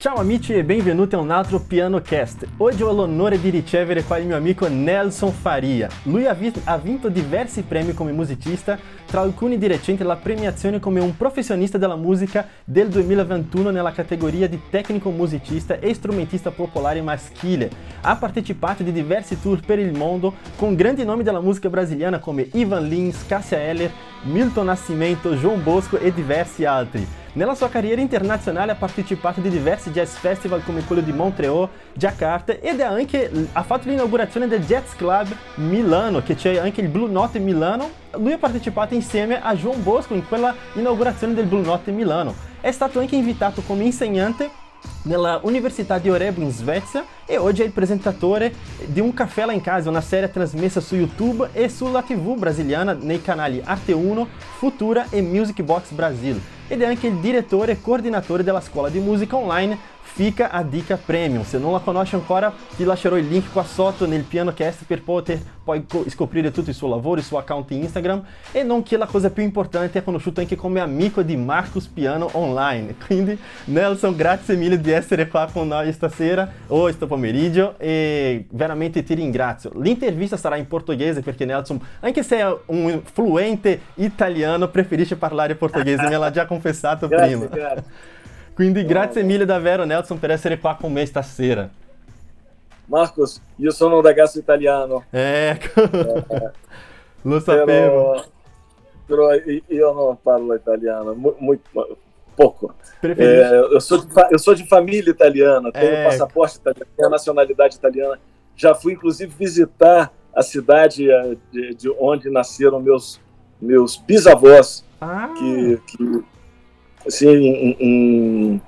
Ciao amici e benvenuti a un altro Piano Cast. Oggi ho l'onore di ricevere qua il mio amico Nelson Faria. Lui ha vinto diversi premi come musicista, tra alcuni di recente la premiazione come un professionista della musica del 2021 nella categoria di tecnico musicista e strumentista popolare maschile. Ha partecipato di diversi tour per il mondo con grandi nomi della musica brasiliana come Ivan Lins, Cássia Eller, Milton Nascimento, João Bosco e diversi altri. Nella sua carriera internazionale ha partecipato di diversi jazz festival come quello di Montreal, Jakarta ed ha fatto l'inaugurazione del Jazz Club Milano, che c'è anche il Blue Note Milano. Lui ha partecipato insieme a João Bosco in quella inaugurazione del Blue Note Milano. È stato anche invitato come insegnante nella Università di Örebro in Svezia e oggi è il presentatore di Un Caffè Là in Casa, una serie trasmessa su YouTube e sulla TV brasiliana nei canali Arte 1, Futura e Music Box Brasil. Ed è anche il direttore e coordinatore della scuola di musica online Fica a Dica Premium. Se non la conosce ancora, ti lascerò il link qua sotto nel PianoCast per poter poi scoprire tutto il suo lavoro, il suo account Instagram. E nonché la cosa più importante, è conosciuto anche come amico di Marcus Piano Online. Quindi Nelson, grazie mille di essere qua con noi stasera o questo pomeriggio e veramente ti ringrazio. L'intervista sarà in portoghese perché Nelson, anche se è un fluente italiano, preferisce parlare portoghese, me l'ha già confessato prima. Grazie. Quindi grazie mille davvero Nelson per essere qua con me stasera. Marcos, io sono un ragazzo italiano. Ecco, lo sapevo. Però io non parlo italiano, pouco. Eu sou de família italiana, tenho passaporte italiano, tenho nacionalidade italiana. Já fui, inclusive, visitar a cidade de onde nasceram meus bisavós, que assim,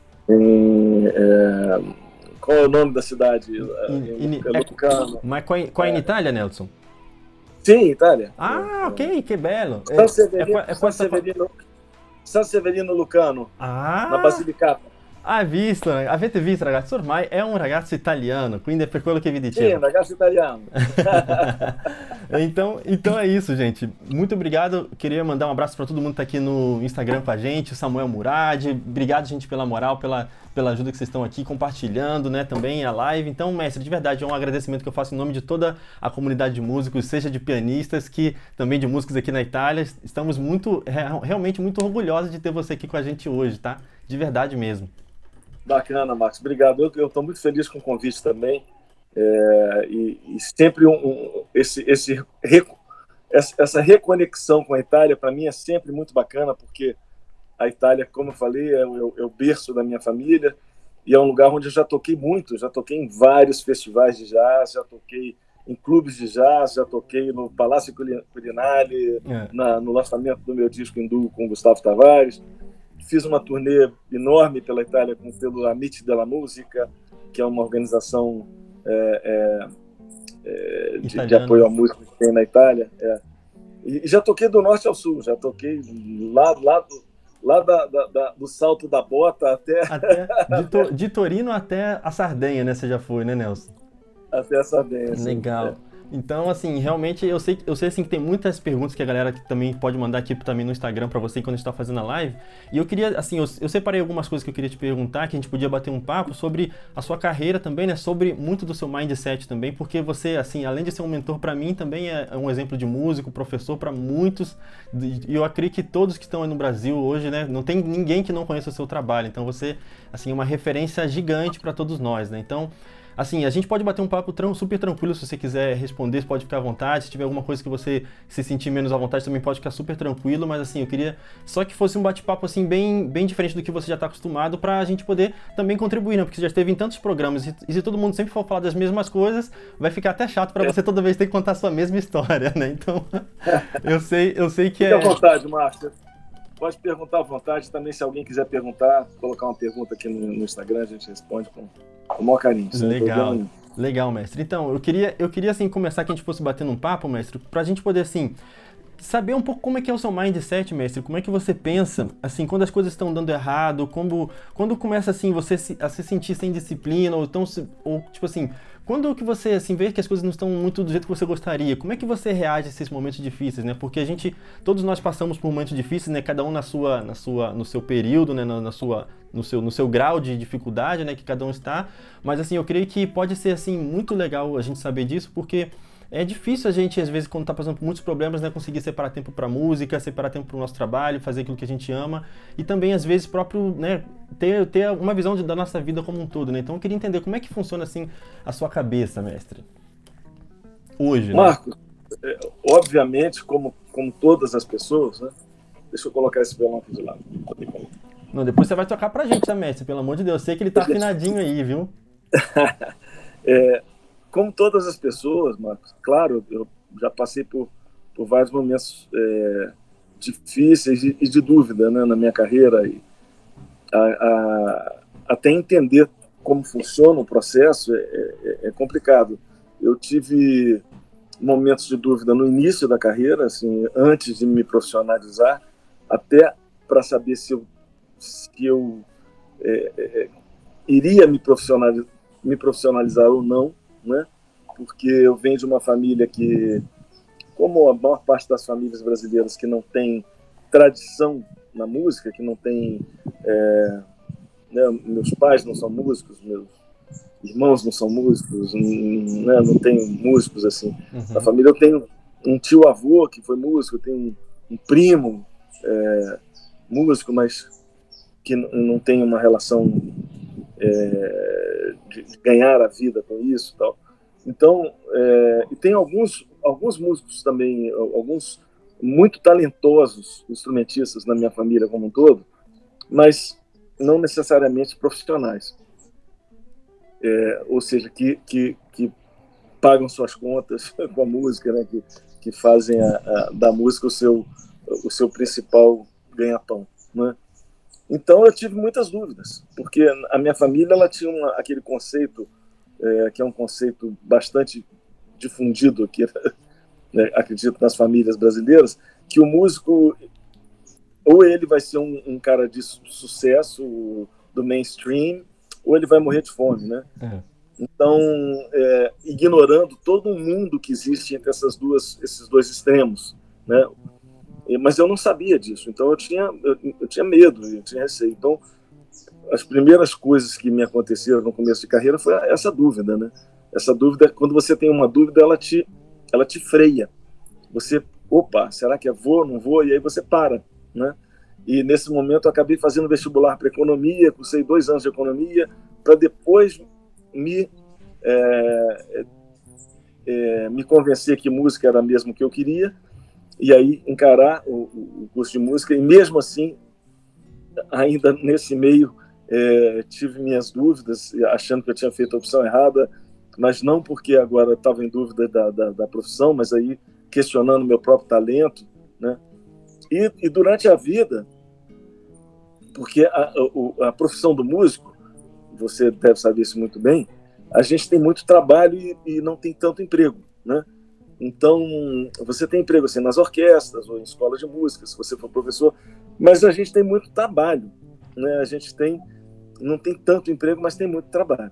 qual é o nome da cidade? Lucano. Ma qua in Italia, Nelson? Sim, Itália. Ah, ok, che bello. San Severino Lucano, na Basilicata. Avete visto ragazzi, ormai è un ragazzo italiano, quindi è per quello che vi dicevo. Sim, um ragazzo italiano. Então é isso, gente. Muito obrigado. Queria mandar um abraço para todo mundo que tá aqui no Instagram com a gente, o Samuel Murad. Obrigado, gente, pela moral, pela ajuda que vocês estão aqui compartilhando, né, também a live. Então, mestre, de verdade, é um agradecimento que eu faço em nome de toda a comunidade de músicos, seja de pianistas, que também de músicos aqui na Itália. Estamos realmente muito orgulhosos de ter você aqui com a gente hoje, tá? De verdade mesmo. Bacana, Marcos. Obrigado. Eu estou muito feliz com o convite também. E sempre essa reconexão com a Itália, para mim, é sempre muito bacana, porque a Itália, como eu falei, é o berço da minha família e é um lugar onde eu já toquei muito. Já toquei em vários festivais de jazz, já toquei em clubes de jazz, já toquei no Palácio Quirinale, no lançamento do meu disco em duo com Gustavo Tavares. Fiz uma turnê enorme pela Itália pelo Amici della Musica, que é uma organização de apoio à música que tem na Itália. E já toquei do norte ao sul, já toquei lá do Salto da Bota até de Torino até a Sardenha, né? Você já foi, né, Nelson? Até a Sardenha. Legal. Então, assim, realmente eu sei assim, que tem muitas perguntas que a galera também pode mandar aqui também no Instagram pra você quando a gente tá fazendo a live. E eu queria, assim, eu separei algumas coisas que eu queria te perguntar, que a gente podia bater um papo sobre a sua carreira também, né? Sobre muito do seu mindset também, porque você, assim, além de ser um mentor pra mim, também é um exemplo de músico, professor pra muitos. E eu acredito que todos que estão aí no Brasil hoje, né? Não tem ninguém que não conheça o seu trabalho. Então você, assim, é uma referência gigante pra todos nós, né? Então, assim, a gente pode bater um papo super tranquilo, se você quiser responder, pode ficar à vontade. Se tiver alguma coisa que você se sentir menos à vontade, também pode ficar super tranquilo. Mas assim, eu queria só que fosse um bate-papo assim, bem diferente do que você já está acostumado, pra gente poder também contribuir, né? Porque você já esteve em tantos programas e se todo mundo sempre for falar das mesmas coisas, vai ficar até chato para você toda vez ter que contar a sua mesma história, né? Então, eu sei que Fique à vontade, Márcio. Pode perguntar à vontade também, se alguém quiser perguntar, colocar uma pergunta aqui no Instagram, a gente responde com o maior carinho. Legal, mestre. Então, eu queria assim começar que a gente fosse batendo um papo, mestre, pra gente poder assim saber um pouco como é que é o seu mindset, mestre, como é que você pensa, assim, quando as coisas estão dando errado, quando começa, assim, a se sentir sem disciplina, ou tipo assim, quando que você, assim, vê que as coisas não estão muito do jeito que você gostaria, como é que você reage a esses momentos difíceis, né? Porque todos nós passamos por momentos difíceis, né? Cada um no seu período, né? No seu grau de dificuldade, né? Que cada um está, mas, assim, eu creio que pode ser, assim, muito legal a gente saber disso, porque é difícil a gente, às vezes, quando está passando por muitos problemas, né, conseguir separar tempo para música, separar tempo para o nosso trabalho, fazer aquilo que a gente ama e também, às vezes, próprio, né, ter uma visão da nossa vida como um todo, né? Então, eu queria entender como é que funciona, assim, a sua cabeça, mestre, hoje, né? Marcos, obviamente, como todas as pessoas, né? Deixa eu colocar esse violão aqui de lado. Não, depois você vai tocar pra gente, tá, mestre? Pelo amor de Deus, eu sei que ele tá afinadinho aí, viu? Como todas as pessoas, Marcos, claro, eu já passei por vários momentos difíceis e de dúvida, né, na minha carreira, e até entender como funciona o processo é complicado. Eu tive momentos de dúvida no início da carreira, assim, antes de me profissionalizar, até para saber se eu iria me profissionalizar ou não, né? Porque eu venho de uma família que, como a maior parte das famílias brasileiras que não tem tradição na música, que não tem... né, meus pais não são músicos, meus irmãos não são músicos, né, não tem músicos assim. Na família eu tenho um tio-avô que foi músico, eu tenho um primo músico, mas que não tem uma relação de ganhar a vida com isso e tal. Então, e tem alguns músicos também, alguns muito talentosos instrumentistas na minha família como um todo, mas não necessariamente profissionais. Ou seja, que pagam suas contas com a música, né? Que fazem da música o seu principal ganha-pão, né? Então eu tive muitas dúvidas, porque a minha família ela tinha aquele conceito, que é um conceito bastante difundido aqui, né, acredito, nas famílias brasileiras, que o músico, ou ele vai ser um cara de sucesso do mainstream, ou ele vai morrer de fome, né? Então, ignorando todo o mundo que existe entre esses dois extremos, né? Mas eu não sabia disso, então eu tinha medo, eu tinha receio. Então, as primeiras coisas que me aconteceram no começo de carreira foi essa dúvida, né? Essa dúvida, quando você tem uma dúvida, ela te freia. Você, opa, será que eu vou, não vou? E aí você para, né? E nesse momento eu acabei fazendo vestibular para economia, cursei 2 anos de economia, para depois me convencer que música era mesmo o que eu queria, e aí encarar o curso de música, e mesmo assim, ainda nesse meio, tive minhas dúvidas, achando que eu tinha feito a opção errada, mas não porque agora estava em dúvida da profissão, mas aí questionando meu próprio talento, né? E durante a vida, porque a profissão do músico, você deve saber isso muito bem, a gente tem muito trabalho e não tem tanto emprego, né? Então, você tem emprego assim, nas orquestras ou em escolas de música, se você for professor, mas a gente tem muito trabalho, né? A gente não tem tanto emprego, mas tem muito trabalho.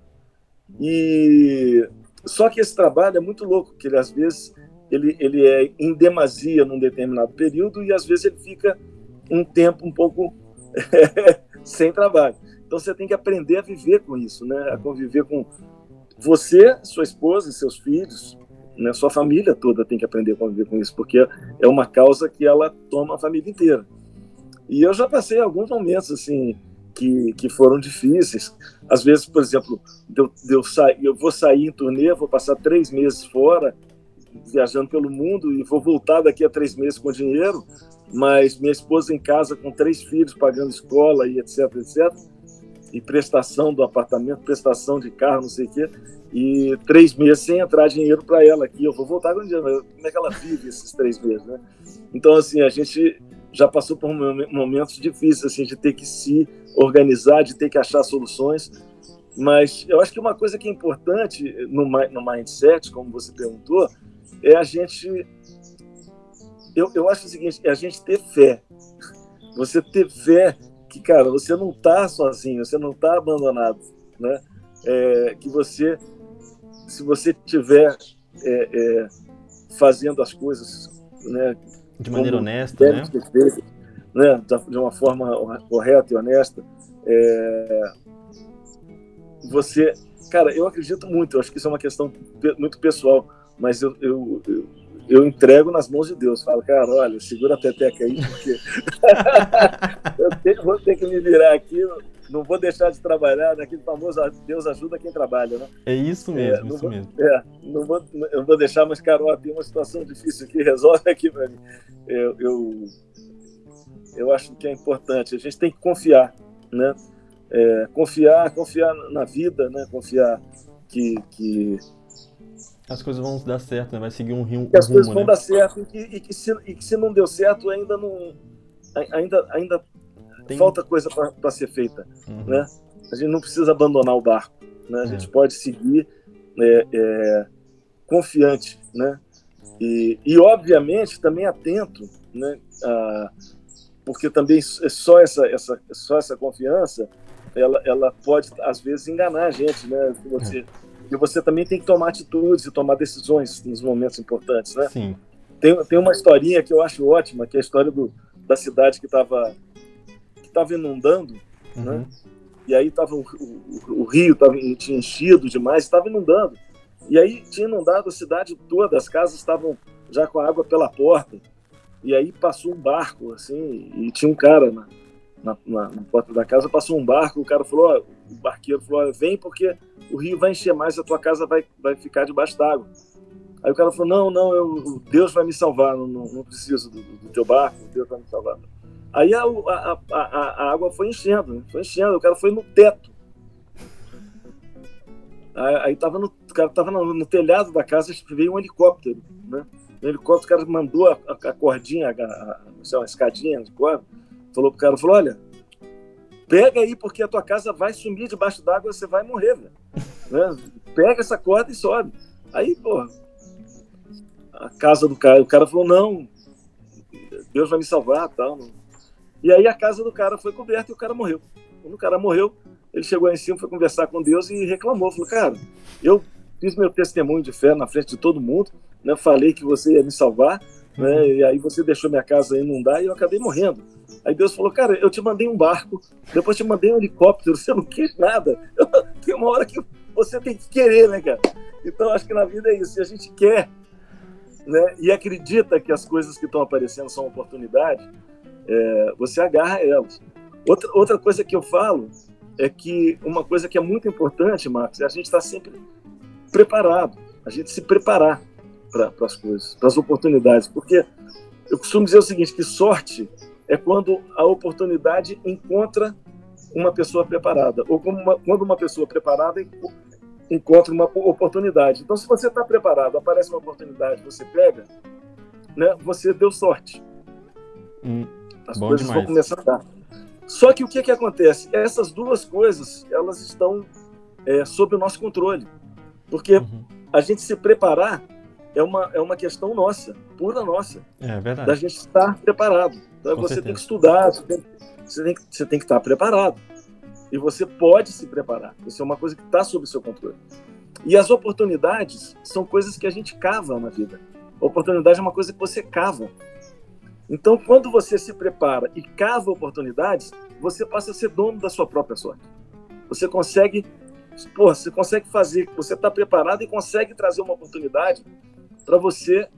E só que esse trabalho é muito louco, porque ele, às vezes ele é em demasia num determinado período e às vezes ele fica um tempo um pouco sem trabalho. Então você tem que aprender a viver com isso, né? A conviver com você, sua esposa e seus filhos, né? Sua família toda tem que aprender a conviver com isso, porque é uma causa que ela toma a família inteira. E eu já passei alguns momentos assim que foram difíceis. Às vezes, por exemplo, eu vou sair em turnê, vou passar 3 meses fora, viajando pelo mundo, e vou voltar daqui a 3 meses com dinheiro, mas minha esposa em casa com 3 filhos, pagando escola e etc, etc, e prestação do apartamento, prestação de carro, não sei o quê, e 3 meses sem entrar dinheiro para ela aqui. Eu vou voltar com dinheiro, mas como é que ela vive esses 3 meses, né? Então, assim, a gente já passou por momentos difíceis, assim, de ter que se organizar, de ter que achar soluções, mas eu acho que uma coisa que é importante no mindset, como você perguntou, é a gente eu acho o seguinte, é a gente ter fé. Você ter fé que, cara, você não está sozinho, você não está abandonado, né? Que você, se você estiver fazendo as coisas, né, de maneira honesta, né? Feito, né, de uma forma correta e honesta, você, cara, eu acredito muito, eu acho que isso é uma questão muito pessoal, mas eu entrego nas mãos de Deus. Falo, cara, olha, segura a peteca aí, porque vou ter que me virar aqui, não vou deixar de trabalhar, naquele famoso Deus ajuda quem trabalha, né? É isso mesmo, isso mesmo. Eu vou deixar, mas, cara, ó, tem uma situação difícil aqui, resolve aqui para mim. Eu acho que é importante, a gente tem que confiar, né? Confiar na vida, né? Confiar que as coisas vão dar certo, né? Vai seguir um rumo, que as coisas vão né? dar certo e que se não deu certo ainda falta coisa para ser feita, né? A gente não precisa abandonar o barco, né? A gente pode seguir confiante, né? E obviamente também atento, né? Porque também só essa confiança ela pode às vezes enganar a gente, né? E você também tem que tomar atitudes e tomar decisões nos momentos importantes, né? Sim. Tem uma historinha que eu acho ótima, que é a história da cidade que estava inundando, né? E aí o rio tinha enchido demais, estava inundando. E aí tinha inundado a cidade toda, as casas estavam já com a água pela porta. E aí passou um barco, assim, e tinha um cara na porta da casa, passou um barco, o cara falou, o barqueiro falou, vem porque o rio vai encher mais, a tua casa vai ficar debaixo d'água. Aí o cara falou, não, Deus vai me salvar, não preciso do teu barco, Deus vai me salvar. Aí a água foi enchendo, o cara foi no teto. Aí o cara estava no telhado da casa, veio um helicóptero, né? No helicóptero o cara mandou a cordinha, uma escadinha de corda, falou pro cara, olha, pega aí porque a tua casa vai sumir debaixo d'água, você vai morrer, velho. Né? Pega essa corda e sobe. Aí, pô, a casa do cara, o cara falou, não, Deus vai me salvar, tal. E aí a casa do cara foi coberta e o cara morreu. Quando o cara morreu, ele chegou aí em cima, foi conversar com Deus e reclamou, falou, cara, eu fiz meu testemunho de fé na frente de todo mundo, né? Falei que você ia me salvar, né? E aí você deixou minha casa inundar e eu acabei morrendo. Aí Deus falou, cara, eu te mandei um barco, depois te mandei um helicóptero, você não quis nada. Tem uma hora que você tem que querer, né, cara? Então acho que na vida é isso, se a gente quer, né, e acredita que as coisas que estão aparecendo são oportunidade, você agarra elas. Outra coisa que eu falo é que uma coisa que é muito importante, Marcos, é a gente estar sempre preparado, a gente se preparar para as coisas, para as oportunidades, porque eu costumo dizer o seguinte, que sorte é quando a oportunidade encontra uma pessoa preparada, ou quando uma pessoa preparada encontra uma oportunidade. Então, se você está preparado, aparece uma oportunidade, você pega, né, você deu sorte. As coisas vão começar a dar. Só que o que acontece? Essas duas coisas, elas estão sob o nosso controle. Porque a gente se preparar é uma questão nossa, pura nossa. É verdade. Da gente estar preparado. Então, você tem que estudar, você tem que estar preparado. E você pode se preparar. Isso é uma coisa que está sob o seu controle. E as oportunidades são coisas que a gente cava na vida. A oportunidade é uma coisa que você cava. Então, quando você se prepara e cava oportunidades, você passa a ser dono da sua própria sorte. Você consegue fazer, você está preparado e consegue trazer uma oportunidade para você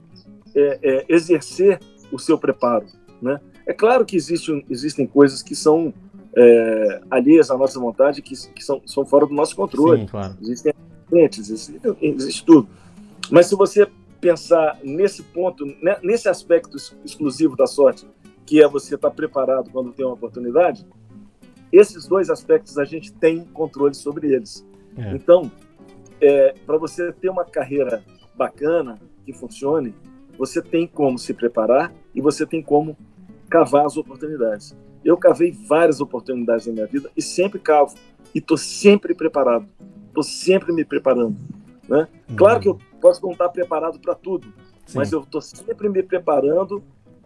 exercer o seu preparo, né? É claro que existem coisas que são alheias à nossa vontade, que são fora do nosso controle. Sim, claro. Existem acidentes, existe tudo. Mas se você pensar nesse ponto, né, nesse aspecto exclusivo da sorte, que é você estar preparado quando tem uma oportunidade, esses dois aspectos a gente tem controle sobre eles. Então, para você ter uma carreira bacana, que funcione, você tem como se preparar e você tem como cavar as oportunidades. Eu cavei várias oportunidades na minha vida e sempre cavo. E estou sempre preparado. Estou sempre me preparando, né? Claro que eu posso não estar preparado para tudo, mas eu estou sempre me preparando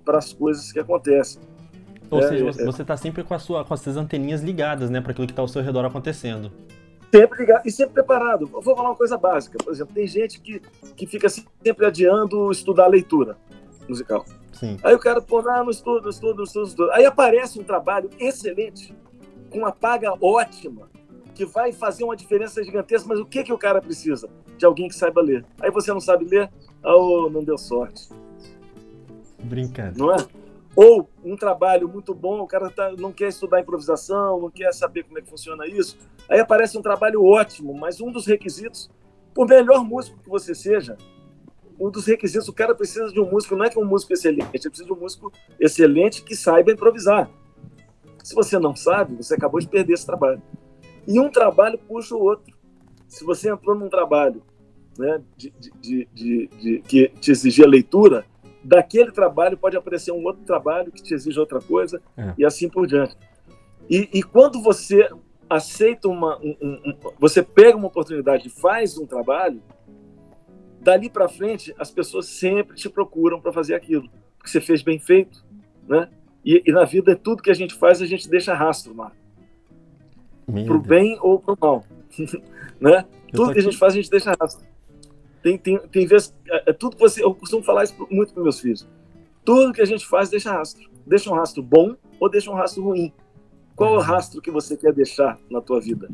para as coisas que acontecem. Ou seja, você está sempre com as suas anteninhas ligadas, né, para aquilo que está ao seu redor acontecendo. Sempre ligado e sempre preparado. Eu vou falar uma coisa básica. Por exemplo, tem gente que fica sempre adiando estudar leitura musical. Sim. Aí o cara, não estudo. Aí aparece um trabalho excelente, com uma paga ótima, que vai fazer uma diferença gigantesca, mas o que o cara precisa? De alguém que saiba ler. Aí você não sabe ler, não deu sorte. Brincando. Não é? Ou um trabalho muito bom, o cara não quer estudar improvisação, não quer saber como é que funciona isso. Aí aparece um trabalho ótimo, mas um dos requisitos, por melhor músico que você seja, um dos requisitos, o cara precisa de um músico, não é que um músico excelente, ele precisa de um músico excelente que saiba improvisar. Se você não sabe, você acabou de perder esse trabalho. E um trabalho puxa o outro. Se você entrou num trabalho, né, que te exigia leitura, daquele trabalho pode aparecer um outro trabalho que te exige outra coisa, e assim por diante. E quando você aceita você pega uma oportunidade e faz um trabalho, dali para frente as pessoas sempre te procuram para fazer aquilo, porque você fez bem feito, né? E na vida, tudo que a gente faz, a gente deixa rastro, Marco. Pro bem ou pro mal. Né? Tudo que a gente faz, a gente deixa rastro. Tem vezes, tudo que eu costumo falar isso muito para meus filhos. Tudo que a gente faz, deixa rastro. Deixa um rastro bom ou deixa um rastro ruim. Qual é o rastro que você quer deixar na tua vida?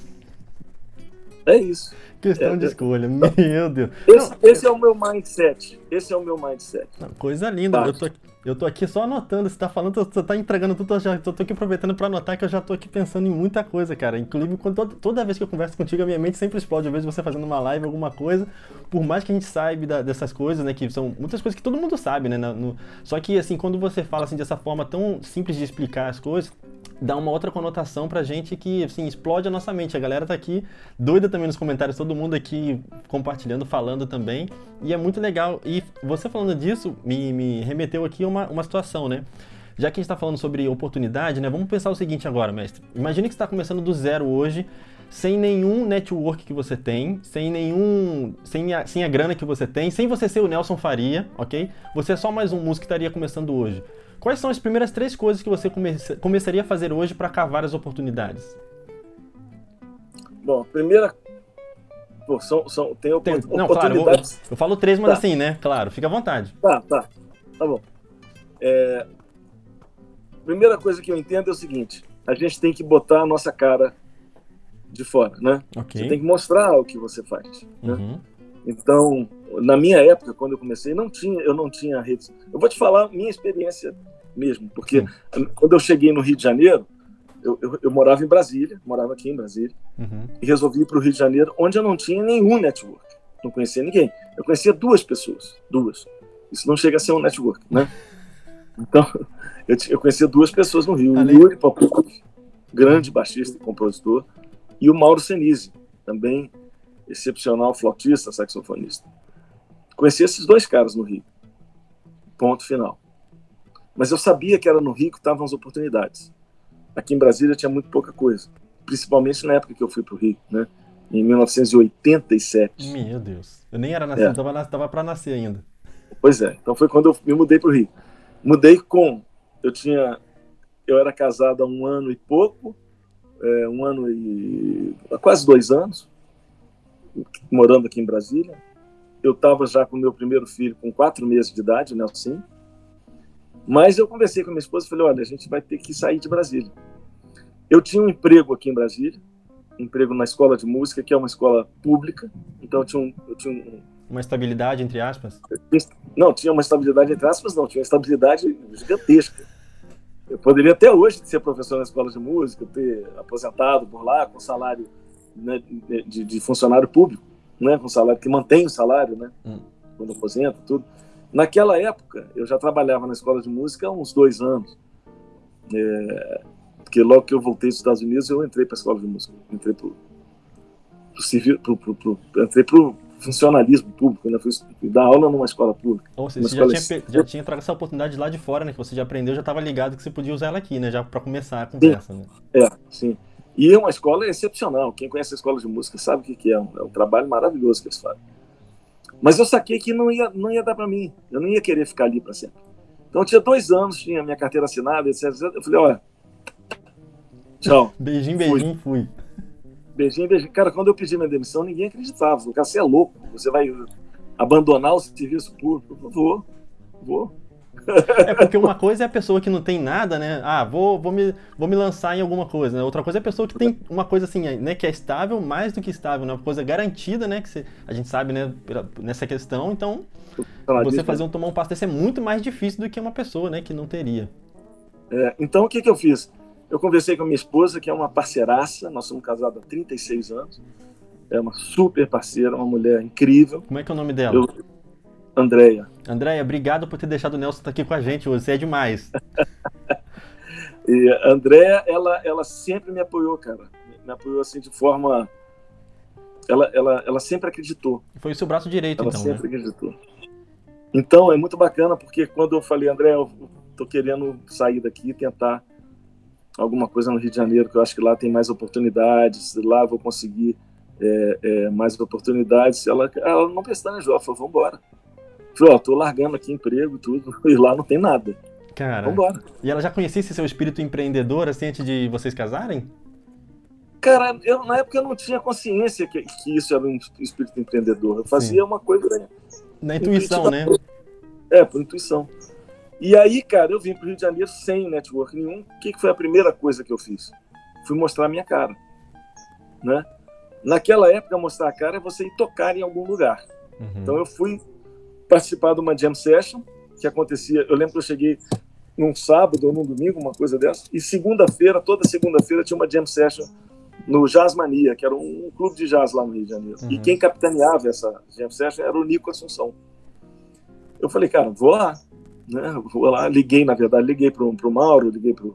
É isso. Questão de escolha, meu Deus. Esse é o meu mindset. Coisa linda. Eu tô aqui só anotando. Você tá falando, você tá entregando tudo. Eu tô aqui aproveitando pra anotar, que eu já tô aqui pensando em muita coisa, cara. Inclusive, toda vez que eu converso contigo, a minha mente sempre explode. Às vezes você fazendo uma live, alguma coisa. Por mais que a gente saiba dessas coisas, né? Que são muitas coisas que todo mundo sabe, né? Só que, assim, quando você fala assim, dessa forma tão simples de explicar as coisas, dá uma outra conotação pra gente que, assim, explode a nossa mente. A galera tá aqui doida também nos comentários, todo mundo aqui compartilhando, falando também, e é muito legal. E você falando disso me remeteu aqui a uma situação, né? Já que a gente tá falando sobre oportunidade, né? Vamos pensar o seguinte agora, mestre. Imagine que você tá começando do zero hoje, sem nenhum network que você tem, sem a grana que você tem, sem você ser o Nelson Faria, ok? Você é só mais um músico que estaria começando hoje. Quais são as primeiras 3 coisas que você começaria a fazer hoje para cavar as oportunidades? Bom, primeira... Tem oportunidades... Não, claro, eu falo 3, mas assim, né? Claro, fica à vontade. Tá bom. Primeira coisa que eu entendo é o seguinte: a gente tem que botar a nossa cara de fora, né? Okay. Você tem que mostrar o que você faz, né? Então, na minha época, quando eu comecei, eu não tinha redes. Eu vou te falar minha experiência mesmo, porque quando eu cheguei no Rio de Janeiro, eu morava em Brasília, morava aqui em Brasília, e resolvi ir para o Rio de Janeiro, onde eu não tinha nenhum network, não conhecia ninguém. Eu conhecia 2 pessoas, 2. Isso não chega a ser um network, né? Então, eu conhecia 2 pessoas no Rio, o Yuri Popov, grande baixista e compositor, e o Mauro Senise, também excepcional flautista, saxofonista. Conheci esses 2 caras no Rio. Ponto final. Mas eu sabia que era no Rio que estavam as oportunidades. Aqui em Brasília tinha muito pouca coisa. Principalmente na época que eu fui para o Rio, né? Em 1987. Meu Deus. Eu nem era nascido, estava para nascer ainda. Pois é. Então foi quando eu me mudei para o Rio. Mudei com... Eu era casado há 1 ano e pouco, quase 2 anos, morando aqui em Brasília. Eu estava já com o meu primeiro filho com 4 meses de idade, o Nelson. Mas eu conversei com a minha esposa e falei, olha, a gente vai ter que sair de Brasília. Eu tinha um emprego aqui em Brasília, emprego na escola de música, que é uma escola pública. Então eu tinha uma estabilidade, entre aspas? Não, tinha uma estabilidade, entre aspas, não. Tinha uma estabilidade gigantesca. Eu poderia até hoje ser professor na escola de música, ter aposentado por lá, com salário, né, de funcionário público, né, com salário que mantém o salário, né, quando aposenta, tudo. Naquela época, eu já trabalhava na escola de música há uns 2 anos. Porque logo que eu voltei dos Estados Unidos, eu entrei para a escola de música. Entrei para o funcionalismo público, né? Fui dar aula numa escola pública. Ou seja, você já tinha trago essa oportunidade lá de fora, né? Que você já aprendeu, já estava ligado que você podia usar ela aqui, né? Já para começar a conversa, sim. Né? Sim. E é uma escola excepcional. Quem conhece a escola de música sabe o que é. É um trabalho maravilhoso que eles fazem. Mas eu saquei que não ia dar para mim. Eu não ia querer ficar ali para sempre. Então eu tinha 2 anos, tinha minha carteira assinada, etc. Eu falei, olha, tchau. Beijinho, fui. Beijinho. Cara, quando eu pedi minha demissão, ninguém acreditava. O cara, você é louco, você vai abandonar o serviço público? Eu falei, vou. É porque uma coisa é a pessoa que não tem nada, né? Ah, vou me lançar em alguma coisa, né? Outra coisa é a pessoa que tem uma coisa assim, né? Que é estável, mais do que estável, né? Uma coisa garantida, né? A gente sabe, né? Nessa questão, então você tomar um passo desse é muito mais difícil do que uma pessoa, né? Que não teria. Então o que eu fiz? Eu conversei com a minha esposa, que é uma parceiraça, nós somos casados há 36 anos, é uma super parceira, uma mulher incrível. Como é que é o nome dela? Andréia. Andréia, obrigado por ter deixado o Nelson estar aqui com a gente hoje, você é demais. E a Andréia, ela sempre me apoiou, cara. Me apoiou assim de forma... Ela sempre acreditou. Foi o seu braço direito, ela então, sempre acreditou. Então, é muito bacana, porque quando eu falei, André, eu tô querendo sair daqui e tentar alguma coisa no Rio de Janeiro, que eu acho que lá tem mais oportunidades, lá eu vou conseguir mais oportunidades. Ela não pestanejou, ela falou, vamos embora. Falei, tô largando aqui emprego e tudo, e lá não tem nada. Cara, vambora. E ela já conhecia esse seu espírito empreendedor, assim, antes de vocês casarem? Cara, na época eu não tinha consciência que isso era um espírito empreendedor. Eu fazia uma coisa... Na intuição, né? Por intuição. E aí, cara, eu vim pro Rio de Janeiro sem network nenhum. O que foi a primeira coisa que eu fiz? Fui mostrar a minha cara, né? Naquela época, mostrar a cara é você ir tocar em algum lugar. Uhum. Então eu fui participar de uma jam session que acontecia... Eu lembro que eu cheguei num sábado ou num domingo, uma coisa dessa, e toda segunda-feira tinha uma jam session no Jazz Mania, que era um clube de jazz lá no Rio de Janeiro. Uhum. E quem capitaneava essa jam session era o Nico Assunção. Eu falei, cara, vou lá. Né? Vou lá, liguei pro Mauro, liguei pro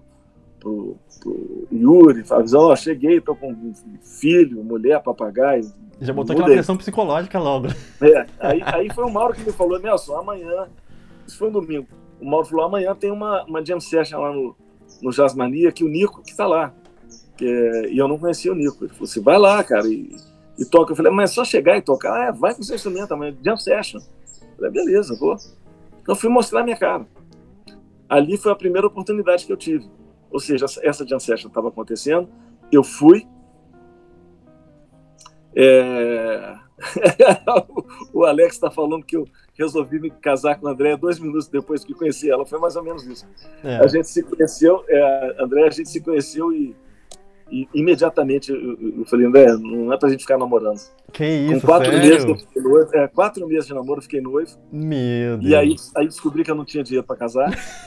Yuri, falei, cheguei, tô com filho, mulher, papagaio. Já botou aquela pressão psicológica logo. Aí foi o Mauro que me falou, Nelson, amanhã, isso foi um domingo, o Mauro falou, amanhã tem uma jam session lá no Jazz Mania, que o Nico que tá lá. E eu não conhecia o Nico. Ele falou assim, vai lá, cara, e toca. Eu falei, mas é só chegar e tocar? Vai com o seu instrumento amanhã, jam session. Eu falei, beleza, vou. Então fui mostrar a minha cara. Ali foi a primeira oportunidade que eu tive. Ou seja, essa jam session estava acontecendo, eu fui. O Alex está falando que eu resolvi me casar com a Andréia 2 minutos depois que conheci ela. Foi mais ou menos isso. A gente se conheceu, André, a gente se conheceu e imediatamente eu falei, André, não é pra gente ficar namorando. Que isso, com 4 sério? meses eu fiquei noivo, 4 meses de namoro eu fiquei noivo. Meu Deus. E aí descobri que eu não tinha dinheiro pra casar.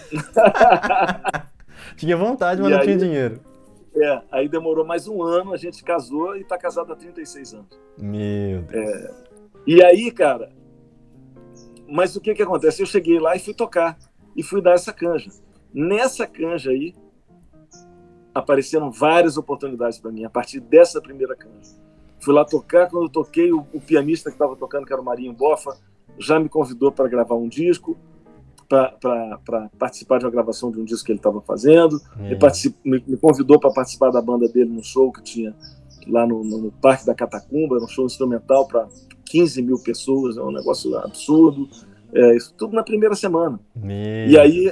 Tinha vontade, mas não tinha dinheiro. Aí demorou mais 1 ano, a gente casou e tá casado há 36 anos. Meu Deus. E aí, cara, mas o que acontece? Eu cheguei lá e fui tocar, e fui dar essa canja. Nessa canja aí, apareceram várias oportunidades para mim, a partir dessa primeira canja. Fui lá tocar, quando eu toquei, o pianista que estava tocando, que era o Marinho Boffa, já me convidou para gravar um disco, para participar de uma gravação de um disco que ele estava fazendo, me convidou para participar da banda dele num show que tinha lá no Parque da Catacumba, um show instrumental para 15 mil pessoas, é um negócio absurdo, isso tudo na primeira semana. E aí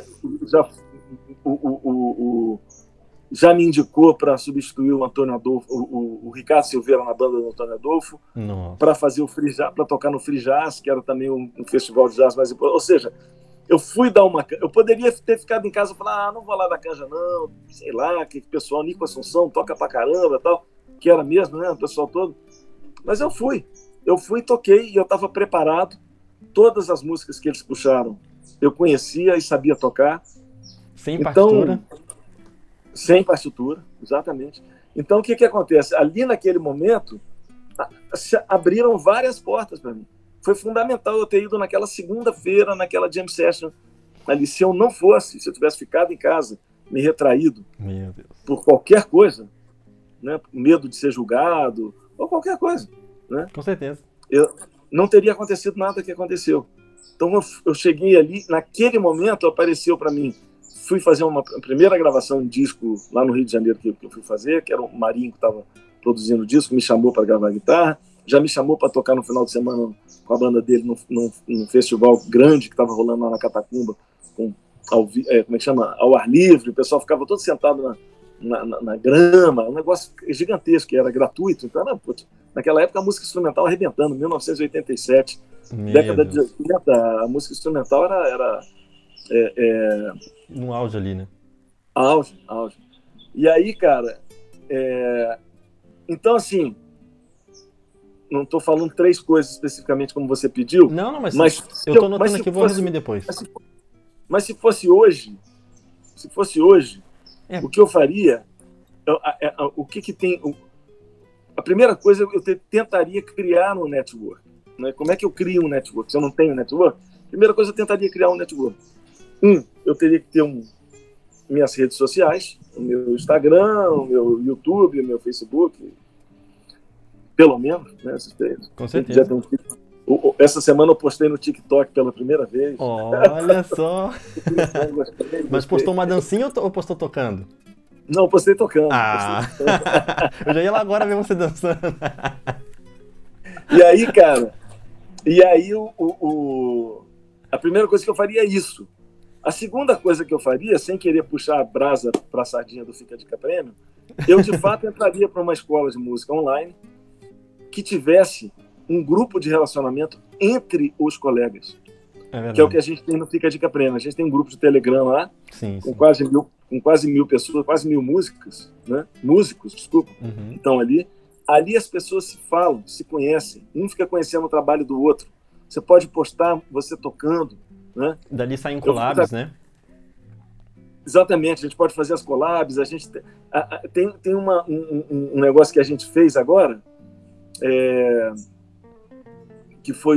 já me indicou para substituir o Antônio Adolfo, o Ricardo Silveira na banda do Antônio Adolfo, para fazer o Free Jazz, para tocar no Free Jazz, que era também um festival de jazz mais importante. Ou seja, eu fui dar eu poderia ter ficado em casa e falar, não vou lá dar canja não, sei lá, que pessoal, Nico Assunção, toca pra caramba, tal, que era mesmo, né, o pessoal todo. Mas eu fui, toquei e eu estava preparado. Todas as músicas que eles puxaram, eu conhecia e sabia tocar. Sem partitura? Sem partitura, exatamente. Então, o que acontece? Ali, naquele momento, se abriram várias portas para mim. Foi fundamental eu ter ido naquela segunda-feira, naquela jam session ali. Se eu não fosse, se eu tivesse ficado em casa, me retraído por qualquer coisa, né, medo de ser julgado, ou qualquer coisa, né, com certeza, não teria acontecido nada que aconteceu. Então, eu cheguei ali, naquele momento apareceu para mim. Fui fazer uma primeira gravação em disco lá no Rio de Janeiro que eu fui fazer, que era o Marinho que estava produzindo o disco, me chamou para gravar guitarra, já me chamou para tocar no final de semana com a banda dele num festival grande que estava rolando lá na Catacumba, com como é que chama? Ao ar livre, o pessoal ficava todo sentado na grama, um negócio gigantesco, que era gratuito. Então, naquela época, a música instrumental arrebentando, 1987, década de 80, a música instrumental era no auge ali, né? Auge. E aí, cara, então, assim, não estou falando 3 coisas especificamente como você pediu. Não, mas eu estou anotando aqui, vou resumir depois. Mas se fosse hoje, o que eu faria, o que tem... A primeira coisa, eu tentaria criar um network. Né? Como é que eu crio um network? Se eu não tenho network, a primeira coisa, eu tentaria criar um network. Eu teria que ter minhas redes sociais, o meu Instagram, o meu YouTube, o meu Facebook, pelo menos, né? Com certeza. Essa semana eu postei no TikTok pela primeira vez. Olha só! Mas postou uma dancinha ou postou tocando? Não, postei tocando. Eu já ia lá agora ver você dançando. E aí, cara, a primeira coisa que eu faria é isso. A segunda coisa que eu faria, sem querer puxar a brasa para a sardinha do Fica a Dica Prêmio, eu de fato entraria para uma escola de música online que tivesse um grupo de relacionamento entre os colegas. Que é o que a gente tem no Fica a Dica Prêmio. A gente tem um grupo de Telegram lá, com quase 1.000 pessoas, quase 1.000 músicos, né? Que estão ali. Ali as pessoas se falam, se conhecem, um fica conhecendo o trabalho do outro. Você pode postar você tocando, né? Dali saem collabs, né? Exatamente, a gente pode fazer as collabs. A gente tem um negócio que a gente fez agora, que foi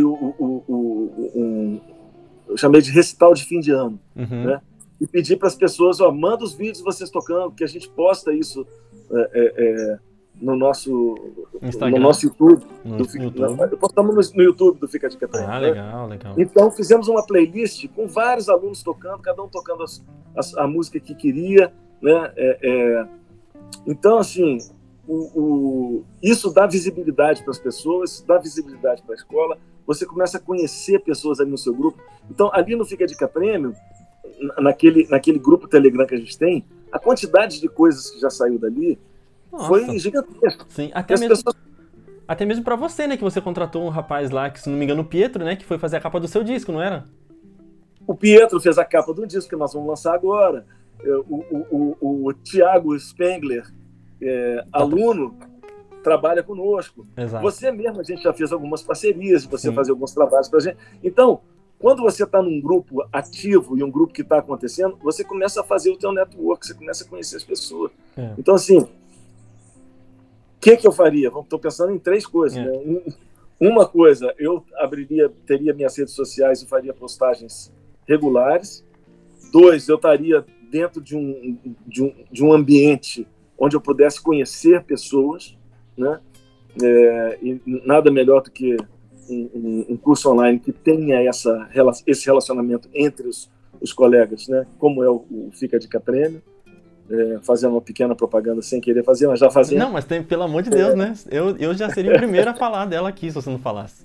eu chamei de recital de fim de ano, né? E pedi para as pessoas, manda os vídeos de vocês tocando, que a gente posta isso no nosso Instagram, no nosso YouTube. Postamos no YouTube do Fica a Dica Prêmio. Legal. Então fizemos uma playlist com vários alunos tocando, cada um tocando a música que queria, né? Então, assim, isso dá visibilidade para as pessoas, isso dá visibilidade para a escola. Você começa a conhecer pessoas ali no seu grupo. Então, ali no Fica a Dica Prêmio, naquele grupo Telegram que a gente tem, a quantidade de coisas que já saiu dali foi gigantesca. Sim, até mesmo para você, né? Que você contratou um rapaz lá, que se não me engano, o Pietro, né? Que foi fazer a capa do seu disco, não era? O Pietro fez a capa do disco que nós vamos lançar agora. O Thiago Spengler, aluno, trabalha conosco. Exato. Você mesmo, a gente já fez algumas parcerias, você fazer alguns trabalhos para a gente. Então, quando você está num grupo ativo e um grupo que está acontecendo, você começa a fazer o teu network, você começa a conhecer as pessoas. Então, assim, o que eu faria? Estou pensando em 3 coisas. Né? Uma coisa, eu teria minhas redes sociais e faria postagens regulares. 2, eu estaria dentro de um ambiente onde eu pudesse conhecer pessoas, né? E nada melhor do que um curso online que tenha esse relacionamento entre os colegas, né? Como é o Fica a Dica Prêmio. Fazendo uma pequena propaganda sem querer fazer, mas já fazendo. Não, mas pelo amor de Deus, né? Eu já seria o primeiro a falar dela aqui, se você não falasse.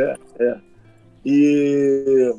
E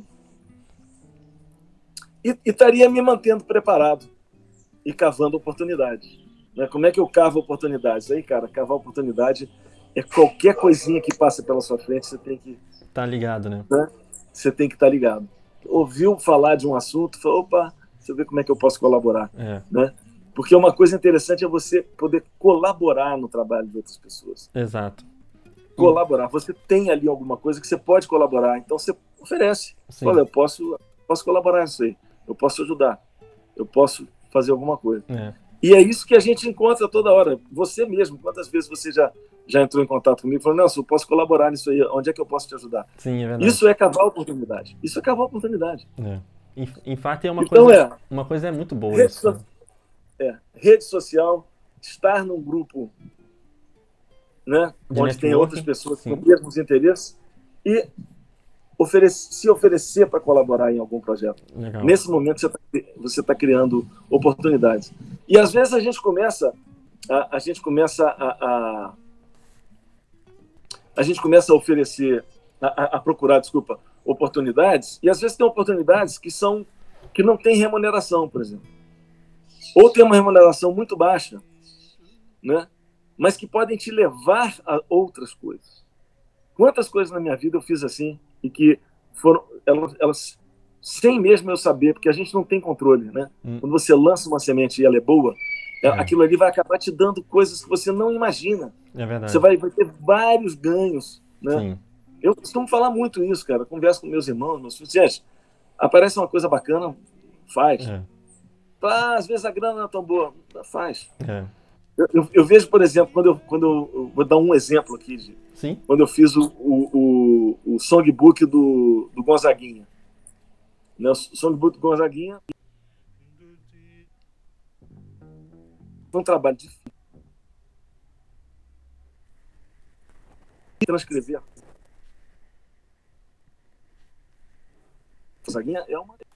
estaria me mantendo preparado e cavando oportunidades. Né? Como é que eu cavo oportunidades? Aí, cara, cavar oportunidade é qualquer coisinha que passa pela sua frente, você tem que... Tá ligado, né? Você tem que estar ligado. Ouviu falar de um assunto, falou, opa, deixa eu ver como é que eu posso colaborar. Né? Porque uma coisa interessante é você poder colaborar no trabalho de outras pessoas. Exato. Colaborar. Você tem ali alguma coisa que você pode colaborar, então você oferece. Olha, eu posso colaborar nisso aí. Eu posso ajudar. Eu posso fazer alguma coisa. E é isso que a gente encontra toda hora. Você mesmo, quantas vezes você já entrou em contato comigo e falou, Nelson, eu posso colaborar nisso aí, onde é que eu posso te ajudar? Sim, é verdade. Isso é cavar oportunidade. Isso é cavar oportunidade. Em fato, é uma coisa... Uma coisa muito boa isso. Rede social, estar num grupo, né, onde tem outras pessoas com os mesmos interesses e se oferecer para colaborar em algum projeto. Legal. Nesse momento você está criando oportunidades. E às vezes a gente começa a oferecer, a procurar, oportunidades, e às vezes tem oportunidades que são que não têm remuneração, por exemplo. Ou tem uma remuneração muito baixa, né? Mas que podem te levar a outras coisas. Quantas coisas na minha vida eu fiz assim e que foram elas sem mesmo eu saber, porque a gente não tem controle, né? Quando você lança uma semente e ela é boa, aquilo ali vai acabar te dando coisas que você não imagina. É verdade. Você vai ter vários ganhos, né? Sim. Eu costumo falar muito isso, cara. Converso com meus irmãos, meus filhos. Gente, aparece uma coisa bacana, faz. Às vezes a grana não é tão boa, faz. Eu vejo, por exemplo, quando eu vou dar um exemplo aqui, Sim. Quando eu fiz o songbook do Gonzaguinha. Né? O songbook do Gonzaguinha foi um trabalho difícil. Transcrever. Gonzaguinha é uma...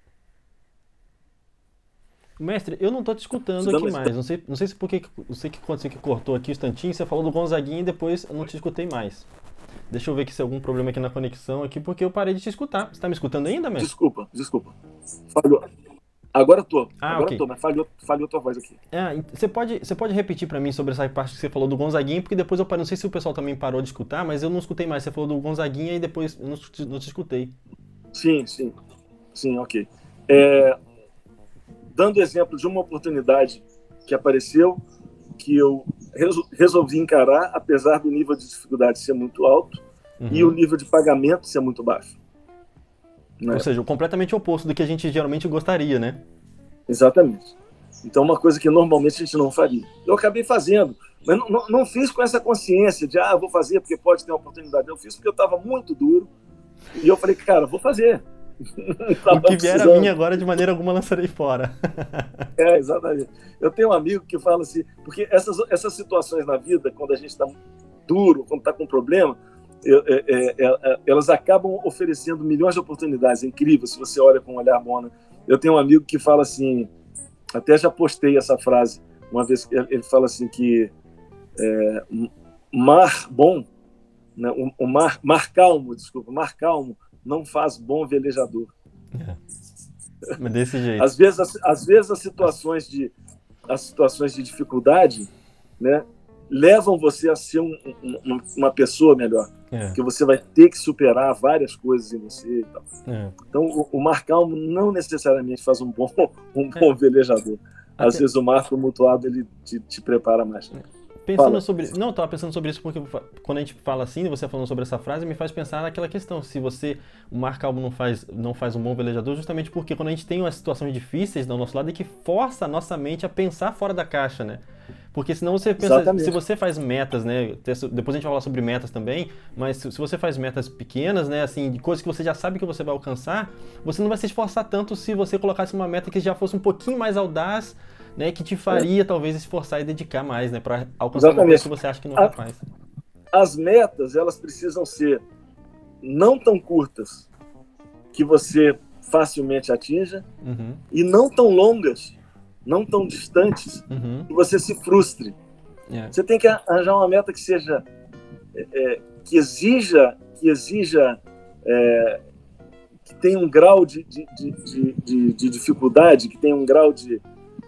Mestre, eu não tô te escutando aqui mais. Não sei se porque eu sei que quando você cortou aqui o instantinho, você falou do Gonzaguinha e depois eu não te escutei mais. Deixa eu ver se tem algum problema aqui na conexão aqui, porque eu parei de te escutar. Você tá me escutando ainda, mestre? Desculpa. Falhou. Agora tô, ok. Mas falhou tua voz aqui. Você pode repetir pra mim sobre essa parte que você falou do Gonzaguinha, porque depois eu parei, não sei se o pessoal também parou de escutar, mas eu não escutei mais. Você falou do Gonzaguinha e depois eu não te escutei. Sim, ok. Dando exemplo de uma oportunidade que apareceu, que eu resolvi encarar, apesar do nível de dificuldade ser muito alto e o nível de pagamento ser muito baixo. Né? Ou seja, completamente oposto do que a gente geralmente gostaria, né? Exatamente. Então, uma coisa que normalmente a gente não faria. Eu acabei fazendo, mas não fiz com essa consciência de, vou fazer porque pode ter uma oportunidade. Eu fiz porque eu estava muito duro e eu falei, cara, vou fazer. O que vier a mim agora, de maneira alguma, lançarei fora. Exatamente. Eu tenho um amigo que fala assim, porque essas situações na vida, quando a gente está duro, quando está com problema, elas acabam oferecendo milhões de oportunidades. É incrível, se você olha com um olhar bom. Né? Eu tenho um amigo que fala assim, até já postei essa frase, uma vez, ele fala assim que mar bom, né, mar calmo não faz bom velejador. Mas desse jeito. Às vezes as situações de dificuldade, né, levam você a ser uma pessoa melhor. Porque você vai ter que superar várias coisas em você e tal. Então, o mar calmo não necessariamente faz um bom velejador. Às vezes o mar tumultuado ele te prepara mais. Não, eu tava pensando sobre isso porque quando a gente fala assim, você falando sobre essa frase, me faz pensar naquela questão. Se o mar calmo não faz um bom velejador, justamente porque quando a gente tem umas situações difíceis do nosso lado, é que força a nossa mente a pensar fora da caixa, né? Porque senão você pensa, exatamente. Se você faz metas, né? Depois a gente vai falar sobre metas também, mas se você faz metas pequenas, né? Assim, de coisas que você já sabe que você vai alcançar, você não vai se esforçar tanto se você colocasse uma meta que já fosse um pouquinho mais audaz, né, que te faria talvez esforçar e dedicar mais, né, para alcançar uma coisa que você acha que não é capaz. As metas, elas precisam ser não tão curtas que você facilmente atinja e não tão longas, não tão distantes que você se frustre. Você tem que arranjar uma meta que seja que exija que tenha um grau de dificuldade, que tenha um grau de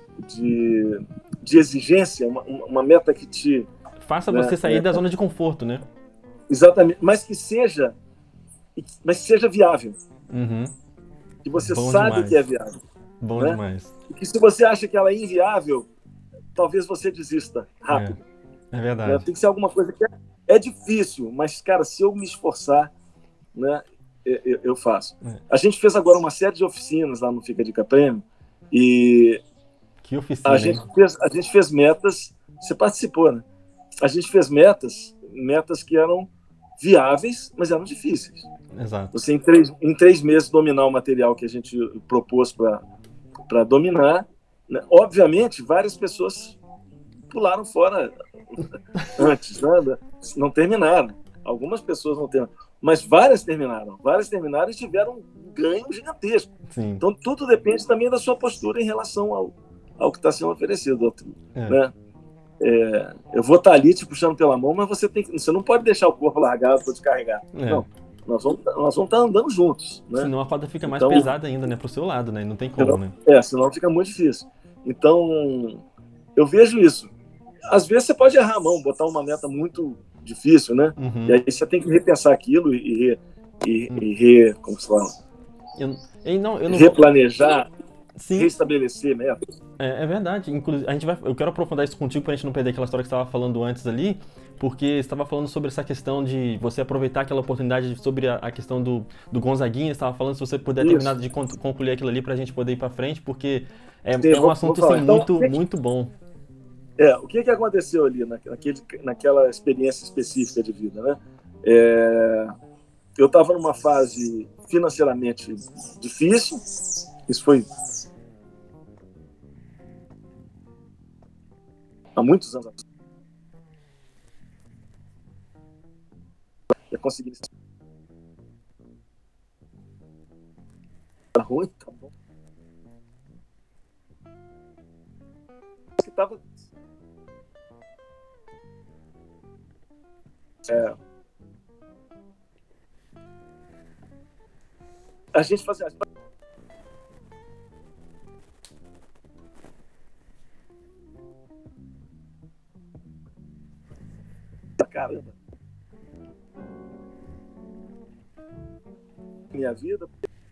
exigência, uma meta que te... Faça você sair da zona de conforto, né? Exatamente, mas que seja viável. Que você Bom sabe demais. que é viável. Bom demais. E que se você acha que ela é inviável, talvez você desista rápido. É verdade. Tem que ser alguma coisa que é difícil, mas, cara, se eu me esforçar, né, eu faço. A gente fez agora uma série de oficinas lá no Fica Dica Prêmio e... Que oficina, a gente fez metas, você participou, né? A gente fez metas que eram viáveis, mas eram difíceis. Exato. Você, em 3 meses, dominar o material que a gente propôs para dominar. Né? Obviamente, várias pessoas pularam fora antes, né? Não terminaram. Algumas pessoas não terminaram. Mas várias terminaram e tiveram um ganho gigantesco. Sim. Então, tudo depende também da sua postura em relação ao que está sendo oferecido. Né? Eu vou estar ali te puxando pela mão, mas você não pode deixar o corpo largado para te carregar. Não. nós vamos estar andando juntos, né? Senão a corda fica mais Então, pesada ainda, né? Pro seu lado, né? Não tem como, né? senão fica muito difícil. Então, eu vejo isso. Às vezes você pode errar a mão, botar uma meta muito difícil, né? E aí você tem que repensar aquilo como se fala? Replanejar, sim, restabelecer metas. É verdade. Inclusive, eu quero aprofundar isso contigo pra gente não perder aquela história que você estava falando antes ali, porque você estava falando sobre essa questão de você aproveitar aquela oportunidade sobre a questão do Gonzaguinha, você estava falando se você puder terminar de concluir aquilo ali pra gente poder ir pra frente, porque é um assunto assim, então, muito bom. O que aconteceu ali naquela experiência específica de vida, né? Eu estava numa fase financeiramente difícil, isso foi há muitos anos atrás. Eu consegui. Tá ruim, tá bom. Que tava. A gente fazia. Caramba. Minha vida.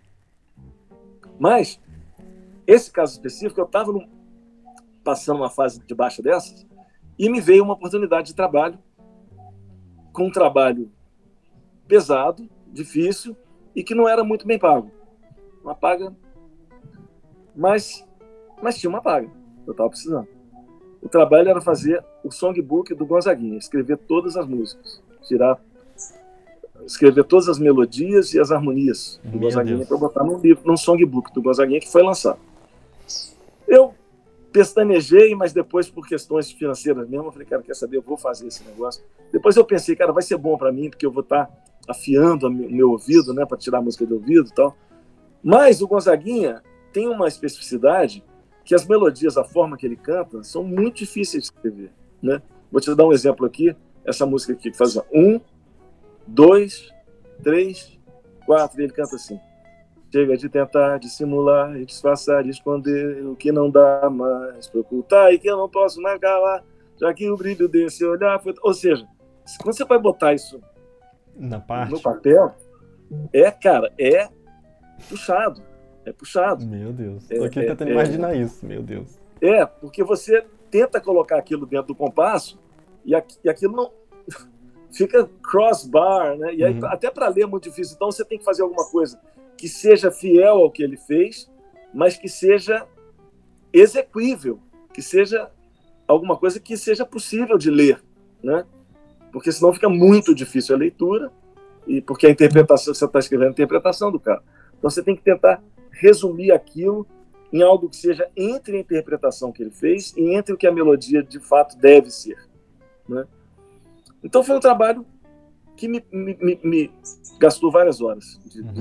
Mas, esse caso específico, eu estava passando uma fase de baixa dessas e me veio uma oportunidade de trabalho, com um trabalho pesado, difícil e que não era muito bem pago. Uma paga, mas tinha uma paga, eu estava precisando. O trabalho era fazer o songbook do Gonzaguinha, escrever todas as músicas, escrever todas as melodias e as harmonias do Gonzaguinha para botar num songbook do Gonzaguinha que foi lançado. Eu pestanejei, mas depois, por questões financeiras mesmo, eu falei, cara, quer saber, eu vou fazer esse negócio. Depois eu pensei, cara, vai ser bom para mim, porque eu vou estar afiando o meu ouvido, né, para tirar a música de ouvido e tal. Mas o Gonzaguinha tem uma especificidade que as melodias, a forma que ele canta, são muito difíceis de escrever, né? Vou te dar um exemplo aqui, essa música aqui que faz 1, 2, 3, 4, e ele canta assim: chega de tentar dissimular e disfarçar, de esconder o que não dá mais para ocultar e que eu não posso mais calar, já que o brilho desse olhar foi... Ou seja, quando você vai botar isso no papel, cara, é puxado. É puxado. Meu Deus. Tô aqui tentando imaginar isso, meu Deus. Porque você tenta colocar aquilo dentro do compasso e aquilo não... fica crossbar, né? E aí, até para ler é muito difícil. Então você tem que fazer alguma coisa que seja fiel ao que ele fez, mas que seja execuível, que seja alguma coisa que seja possível de ler, né? Porque senão fica muito difícil a leitura, e porque a interpretação, você está escrevendo a interpretação do cara. Então você tem que tentar resumir aquilo em algo que seja entre a interpretação que ele fez e entre o que a melodia de fato deve ser, né? Então foi um trabalho que me gastou várias horas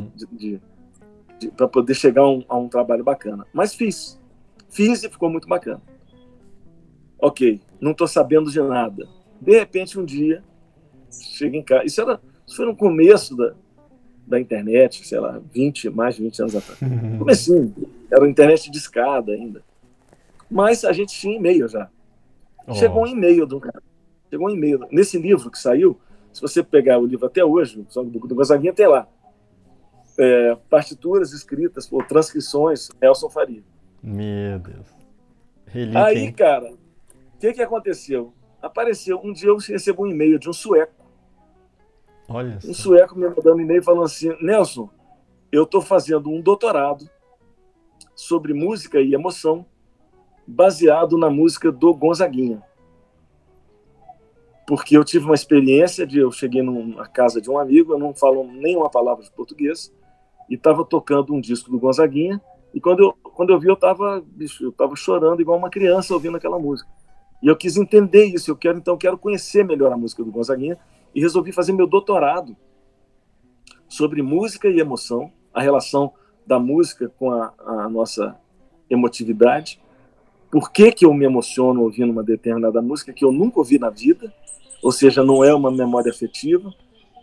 para poder chegar a um trabalho bacana. Mas fiz e ficou muito bacana. Ok, não estou sabendo de nada. De repente, um dia, chego em casa. Isso foi no começo da internet, sei lá, mais de 20 anos atrás. Comecinho, era internet de escada ainda. Mas a gente tinha e-mail já. Chegou um e-mail do cara. Chegou um e-mail. Nesse livro que saiu, se você pegar o livro até hoje, o Songbook do Gonzaguinha, tem lá partituras escritas por transcrições Nelson Faria. Meu Deus. Relíquia, aí, hein? cara, o que aconteceu? Apareceu, um dia eu recebo um e-mail de um sueco. Olha um sueco me mandando um e-mail falando assim: Nelson, eu estou fazendo um doutorado sobre música e emoção baseado na música do Gonzaguinha. Porque eu tive uma experiência eu cheguei na casa de um amigo, eu não falo nenhuma palavra de português, e estava tocando um disco do Gonzaguinha, e quando eu vi, eu estava chorando igual uma criança ouvindo aquela música. E eu quis entender isso, eu quero conhecer melhor a música do Gonzaguinha, e resolvi fazer meu doutorado sobre música e emoção, a relação da música com a nossa emotividade, por que eu me emociono ouvindo uma determinada música que eu nunca ouvi na vida, ou seja, não é uma memória afetiva,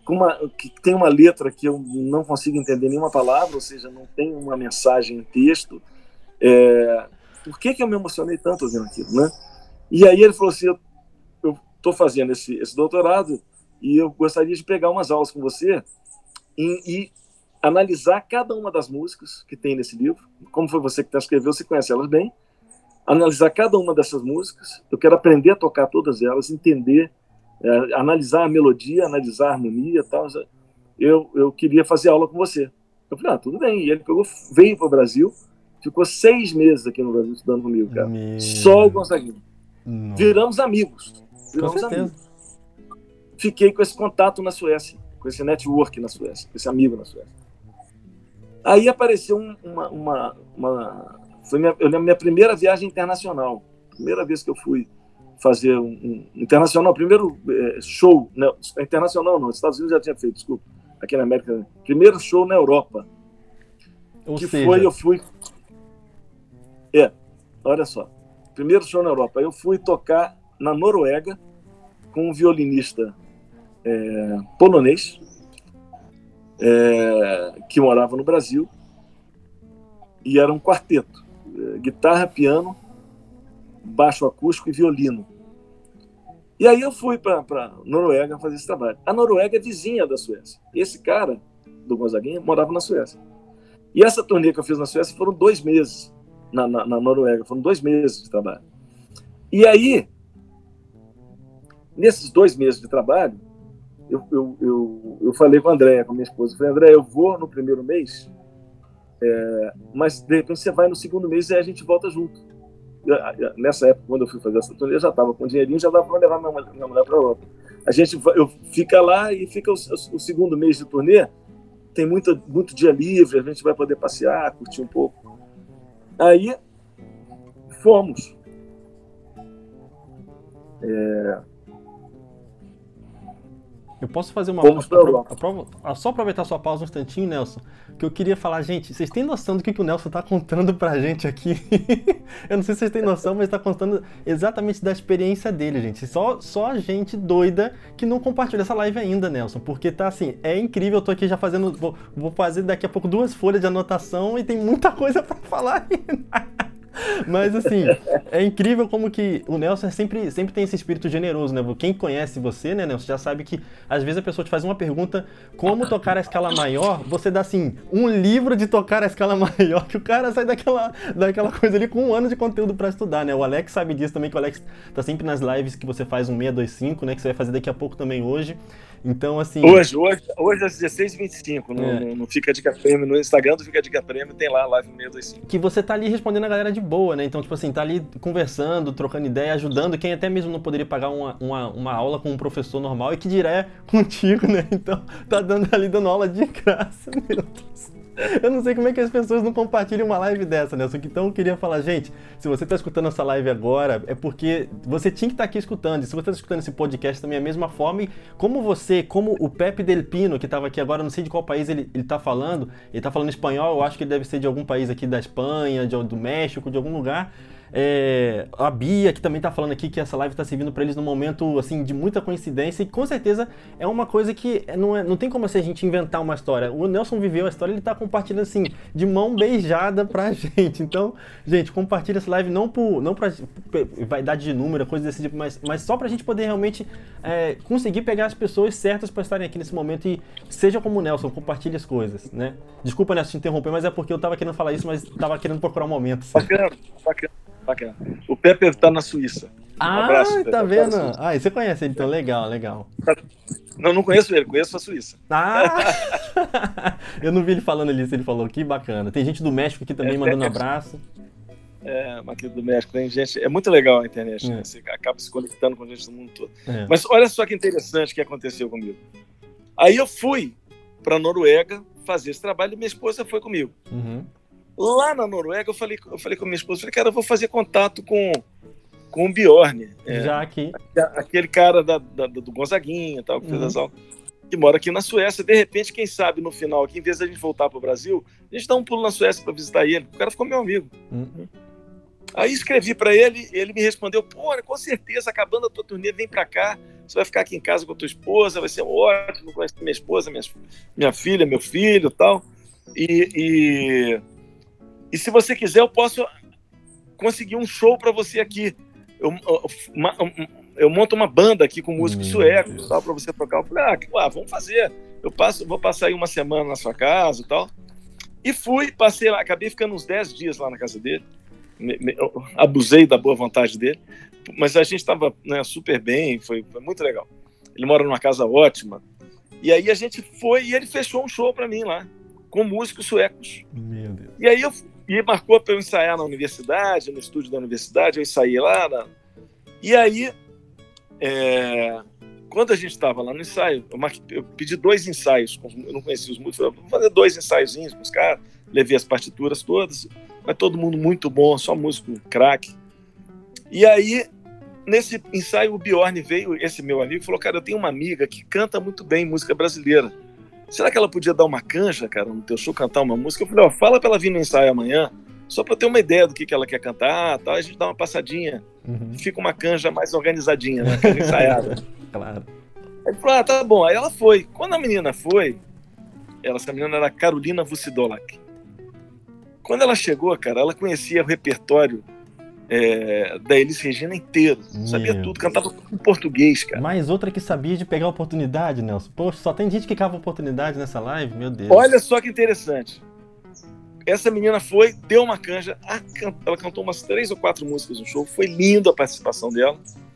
que tem uma letra que eu não consigo entender nenhuma palavra, ou seja, não tem uma mensagem em texto. Por que eu me emocionei tanto ouvindo aquilo, né? E aí ele falou assim, eu estou fazendo esse doutorado e eu gostaria de pegar umas aulas com você e analisar cada uma das músicas que tem nesse livro. Como foi você que escreveu, você conhece elas bem. Analisar cada uma dessas músicas. Eu quero aprender a tocar todas elas, entender, analisar a melodia, analisar a harmonia e tal. Eu queria fazer aula com você. Eu falei, tudo bem. E ele veio para o Brasil, ficou 6 meses aqui no Brasil estudando comigo, cara. Só o Gonzaguinha. Viramos amigos. Fiquei com esse contato na Suécia, com esse network na Suécia, com esse amigo na Suécia. Aí apareceu foi minha primeira viagem internacional. Primeira vez que eu fui fazer um internacional, primeiro show, não, internacional não, nos Estados Unidos já tinha feito, desculpa, aqui na América, primeiro show na Europa. Eu fui... olha só, primeiro show na Europa, eu fui tocar na Noruega com um violinista polonês, que morava no Brasil, e era um quarteto, guitarra, piano, baixo acústico e violino. E aí eu fui para Noruega fazer esse trabalho. A Noruega é vizinha da Suécia. Esse cara, do Gonzaguinha, morava na Suécia. E essa turnê que eu fiz na Suécia foram 2 meses na Noruega, foram 2 meses de trabalho. E aí, nesses 2 meses de trabalho, eu falei com a Andréia, com a minha esposa, eu falei, Andréia, eu vou no primeiro mês, mas de repente você vai no segundo mês e aí a gente volta junto. Nessa época, quando eu fui fazer essa turnê, eu já estava com dinheirinho, já dava para levar minha mulher para a Europa. Eu fica lá e fica o segundo mês de turnê, tem muito dia livre, a gente vai poder passear, curtir um pouco. Aí fomos. Eu posso fazer uma só aproveitar sua pausa um instantinho, Nelson, que eu queria falar, gente, vocês têm noção do que o Nelson está contando pra gente aqui? Eu não sei se vocês têm noção, mas está contando exatamente da experiência dele, gente. Só a gente doida que não compartilha essa live ainda, Nelson, porque tá assim, é incrível, eu tô aqui já fazendo, vou fazer daqui a pouco 2 folhas de anotação e tem muita coisa pra falar ainda. Mas assim, é incrível como que o Nelson sempre tem esse espírito generoso, né? Quem conhece você, né, Nelson, já sabe que às vezes a pessoa te faz uma pergunta, como tocar a escala maior, você dá assim, um livro de tocar a escala maior, que o cara sai daquela coisa ali com 1 ano de conteúdo pra estudar, né? O Alex sabe disso também, que o Alex tá sempre nas lives que você faz um 625, né? Que você vai fazer daqui a pouco também hoje. Então, assim... Hoje às 16h25, no Fica Dica Prêmio, no Instagram do Fica Dica Prêmio, tem lá a live 625. Que você tá ali respondendo a galera de boa, né? Então, tipo assim, tá ali conversando, trocando ideia, ajudando quem até mesmo não poderia pagar uma aula com um professor normal e que dirá contigo, né? Então, tá dando aula de graça, meu Deus. Eu não sei como é que as pessoas não compartilham uma live dessa, Nelson. Então eu queria falar, gente, se você está escutando essa live agora, é porque você tinha que estar aqui escutando. E se você está escutando esse podcast também é a mesma forma. E como o Pepe Del Pino, que estava aqui agora, não sei de qual país ele está falando. Ele está falando espanhol, eu acho que ele deve ser de algum país aqui da Espanha, do México, de algum lugar. A Bia, que também tá falando aqui que essa live tá servindo para eles num momento assim de muita coincidência, e com certeza é uma coisa que não tem como assim, a gente inventar uma história. O Nelson viveu a história, ele tá compartilhando assim de mão beijada pra gente. Então, gente, compartilha essa live não pra vaidade de número, coisa desse tipo, mas só pra gente poder realmente conseguir pegar as pessoas certas para estarem aqui nesse momento. E seja como o Nelson, compartilhe as coisas, né? Desculpa, Nelson, te interromper, mas é porque eu tava querendo falar isso, mas tava querendo procurar um momento. Bacana. O Pepe está na Suíça. Um abraço, Pepe, tá vendo? E você conhece ele, então legal. Não conheço ele, conheço a Suíça. Eu não vi ele falando ali, se ele falou, que bacana. Tem gente do México aqui também mandando um abraço. Aqui do México, tem gente. É muito legal a internet, né? Você acaba se conectando com gente do mundo todo. Mas olha só que interessante que aconteceu comigo. Aí eu fui para a Noruega fazer esse trabalho e minha esposa foi comigo. Uhum. Lá na Noruega, eu falei com a minha esposa, cara, eu vou fazer contato com o Bjorn. Já aqui. Aquele cara do Gonzaguinha, tal, que fez as aulas, que mora aqui na Suécia. De repente, quem sabe, no final, aqui, em vez de a gente voltar para o Brasil, a gente dá um pulo na Suécia para visitar ele. O cara ficou meu amigo. Uhum. Aí escrevi para ele, ele me respondeu, pô, com certeza, acabando a tua turnê, vem para cá, você vai ficar aqui em casa com a tua esposa, vai ser ótimo, conhecer minha esposa, minha filha, meu filho e tal. E se você quiser, eu posso conseguir um show para você aqui. Eu monto uma banda aqui com músicos suecos para você tocar. Eu falei, vamos fazer. Vou passar aí uma semana na sua casa e tal. E passei lá, acabei ficando uns 10 dias lá na casa dele. Abusei da boa vontade dele, mas a gente estava, né, super bem, foi muito legal. Ele mora numa casa ótima. E aí a gente foi e ele fechou um show para mim lá, com músicos suecos. Meu Deus. E aí marcou para eu ensaiar na universidade, no estúdio da universidade, eu ensaiei lá. E aí, quando a gente estava lá no ensaio, eu pedi 2 ensaios, eu não conhecia os músicos, vou fazer 2 ensaiozinhos com os caras, levei as partituras todas, mas todo mundo muito bom, só músico craque. E aí, nesse ensaio, o Bjorn veio, esse meu amigo, falou, cara, eu tenho uma amiga que canta muito bem música brasileira. Será que ela podia dar uma canja, cara, no teu show, cantar uma música? Eu falei, fala pra ela vir no ensaio amanhã, só pra eu ter uma ideia do que ela quer cantar, tal, a gente dá uma passadinha, fica uma canja mais organizadinha, né, ensaiada. Claro. Aí ele falou, tá bom. Aí ela foi. Quando a menina foi, essa menina era Carolina Vucidolak. Quando ela chegou, cara, ela conhecia o repertório da Elis Regina inteiro. Sabia tudo, cantava em português, cara. Mais outra que sabia de pegar a oportunidade, Nelson. Poxa, só tem gente que cava oportunidade nessa live, meu Deus. Olha só que interessante. Essa menina foi, deu uma canja, ela cantou umas 3 ou 4 músicas no show, foi linda a participação dela.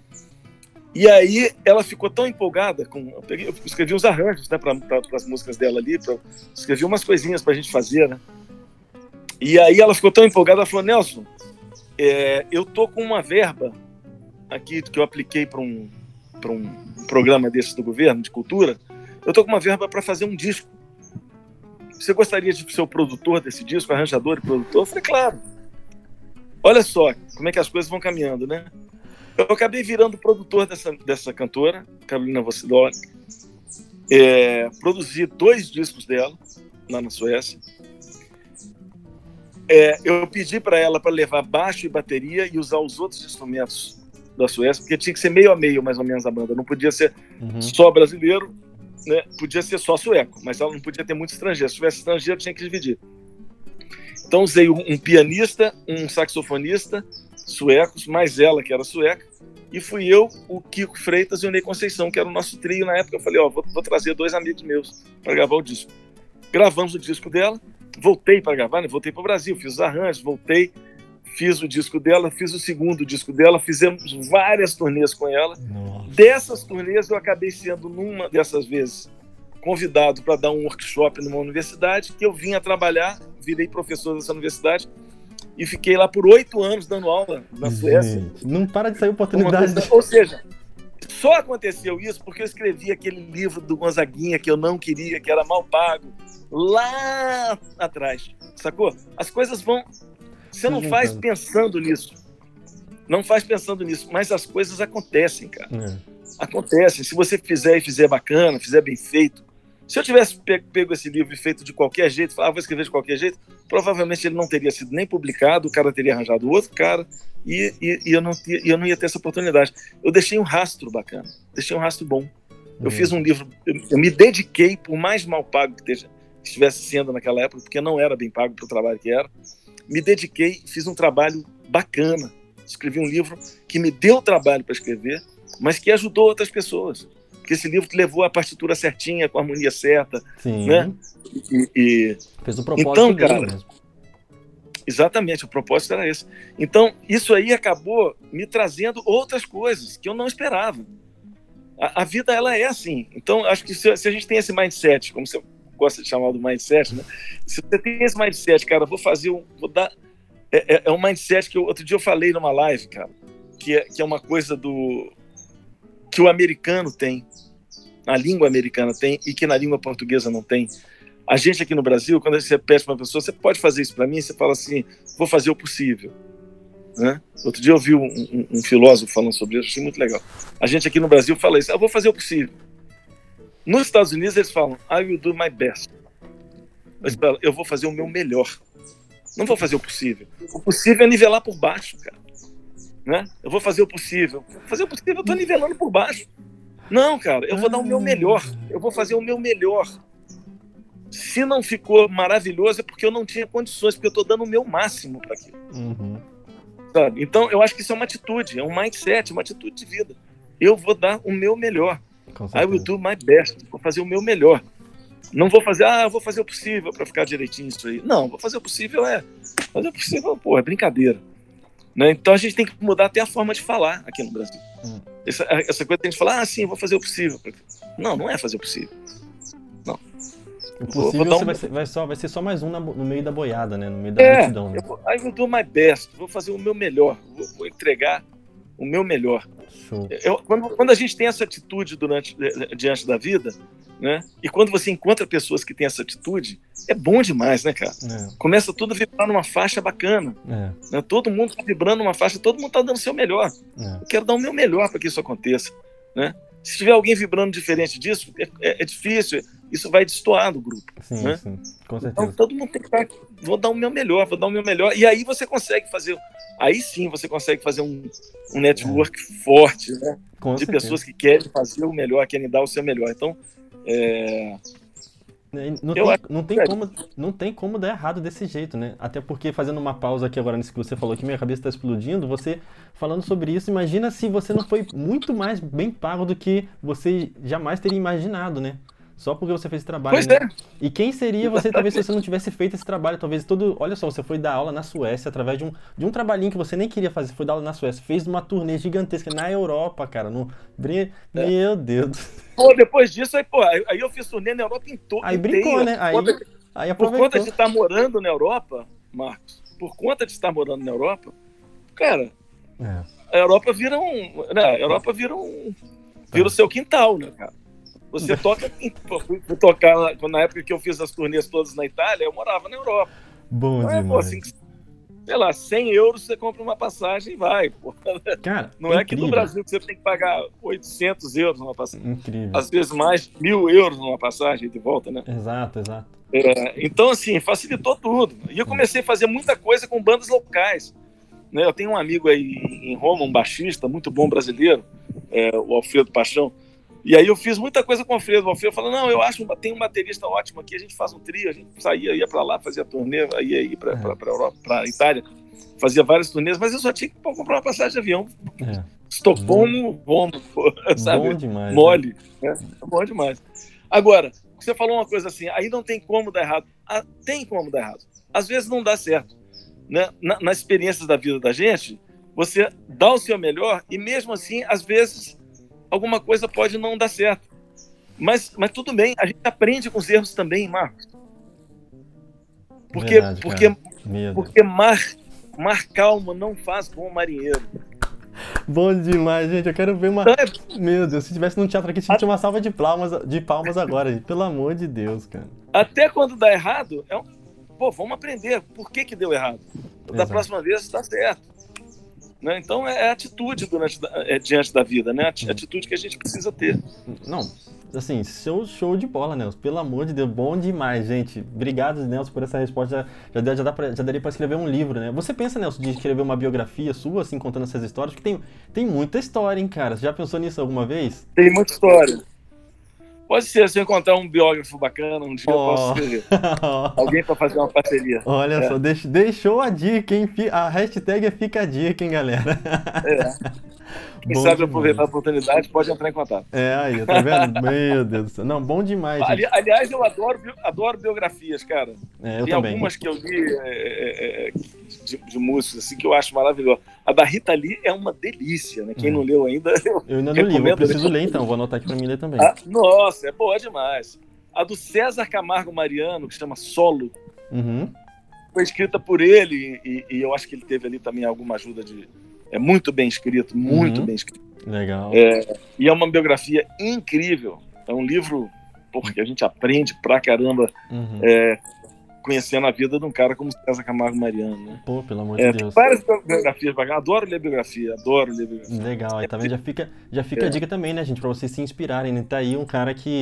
E aí ela ficou tão empolgada, eu escrevi uns arranjos, né, para as músicas dela ali, escrevi umas coisinhas pra gente fazer, né? E aí ela ficou tão empolgada, ela falou, Nelson, eu tô com uma verba aqui que eu apliquei para um programa desse do governo, de cultura, eu tô com uma verba para fazer um disco. Você gostaria de ser o produtor desse disco, arranjador e produtor? Eu falei, claro. Olha só como é que as coisas vão caminhando, né? Eu acabei virando produtor dessa cantora, Carolina Vucidolak. Produzi 2 discos dela, lá na Suécia. Eu pedi para ela para levar baixo e bateria e usar os outros instrumentos da Suécia, porque tinha que ser meio a meio, mais ou menos, a banda. Não podia ser só brasileiro, né? Podia ser só sueco, mas ela não podia ter muito estrangeiro. Se tivesse estrangeiro, tinha que dividir. Então usei um pianista, um saxofonista suecos, mais ela, que era sueca, e fui eu, o Kiko Freitas e o Ney Conceição, que era o nosso trio na época. Eu falei, vou trazer 2 amigos meus para gravar o disco. Gravamos o disco dela, voltei para gravar, né? Voltei para o Brasil, fiz os arranjos, voltei, fiz o disco dela, fiz o segundo disco dela, fizemos várias turnês com ela. Nossa. Dessas turnês eu acabei sendo, numa dessas vezes, convidado para dar um workshop numa universidade, que eu vinha trabalhar, virei professor dessa universidade e fiquei lá por 8 anos dando aula na Suécia. Não para de sair oportunidade. Ou seja, só aconteceu isso porque eu escrevi aquele livro do Gonzaguinha que eu não queria, que era mal pago, lá atrás, sacou? As coisas vão... Você não faz pensando nisso. Não faz pensando nisso, mas as coisas acontecem, cara. Acontecem. Se você fizer e fizer bacana, fizer bem feito. Se eu tivesse pego esse livro e feito de qualquer jeito, vou escrever de qualquer jeito, provavelmente ele não teria sido nem publicado, o cara teria arranjado outro cara e eu não ia ter essa oportunidade. Eu deixei um rastro bacana, deixei um rastro bom. Eu fiz um livro, eu me dediquei, por mais mal pago que estivesse sendo naquela época, porque não era bem pago para o trabalho que era, me dediquei, fiz um trabalho bacana. Escrevi um livro que me deu trabalho para escrever, mas que ajudou outras pessoas. Porque esse livro que levou a partitura certinha, com a harmonia certa. Sim. Né? Fez o propósito então, dele cara, mesmo. Exatamente, o propósito era esse. Então, isso aí acabou me trazendo outras coisas que eu não esperava. A vida, ela é assim. Então, acho que se a gente tem esse mindset, como você gosta de chamar do mindset, né? Se você tem esse mindset, cara, vou dar... É um mindset que outro dia eu falei numa live, cara, que é uma coisa que o americano tem, a língua americana tem, e que na língua portuguesa não tem. A gente aqui no Brasil, quando você pede para uma pessoa, você pode fazer isso para mim? Você fala assim, vou fazer o possível. Né? Outro dia eu vi um filósofo falando sobre isso, achei muito legal. A gente aqui no Brasil fala isso, eu vou fazer o possível. Nos Estados Unidos eles falam, I will do my best. Eu vou fazer o meu melhor. Não vou fazer o possível. O possível é nivelar por baixo, cara. Né? Eu vou fazer o possível. Fazer o possível, eu estou nivelando por baixo. Não, cara, eu vou dar o meu melhor. Eu vou fazer o meu melhor. Se não ficou maravilhoso, é porque eu não tinha condições, porque eu estou dando o meu máximo para aquilo. Sabe? Então, eu acho que isso é uma atitude, é um mindset, uma atitude de vida. Eu vou dar o meu melhor. I will do my best. Vou fazer o meu melhor. Não vou fazer, eu vou fazer o possível para ficar direitinho isso aí. Não, vou fazer o possível fazer o possível, pô, é brincadeira. Né? Então a gente tem que mudar até a forma de falar aqui no Brasil. Essa coisa que a gente fala, sim, vou fazer o possível. Não, não é fazer o possível. Não. O possível vai ser só mais um no meio da boiada, né? No meio da multidão. Né? I will do my best. Vou fazer o meu melhor. Vou entregar o meu melhor. Quando a gente tem essa atitude diante da vida, né? E quando você encontra pessoas que têm essa atitude, é bom demais, né, cara? Começa tudo a vibrar numa faixa bacana. Né? Todo mundo está vibrando numa faixa, todo mundo está dando o seu melhor. Eu quero dar o meu melhor para que isso aconteça. Né? Se tiver alguém vibrando diferente disso, é difícil, isso vai destoar do grupo. Sim, né? sim, com certeza. Então todo mundo tem que estar, vou dar o meu melhor, e aí você consegue fazer, um network forte, né? De pessoas que querem fazer o melhor, querem dar o seu melhor. Então, não tem como dar errado desse jeito, né? Até porque, fazendo uma pausa aqui agora nisso que você falou, que minha cabeça está explodindo, você falando sobre isso, imagina se você não foi muito mais bem pago do que você jamais teria imaginado, né? Só porque você fez esse trabalho. Pois né? é. E quem seria você, talvez, se você não tivesse feito esse trabalho, talvez olha só, você foi dar aula na Suécia através de um trabalhinho que você nem queria fazer, foi dar aula na Suécia, fez uma turnê gigantesca na Europa, cara, meu Deus. Pô, depois disso, aí eu fiz turnê na Europa inteira. Aí brincou, né? Aí aproveitou. Por conta de estar morando na Europa, Marcos, cara, a Europa vira o seu quintal, né, cara? Você fui tocar na época que eu fiz as turnês todas na Itália, eu morava na Europa. Bom demais. Assim, sei lá, 100 euros você compra uma passagem e vai. Pô. Cara, não é aqui no Brasil que você tem que pagar 800 euros numa passagem. Incrível. Às vezes mais 1.000 euros numa passagem de volta, né? Exato. Então, assim, facilitou tudo. E eu comecei a fazer muita coisa com bandas locais. Né? Eu tenho um amigo aí em Roma, um baixista muito bom brasileiro, o Alfredo Paixão. E aí eu fiz muita coisa com o Alfredo. O Alfredo falou, não, eu acho que tem um baterista ótimo aqui, a gente faz um trio, a gente ia para lá, fazia turnê, ia para Europa, para Itália, fazia várias turnês, mas eu só tinha que comprar uma passagem de avião. Estocolmo, Roma, sabe? Bom demais. Mole. Né? Bom demais. Agora, você falou uma coisa assim, aí não tem como dar errado. Tem como dar errado. Às vezes não dá certo. Né? Nas experiências da vida da gente, você dá o seu melhor e mesmo assim, às vezes, alguma coisa pode não dar certo. Mas tudo bem, a gente aprende com os erros também, Marcos. Porque mar calmo não faz bom marinheiro. Bom demais, gente. Eu quero ver uma... Meu Deus, se tivesse num teatro aqui, tinha uma salva de palmas agora, gente. Pelo amor de Deus, cara. Até quando dá errado, vamos aprender. Por que deu errado? Da próxima vez dá certo. Né? Então é atitude diante da vida, né? Atitude que a gente precisa ter. Não, assim, show de bola, Nelson. Pelo amor de Deus, bom demais, gente. Obrigado, Nelson, por essa resposta. Já daria para escrever um livro, né? Você pensa, Nelson, de escrever uma biografia sua, assim, contando essas histórias? Porque tem muita história, hein, cara? Você já pensou nisso alguma vez? Tem muita história. Pode ser, se eu encontrar um biógrafo bacana, um dia eu posso escrever. Alguém para fazer uma parceria. Olha só, deixou a dica, hein? A hashtag Fica a Dica, hein, galera? Quem sabe aproveitar a oportunidade, pode entrar em contato. Aí, tá vendo? Meu Deus do céu. Não, bom demais, gente. Aliás, eu adoro biografias, cara. Eu Tem também. Algumas que eu li de músicos, assim, que eu acho maravilhosa. A da Rita Lee é uma delícia, né? Quem não leu ainda, eu ainda não li, eu preciso ler, então. Vou anotar aqui pra mim ler também. Nossa, é boa demais. A do César Camargo Mariano, que chama Solo, foi escrita por ele e eu acho que ele teve ali também alguma ajuda de... É muito bem escrito, muito bem escrito. Legal. E é uma biografia incrível. É um livro porque a gente aprende pra caramba conhecendo a vida de um cara como César Camargo Mariano. Né? Pô, pelo amor de Deus. Várias biografias bacanas. Adoro ler biografia. Legal. Aí também já fica a dica também, né, gente? Pra vocês se inspirarem. Né? Tá aí um cara que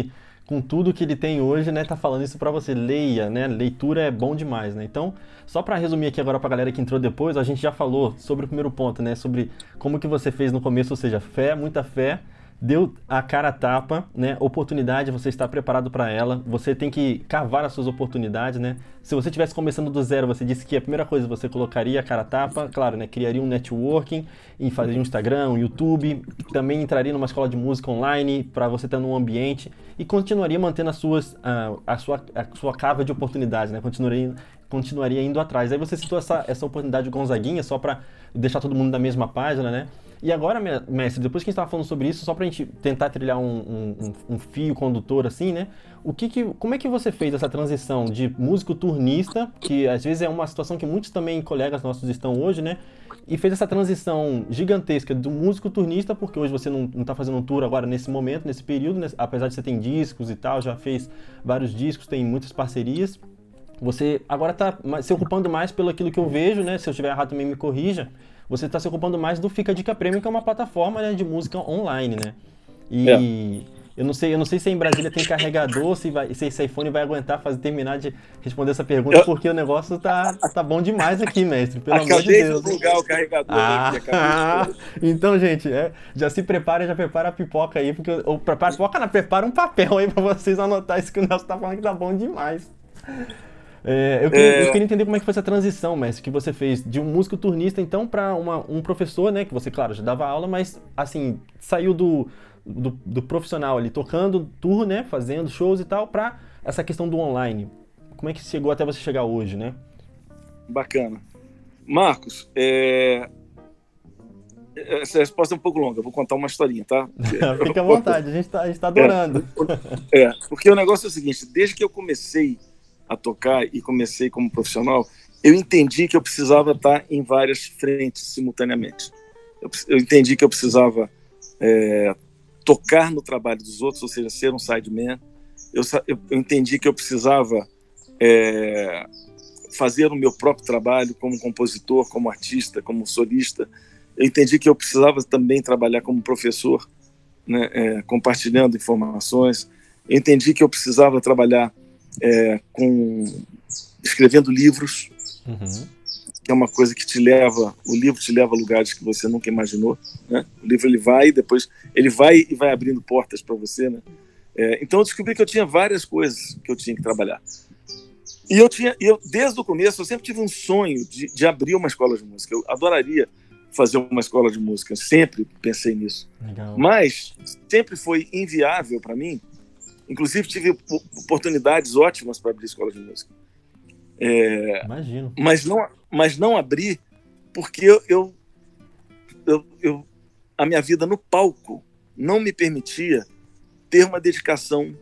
com tudo que ele tem hoje, né, tá falando isso para você. Leia, né? Leitura é bom demais, né? Então, só para resumir aqui agora pra galera que entrou depois, a gente já falou sobre o primeiro ponto, né? Sobre como que você fez no começo, ou seja, fé, muita fé, deu a cara a tapa, né? Oportunidade, você está preparado para ela. Você tem que cavar as suas oportunidades, né? Se você estivesse começando do zero, você disse que a primeira coisa você colocaria a cara a tapa, claro, né? Criaria um networking e fazeria um Instagram, um YouTube, também entraria numa escola de música online para você estar num ambiente e continuaria mantendo a sua cava de oportunidades, né? Continuaria indo atrás. Aí você citou essa oportunidade do Gonzaguinha, só para deixar todo mundo na mesma página, né? E agora, mestre, depois que a gente estava falando sobre isso, só para a gente tentar trilhar um fio condutor assim, né? Como é que você fez essa transição de músico turnista, que às vezes é uma situação que muitos também colegas nossos estão hoje, né? E fez essa transição gigantesca do músico turnista, porque hoje você não está fazendo um tour agora nesse momento, nesse período, né? Apesar de você ter discos e tal, já fez vários discos, tem muitas parcerias. Você agora está se ocupando mais pelo aquilo que eu vejo, né? Se eu estiver errado também me corrija. Você está se ocupando mais do Fica a Dica Premium, que é uma plataforma, né, de música online, né? É. E eu não sei se em Brasília tem carregador, se esse iPhone vai aguentar terminar de responder essa pergunta, porque o negócio tá bom demais aqui, mestre, pelo amor de Deus. Acabei de plugar o carregador aqui, acabei de... Então, gente, já se prepara, já prepara a pipoca aí, porque prepara um papel aí pra vocês anotar isso que o Nelson tá falando que tá bom demais. Eu queria entender como é que foi essa transição, mestre, que você fez de um músico turnista, então, para um professor, né, que você, claro, já dava aula, mas, assim, saiu do profissional ali, tocando tour, né, fazendo shows e tal, para essa questão do online. Como é que chegou até você chegar hoje, né? Bacana. Marcos, essa resposta é um pouco longa, eu vou contar uma historinha, tá? Fica à vontade, a gente tá adorando. Porque o negócio é o seguinte, desde que eu comecei a tocar e comecei como profissional, eu entendi que eu precisava estar em várias frentes simultaneamente. Eu entendi que eu precisava tocar no trabalho dos outros, ou seja, ser um sideman. Eu entendi que eu precisava fazer o meu próprio trabalho como compositor, como artista, como solista. Eu entendi que eu precisava também trabalhar como professor, né, compartilhando informações. Eu entendi que eu precisava trabalhar escrevendo livros, que é uma coisa que o livro te leva a lugares que você nunca imaginou, né? O livro ele vai e vai abrindo portas para você, né? Então eu descobri que eu tinha várias coisas que eu tinha que trabalhar. E eu desde o começo eu sempre tive um sonho de abrir uma escola de música. Eu adoraria fazer uma escola de música, eu sempre pensei nisso. Legal. Mas sempre foi inviável para mim. Inclusive, tive oportunidades ótimas para abrir escola de música. Imagino. Mas não abri porque a minha vida no palco não me permitia ter uma dedicação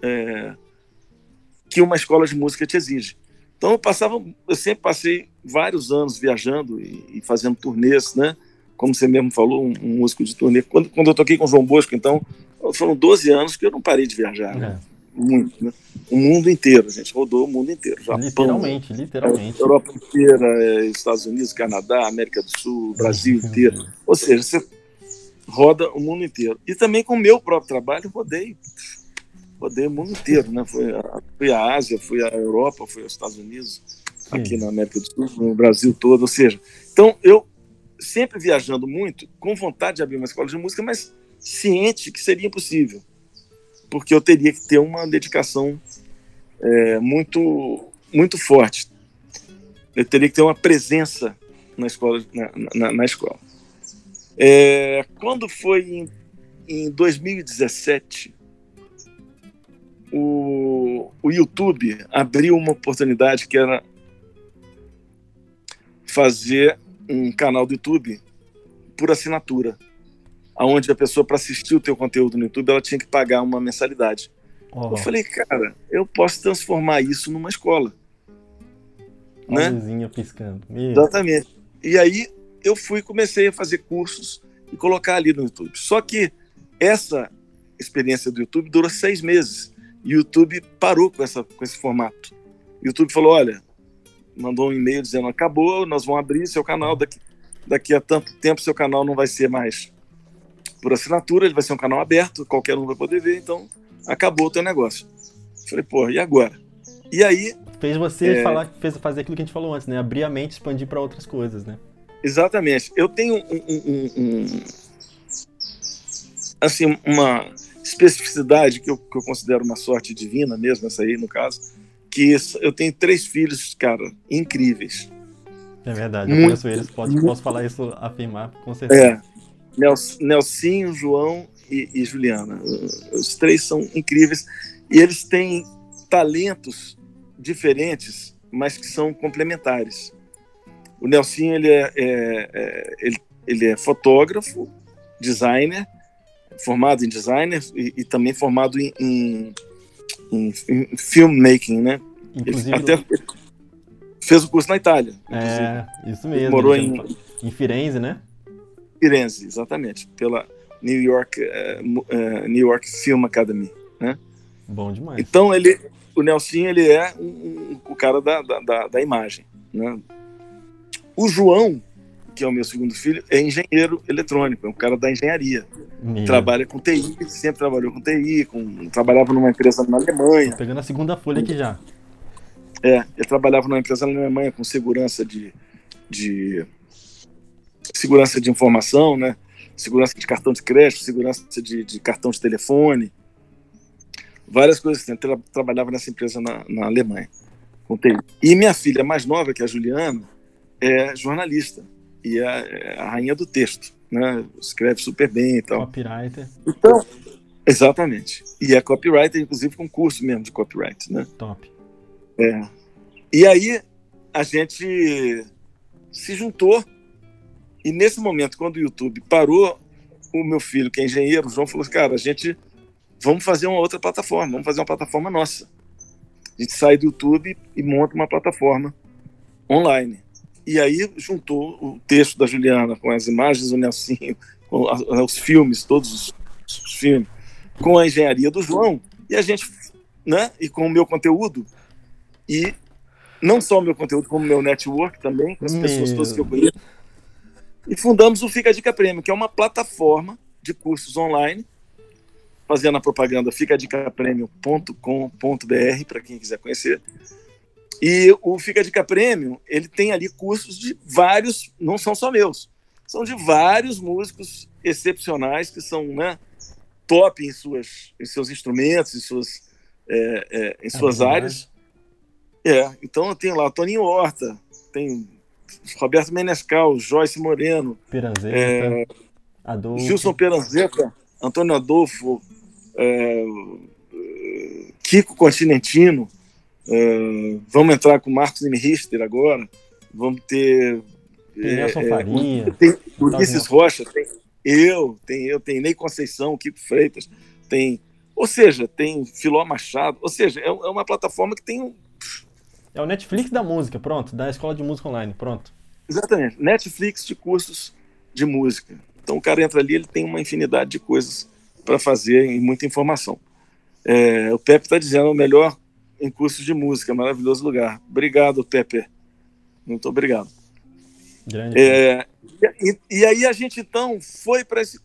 que uma escola de música te exige. Então, eu sempre passei vários anos viajando e fazendo turnês, né? Como você mesmo falou, um músico de turnê. Quando eu toquei com o João Bosco, então, foram 12 anos que eu não parei de viajar, né? Muito, né? O mundo inteiro, a gente rodou o mundo inteiro. Japão, literalmente. Europa inteira, Estados Unidos, Canadá, América do Sul, Brasil inteiro. Ou seja, você roda o mundo inteiro. E também com o meu próprio trabalho, rodei o mundo inteiro, né? Fui à Ásia, fui à Europa, fui aos Estados Unidos, aqui na América do Sul, no Brasil todo. Ou seja, então eu sempre viajando muito, com vontade de abrir uma escola de música, mas ciente que seria impossível, porque eu teria que ter uma dedicação muito, muito forte. Eu teria que ter uma presença na escola. Na escola. Quando foi em 2017, o YouTube abriu uma oportunidade que era fazer um canal do YouTube por assinatura, onde a pessoa, para assistir o teu conteúdo no YouTube, ela tinha que pagar uma mensalidade. Eu falei, cara, eu posso transformar isso numa escola. Né? A luzinha piscando. Exatamente. E aí eu comecei a fazer cursos e colocar ali no YouTube. Só que essa experiência do YouTube durou 6 meses. E o YouTube parou com esse formato. O YouTube falou, olha, mandou um e-mail dizendo, acabou, nós vamos abrir seu canal, daqui a tanto tempo seu canal não vai ser mais por assinatura, ele vai ser um canal aberto, qualquer um vai poder ver, então acabou o teu negócio. Falei, pô, e agora? E aí... Fez você fazer aquilo que a gente falou antes, né? Abrir a mente, expandir para outras coisas, né? Exatamente. Eu tenho assim, uma especificidade que eu considero uma sorte divina mesmo, essa aí, no caso, que eu tenho 3 filhos, cara, incríveis. É verdade, eu conheço eles, posso falar isso, afirmar, com certeza. Nelsinho, João e Juliana. Os 3 são incríveis e eles têm talentos diferentes, mas que são complementares. O Nelsinho, ele é fotógrafo, designer, formado em designer e também formado em filmmaking, né? Inclusive, ele até fez o curso na Itália. Isso mesmo. Ele morou em Firenze, né? Firenze, exatamente, pela New York Film Academy, né? Bom demais. Então o Nelsinho, ele é o cara da imagem, né? O João, que é o meu segundo filho, é engenheiro eletrônico, é um cara da engenharia. Trabalha com TI, sempre trabalhou com TI, trabalhava numa empresa na Alemanha. Tô pegando a segunda folha aqui já. Ele trabalhava numa empresa na Alemanha com segurança segurança de informação, né? Segurança de cartão de crédito, segurança de cartão de telefone, várias coisas assim. Trabalhava nessa empresa na Alemanha com TI. E minha filha mais nova, que é a Juliana, é jornalista e é a rainha do texto, né? Escreve super bem e tal. Copywriter. Então, exatamente. E é copywriter, inclusive com curso mesmo de copyright, né? Top. E aí a gente se juntou e nesse momento, quando o YouTube parou, o meu filho, que é engenheiro, o João, falou assim, cara, vamos fazer uma outra plataforma, vamos fazer uma plataforma nossa. A gente sai do YouTube e monta uma plataforma online. E aí juntou o texto da Juliana com as imagens do Nelsinho, com os filmes, todos os filmes, com a engenharia do João, e a gente, né, e com o meu conteúdo, e não só o meu conteúdo, como o meu network também, com as pessoas todas que eu conheço, e fundamos o Fica a Dica Premium, que é uma plataforma de cursos online, fazendo a propaganda ficadicapremium.com.br, para quem quiser conhecer. E o Fica a Dica Premium, ele tem ali cursos de vários, não são só meus, são de vários músicos excepcionais que são, né, top em seus instrumentos, em suas áreas. Então eu tenho lá o Toninho Horta, tem Roberto Menescal, Joyce Moreno, Peranzeta, Adolfo. Gilson Peranzeta, Antônio Adolfo, Kiko Continentino. Vamos entrar com Marcos Richter agora. Vamos ter Nelson Faria, tem Ulisses Rocha, tem Ney Conceição, Kiko Freitas, ou seja, tem Filó Machado, ou seja, é uma plataforma que tem É o Netflix da música, pronto, da escola de música online, pronto. Exatamente, Netflix de cursos de música. Então o cara entra ali, ele tem uma infinidade de coisas para fazer e muita informação. O Pepe está dizendo, o melhor em cursos de música, maravilhoso lugar. Obrigado, Pepe. Muito obrigado. Grande. E aí a gente, então, foi para esse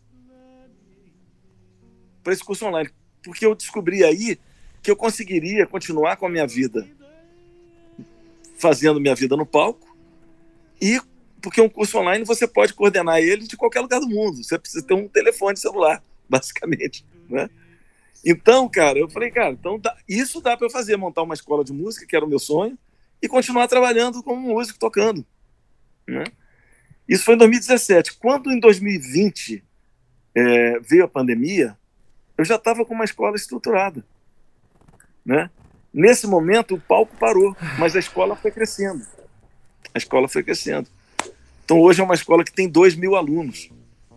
curso online, porque eu descobri aí que eu conseguiria continuar com a minha vida, fazendo minha vida no palco, e porque um curso online você pode coordenar ele de qualquer lugar do mundo. Você precisa ter um telefone celular, basicamente, né? Então, cara, eu falei, cara, então isso dá para eu fazer, montar uma escola de música, que era o meu sonho, e continuar trabalhando como músico, tocando, né? Isso foi em 2017. Quando em 2020 veio a pandemia, eu já estava com uma escola estruturada, né? Nesse momento, o palco parou, mas a escola foi crescendo. Então, hoje é uma escola que tem 2.000 alunos.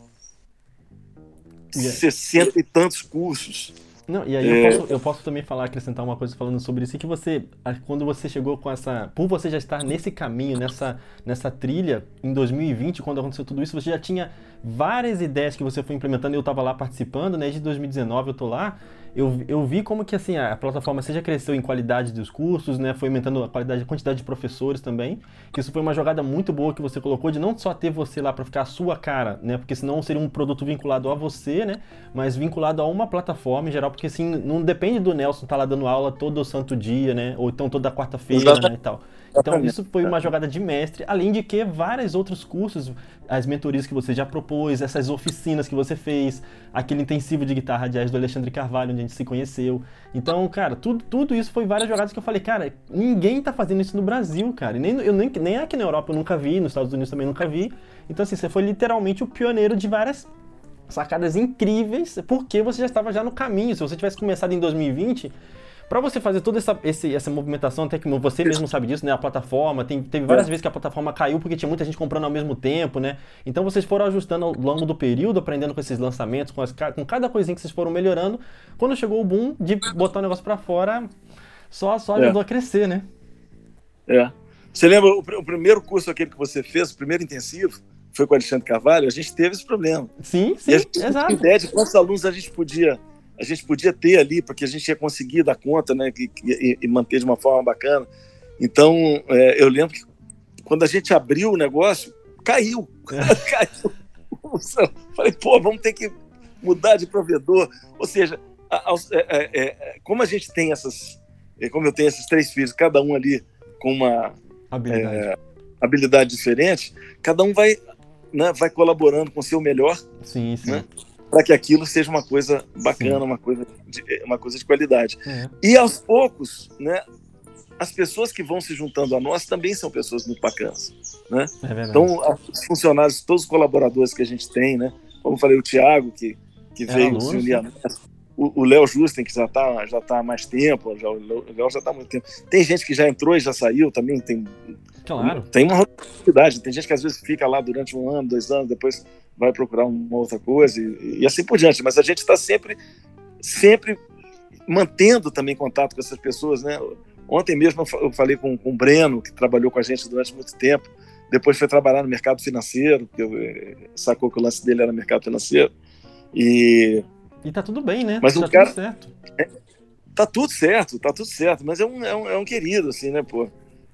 60 e tantos cursos. Não, e aí eu posso também acrescentar uma coisa falando sobre isso, que quando você chegou com por você já estar nesse caminho, nessa trilha, em 2020, quando aconteceu tudo isso, você já tinha várias ideias que você foi implementando, eu estava lá participando, né, de 2019 eu tô lá, eu vi como que assim, a plataforma já cresceu em qualidade dos cursos, né? Foi aumentando a quantidade de professores também. Que isso foi uma jogada muito boa que você colocou de não só ter você lá para ficar a sua cara, né? Porque senão seria um produto vinculado a você, né? Mas vinculado a uma plataforma em geral, porque assim, não depende do Nelson estar lá dando aula todo santo dia, né? Ou então toda quarta-feira, né? E tal. Então isso foi uma jogada de mestre, além de que vários outros cursos, as mentorias que você já propôs, essas oficinas que você fez, aquele intensivo de guitarra jazz do Alexandre Carvalho, onde a gente se conheceu. Então, cara, tudo isso foi várias jogadas que eu falei, cara, ninguém tá fazendo isso no Brasil, cara. E nem aqui na Europa eu nunca vi, nos Estados Unidos também nunca vi. Então, assim, você foi literalmente o pioneiro de várias sacadas incríveis, porque você já estava já no caminho. Se você tivesse começado em 2020... Para você fazer toda essa movimentação, até que você mesmo sabe disso, né? A plataforma, teve várias vezes que a plataforma caiu porque tinha muita gente comprando ao mesmo tempo, né? Então vocês foram ajustando ao longo do período, aprendendo com esses lançamentos, com cada coisinha que vocês foram melhorando. Quando chegou o boom de botar o negócio para fora, só ajudou a crescer, né? Você lembra o primeiro curso aquele que você fez, o primeiro intensivo, foi com o Alexandre Carvalho? A gente teve esse problema. Sim, e a gente exato. Tinha ideia de quantos alunos a gente podia ter ali, porque a gente ia conseguir dar conta, né, e manter de uma forma bacana. Então, eu lembro que quando a gente abriu o negócio, caiu. Caiu. Falei, vamos ter que mudar de provedor. Ou seja, como a gente tem como eu tenho esses 3 filhos, cada um ali com uma habilidade diferente, cada um vai colaborando com o seu melhor. Sim. Né? Para que aquilo seja uma coisa bacana, uma coisa de qualidade. E aos poucos, né, as pessoas que vão se juntando a nós também são pessoas muito bacanas, né? Então, os funcionários, todos os colaboradores que a gente tem, né? Como eu falei, o Thiago, que veio se unir a nós, o Léo Justen, que já tá há mais tempo, o Léo já está há muito tempo. Tem gente que já entrou e já saiu também, tem uma rotatividade. Tem gente que às vezes fica lá durante 1 ano, 2 anos, depois vai procurar uma outra coisa e assim por diante. Mas a gente está sempre mantendo também contato com essas pessoas, né? Ontem mesmo eu falei com o Breno, que trabalhou com a gente durante muito tempo, depois foi trabalhar no mercado financeiro, porque sacou que o lance dele era mercado financeiro. E tá tudo bem, né? Mas tá tudo certo. Tá tudo certo, mas é um querido, assim, né, pô?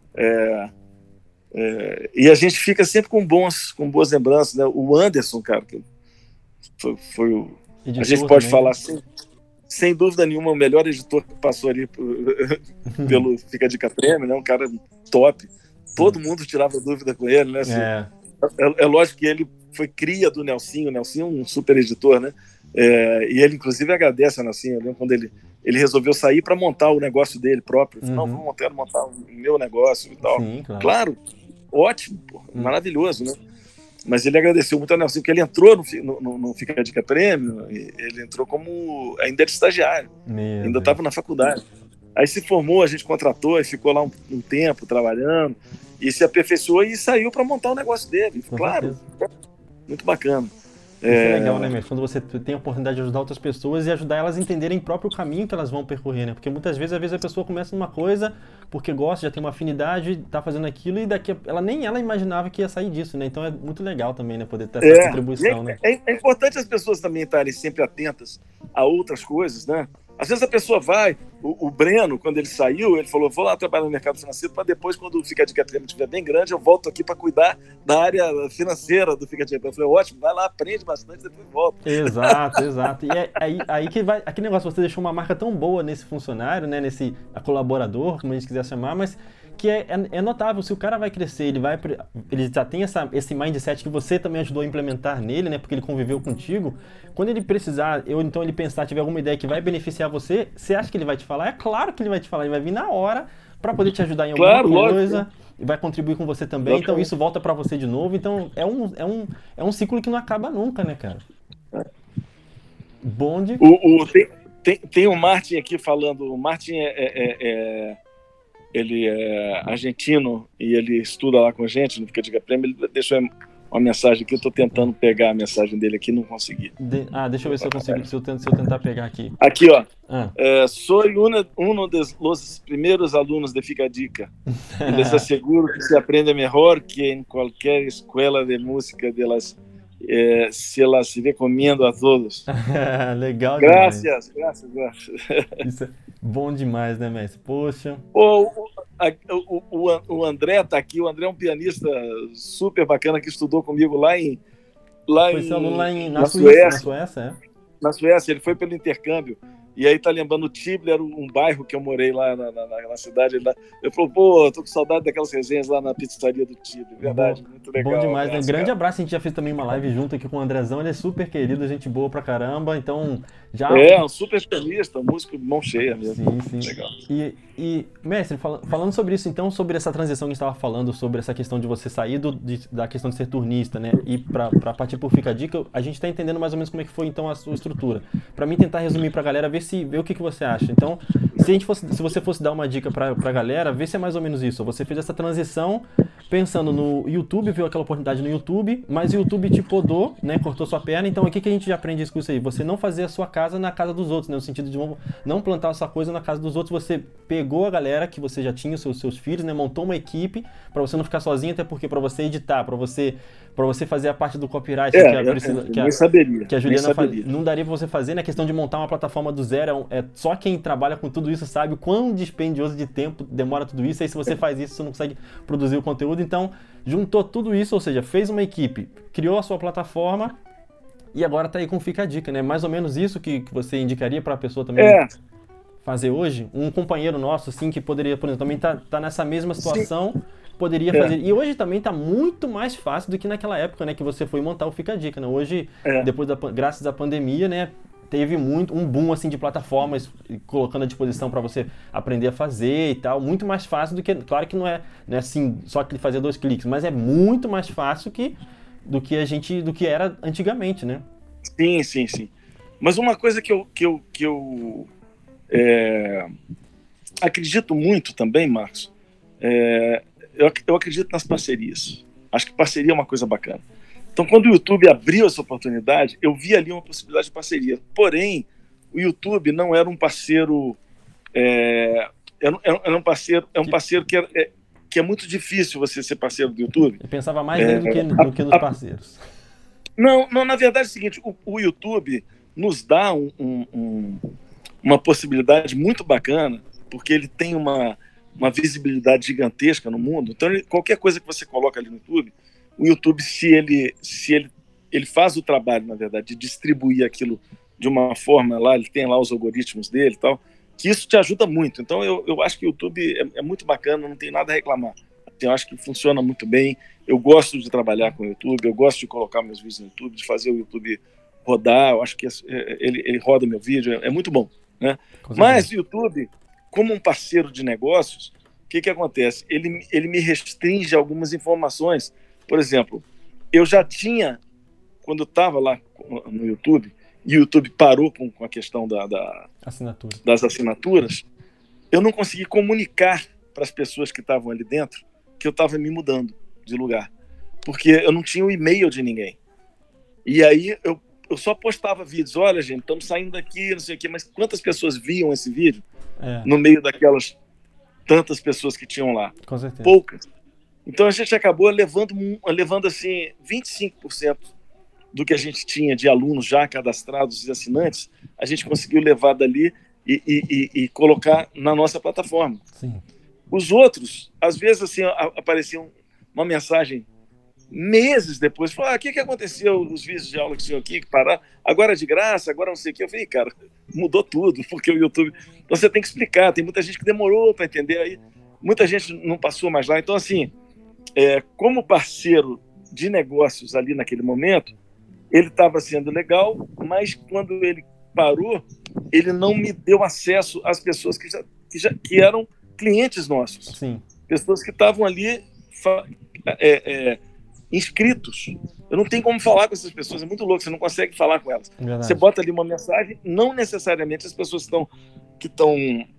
E a gente fica sempre com boas lembranças, né? O Anderson, cara, que foi o... A gente pode falar assim, sem dúvida nenhuma, o melhor editor que passou ali pelo Fica a Dica Prêmio, né? Um cara top. Todo mundo tirava dúvida com ele, né? Assim, é lógico que ele foi cria do Nelsinho. O Nelsinho é um super editor, né? E ele, inclusive, agradece a Nelsinho. Eu lembro quando ele resolveu sair para montar o negócio dele próprio. Ele falou, não, vou montar o meu negócio e tal. Sim, claro, ótimo, maravilhoso, né? Mas ele agradeceu muito a Nelsinho, porque ele entrou no Fica a Dica Prêmio, ele entrou como... ainda era estagiário, ainda estava na faculdade. Aí se formou, a gente contratou e ficou lá um tempo trabalhando, e se aperfeiçoou e saiu para montar o negócio dele. Claro, muito bacana. Isso é legal, né, mesmo? Quando você tem a oportunidade de ajudar outras pessoas e ajudar elas a entenderem o próprio caminho que elas vão percorrer, né? Porque muitas vezes, a pessoa começa numa coisa porque gosta, já tem uma afinidade, tá fazendo aquilo e daqui nem ela imaginava que ia sair disso, né? Então é muito legal também, né? Poder ter essa contribuição, né? É importante as pessoas também estarem sempre atentas a outras coisas, né? Às vezes a pessoa vai, o Breno, quando ele saiu, ele falou, vou lá trabalhar no mercado financeiro para depois, quando o Fica a Dica Prêmio estiver bem grande, eu volto aqui para cuidar da área financeira do Fica a Dica Prêmio. Eu falei, ótimo, vai lá, aprende bastante, depois volta. Exato. E aí que vai, aquele negócio, você deixou uma marca tão boa nesse funcionário, né, nesse colaborador, como a gente quiser chamar, mas que é notável, se o cara vai crescer, ele já tem esse mindset que você também ajudou a implementar nele, né, porque ele conviveu contigo, quando ele precisar, então ele pensar, tiver alguma ideia que vai beneficiar você, você acha que ele vai te falar? É claro que ele vai te falar, ele vai vir na hora para poder te ajudar em alguma coisa, lógico. E vai contribuir com você também, então isso volta para você de novo, então é um ciclo que não acaba nunca, né, cara? Bonde. Tem o Martin aqui falando, o Martin ele é argentino e ele estuda lá com a gente no Fica a Dica Prêmio. Ele deixou uma mensagem aqui, eu estou tentando pegar a mensagem dele aqui, não consegui. Deixa eu ver se eu consigo, se eu tentar pegar aqui. Aqui, ó. Soy uno de los primeros alunos de Fica a Dica. Les aseguro que se aprende melhor que em qualquer escola de música de las se las recomendo a todos. Legal demais. Graças, graças, graças. Isso é bom demais, né, mestre? Poxa. O André está aqui. O André é um pianista super bacana que estudou comigo Foi seu aluno lá na Suécia. Na Suécia, é? Na Suécia, ele foi pelo intercâmbio. E aí tá lembrando o Tibler, era um bairro que eu morei lá na cidade. Eu falei, pô, tô com saudade daquelas resenhas lá na pizzaria do Tibler. Verdade, muito legal. Bom demais, abraço, né? Grande cara. abraço, a gente já fez também uma live junto aqui com o Andrezão, ele é super querido, gente boa pra caramba, então já... Um super pianista, um músico mão cheia mesmo. Sim, sim. Legal. E mestre, falando sobre isso então, sobre essa transição que a gente estava falando, sobre essa questão de você sair da questão de ser turnista, né, e pra partir por Fica a Dica, a gente tá entendendo mais ou menos como é que foi então a sua estrutura. Pra mim tentar resumir pra galera, ver o que você acha. Então, se você fosse dar uma dica pra galera, ver se é mais ou menos isso. Você fez essa transição pensando no YouTube, viu aquela oportunidade no YouTube, mas o YouTube te podou, né, cortou sua perna, então o que a gente aprende com isso aí? Você não fazer a sua casa na casa dos outros, né, no sentido de não plantar a sua coisa na casa dos outros, você pegou a galera que você já tinha, os seus filhos, né, montou uma equipe para você não ficar sozinho, até porque para você editar, para você fazer a parte do copyright, que a Juliana não daria para você fazer, né, a questão de montar uma plataforma do zero, só quem trabalha com tudo isso sabe o quão dispendioso de tempo demora tudo isso, aí se você faz isso, você não consegue produzir o conteúdo, então juntou tudo isso, ou seja, fez uma equipe, criou a sua plataforma e agora tá aí com Fica a Dica, né? Mais ou menos isso que você indicaria para a pessoa também fazer hoje? Um companheiro nosso, assim, que poderia, por exemplo, também tá nessa mesma situação, sim, poderia fazer. E hoje também tá muito mais fácil do que naquela época, né? Que você foi montar o Fica a Dica, né? Hoje, depois graças à pandemia, né? Teve um boom assim de plataformas colocando à disposição para você aprender a fazer e tal, muito mais fácil do que, claro que não é assim, só que fazer 2 cliques, mas é muito mais fácil do que era antigamente, né? Sim, sim, sim. Mas uma coisa que eu acredito muito também, Marcos, eu acredito nas parcerias. Acho que parceria é uma coisa bacana. Então, quando o YouTube abriu essa oportunidade, eu vi ali uma possibilidade de parceria. Porém, o YouTube não era um parceiro... era um parceiro que é muito difícil você ser parceiro do YouTube. Eu pensava mais nele do que nos parceiros. Não, na verdade é o seguinte, o YouTube nos dá uma possibilidade muito bacana, porque ele tem uma visibilidade gigantesca no mundo. Então, qualquer coisa que você coloca ali no YouTube... O YouTube, se ele faz o trabalho, na verdade, de distribuir aquilo de uma forma lá, ele tem lá os algoritmos dele e tal, que isso te ajuda muito. Então, eu acho que o YouTube é muito bacana, não tem nada a reclamar. Eu acho que funciona muito bem. Eu gosto de trabalhar com o YouTube, eu gosto de colocar meus vídeos no YouTube, de fazer o YouTube rodar. Eu acho que ele roda meu vídeo, é muito bom, né? Mas o YouTube, como um parceiro de negócios, o que acontece? Ele me restringe algumas informações. Por exemplo, eu já tinha, quando eu estava lá no YouTube, e o YouTube parou com a questão das assinaturas, eu não consegui comunicar para as pessoas que estavam ali dentro que eu estava me mudando de lugar, porque eu não tinha o e-mail de ninguém. E aí eu só postava vídeos, olha gente, estamos saindo daqui, não sei o quê, mas quantas pessoas viam esse vídeo no meio daquelas tantas pessoas que tinham lá? Com certeza. Poucas. Então a gente acabou levando assim 25% do que a gente tinha de alunos já cadastrados e assinantes, a gente conseguiu levar dali e colocar na nossa plataforma. Sim. Os outros, às vezes assim, aparecia uma mensagem meses depois, falou, o que aconteceu, os vídeos de aula que tinham aqui, que pararam, agora é de graça, agora não sei o que. Eu falei, cara, mudou tudo, porque o YouTube... Então você tem que explicar, tem muita gente que demorou para entender, aí muita gente não passou mais lá. Então assim, como parceiro de negócios ali naquele momento, ele estava sendo legal, mas quando ele parou, ele não me deu acesso às pessoas que eram clientes nossos. Sim. Pessoas que estavam ali inscritos. Eu não tenho como falar com essas pessoas, é muito louco, você não consegue falar com elas. Verdade. Você bota ali uma mensagem, não necessariamente as pessoas que estão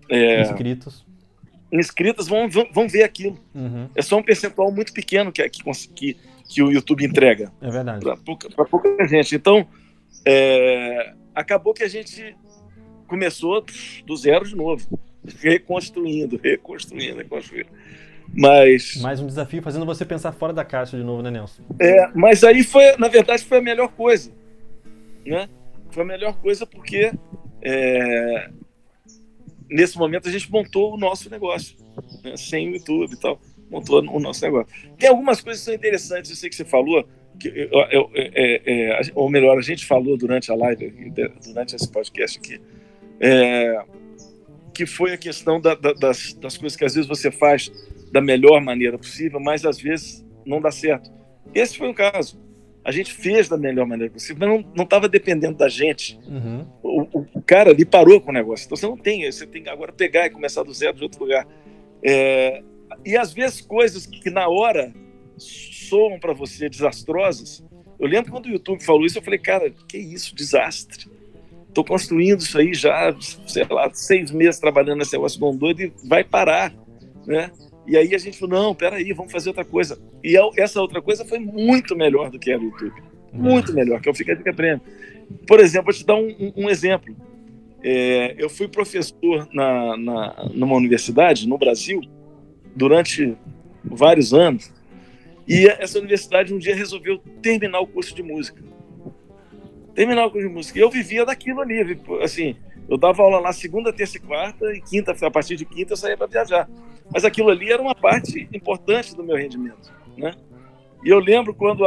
inscritas vão ver aquilo. Uhum. É só um percentual muito pequeno que o YouTube entrega. É verdade. Para pouca gente. Então, acabou que a gente começou do zero de novo, reconstruindo. Mas, Mais um desafio fazendo você pensar fora da caixa de novo, né, Nelson? mas aí na verdade, foi a melhor coisa, né? Foi a melhor coisa porque nesse momento a gente montou o nosso negócio, né? Sem o YouTube e tal, montou o nosso negócio. Tem algumas coisas que são interessantes, eu sei que você falou, ou melhor, a gente falou durante a live, durante esse podcast aqui, que foi a questão das coisas que às vezes você faz da melhor maneira possível, mas às vezes não dá certo. Esse foi um caso. A gente fez da melhor maneira possível, mas não estava dependendo da gente. Uhum. O cara ali parou com o negócio. Então você tem que agora pegar e começar do zero de outro lugar. E às vezes coisas que na hora soam para você desastrosas. Eu lembro quando o YouTube falou isso, eu falei, cara, que isso, desastre. Estou construindo isso aí já, sei lá, 6 meses trabalhando nesse negócio bom doido e vai parar, né? E aí a gente falou, não, peraí, vamos fazer outra coisa. E essa outra coisa foi muito melhor do que era o YouTube. Muito melhor, que eu fiquei de prêmio. Por exemplo, vou te dar um exemplo. Eu fui professor numa universidade no Brasil durante vários anos. E essa universidade um dia resolveu terminar o curso de música. E eu vivia daquilo ali. Assim, eu dava aula lá segunda, terça e quarta, e quinta, a partir de quinta eu saía para viajar. Mas aquilo ali era uma parte importante do meu rendimento, né? E eu lembro quando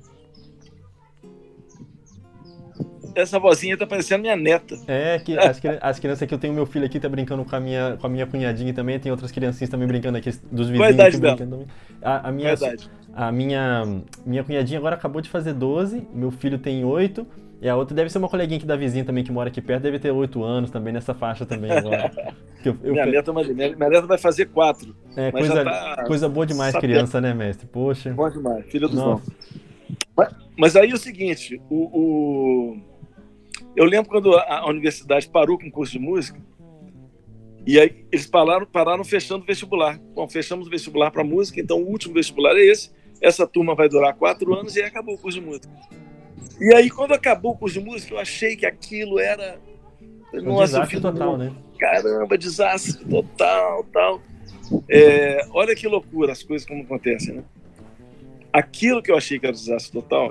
essa vozinha tá parecendo minha neta. Que as crianças aqui, eu tenho meu filho aqui, tá brincando com a minha cunhadinha também, tem outras criancinhas também brincando aqui, dos vizinhos. Qual a idade dela? Também. A minha cunhadinha agora acabou de fazer 12, meu filho tem 8, e a outra deve ser uma coleguinha aqui da vizinha também, que mora aqui perto, deve ter 8 anos também, nessa faixa também agora. Minha neta vai fazer 4. Mas coisa boa demais, criança, né, mestre? Poxa. Boa demais, filho dos dons. Mas aí é o seguinte, eu lembro quando a universidade parou com o curso de música, e aí eles pararam fechando o vestibular. Bom, fechamos o vestibular para música, então o último vestibular é esse. Essa turma vai durar 4 anos e aí acabou o curso de música. E aí, quando acabou o curso de música, eu achei que aquilo era... desastre total, né? Caramba, desastre total, tal. Olha que loucura as coisas como acontecem, né? Aquilo que eu achei que era desastre total,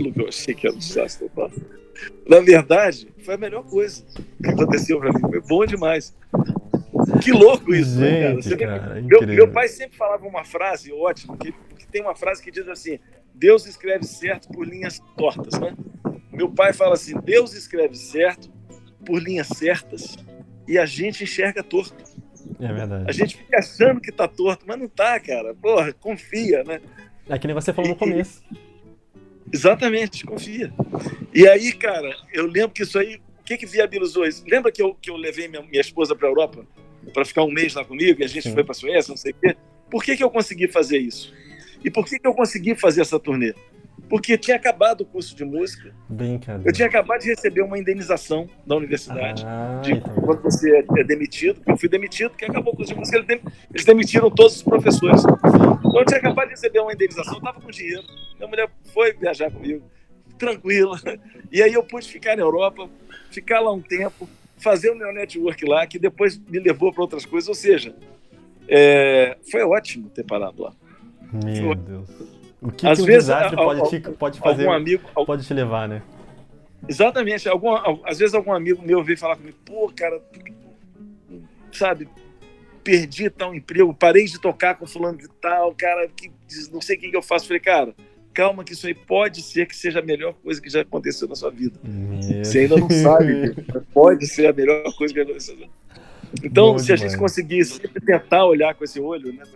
na verdade, foi a melhor coisa que aconteceu pra mim. Foi bom demais. Que louco isso, gente, né, cara? Meu pai sempre falava uma frase ótima, que tem uma frase que diz assim, Deus escreve certo por linhas tortas, né? Meu pai fala assim, Deus escreve certo por linhas certas e a gente enxerga torto. É verdade. A gente fica achando que tá torto, mas não tá, cara. Porra, confia, né? É que nem você falou no começo. Exatamente, confia. E aí, cara, eu lembro que isso aí, o que viabilizou isso? Lembra que eu levei minha esposa para a Europa para ficar um mês lá comigo e a gente foi para a Suécia, não sei o quê? Por que eu consegui fazer isso? E por que eu consegui fazer essa turnê? Porque tinha acabado o curso de música. Eu tinha acabado de receber uma indenização da universidade. Quando você é demitido, eu fui demitido porque acabou o curso de música, eles demitiram todos os professores. Então eu tinha acabado de receber uma indenização, eu estava com dinheiro. Minha mulher foi viajar comigo, tranquila. E aí eu pude ficar na Europa, ficar lá um tempo, fazer o meu network lá, que depois me levou para outras coisas. Ou seja, foi ótimo ter parado lá. Meu Deus. O que um desastre pode fazer, pode te levar, né? Exatamente. Às vezes algum amigo meu veio falar comigo, pô, cara, sabe, perdi tal emprego, parei de tocar com fulano de tal, cara, não sei o que eu faço. Falei, cara, calma que isso aí pode ser que seja a melhor coisa que já aconteceu na sua vida. Você ainda não sabe, pode ser a melhor coisa que já aconteceu. Então, bom, se a gente conseguir sempre tentar olhar com esse olho, né,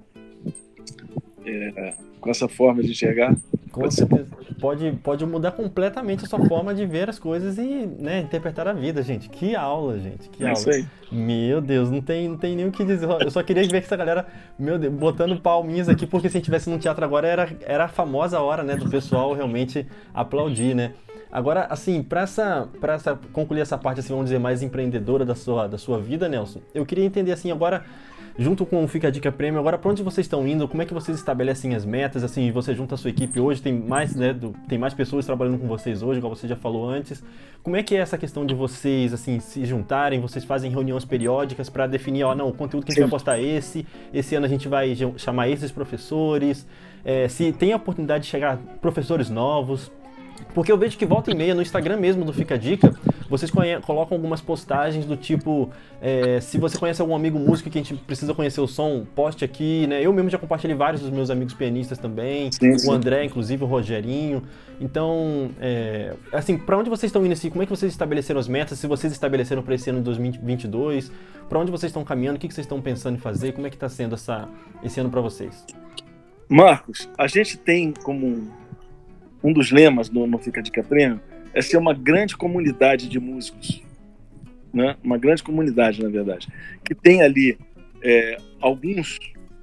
com essa forma de enxergar, pode mudar completamente a sua forma de ver as coisas e, né, interpretar a vida, gente. Que aula, gente. Que aula. Isso aí. Meu Deus, não tem nem o que dizer. Eu só queria ver que essa galera, meu Deus, botando palminhas aqui, porque se a gente estivesse num teatro agora, era a famosa hora, né, do pessoal realmente aplaudir, né? Agora, assim, para concluir essa parte, assim, vamos dizer, mais empreendedora da sua vida, Nelson, eu queria entender, assim, agora, junto com o Fica a Dica Prêmio, agora para onde vocês estão indo? Como é que vocês estabelecem as metas? Assim, você junta a sua equipe hoje, tem mais, né, tem mais pessoas trabalhando com vocês hoje, igual você já falou antes. Como é que é essa questão de vocês, assim, se juntarem, vocês fazem reuniões periódicas para definir, ó, não, o conteúdo que a gente vai postar é esse ano a gente vai chamar esses professores, se tem a oportunidade de chegar professores novos. Porque eu vejo que volta e meia, no Instagram mesmo do Fica a Dica, vocês colocam algumas postagens do tipo, se você conhece algum amigo músico que a gente precisa conhecer o som, poste aqui, né? Eu mesmo já compartilhei vários dos meus amigos pianistas também, sim. O André, inclusive, o Rogerinho. Então, assim, para onde vocês estão indo assim? Como é que vocês estabeleceram as metas? Se vocês estabeleceram para esse ano de 2022, para onde vocês estão caminhando? O que vocês estão pensando em fazer? Como é que está sendo esse ano para vocês? Marcos, a gente tem como um dos lemas no Fica a Dica Prêmio é ser uma grande comunidade de músicos, né? Uma grande comunidade, na verdade, que tem ali alguns...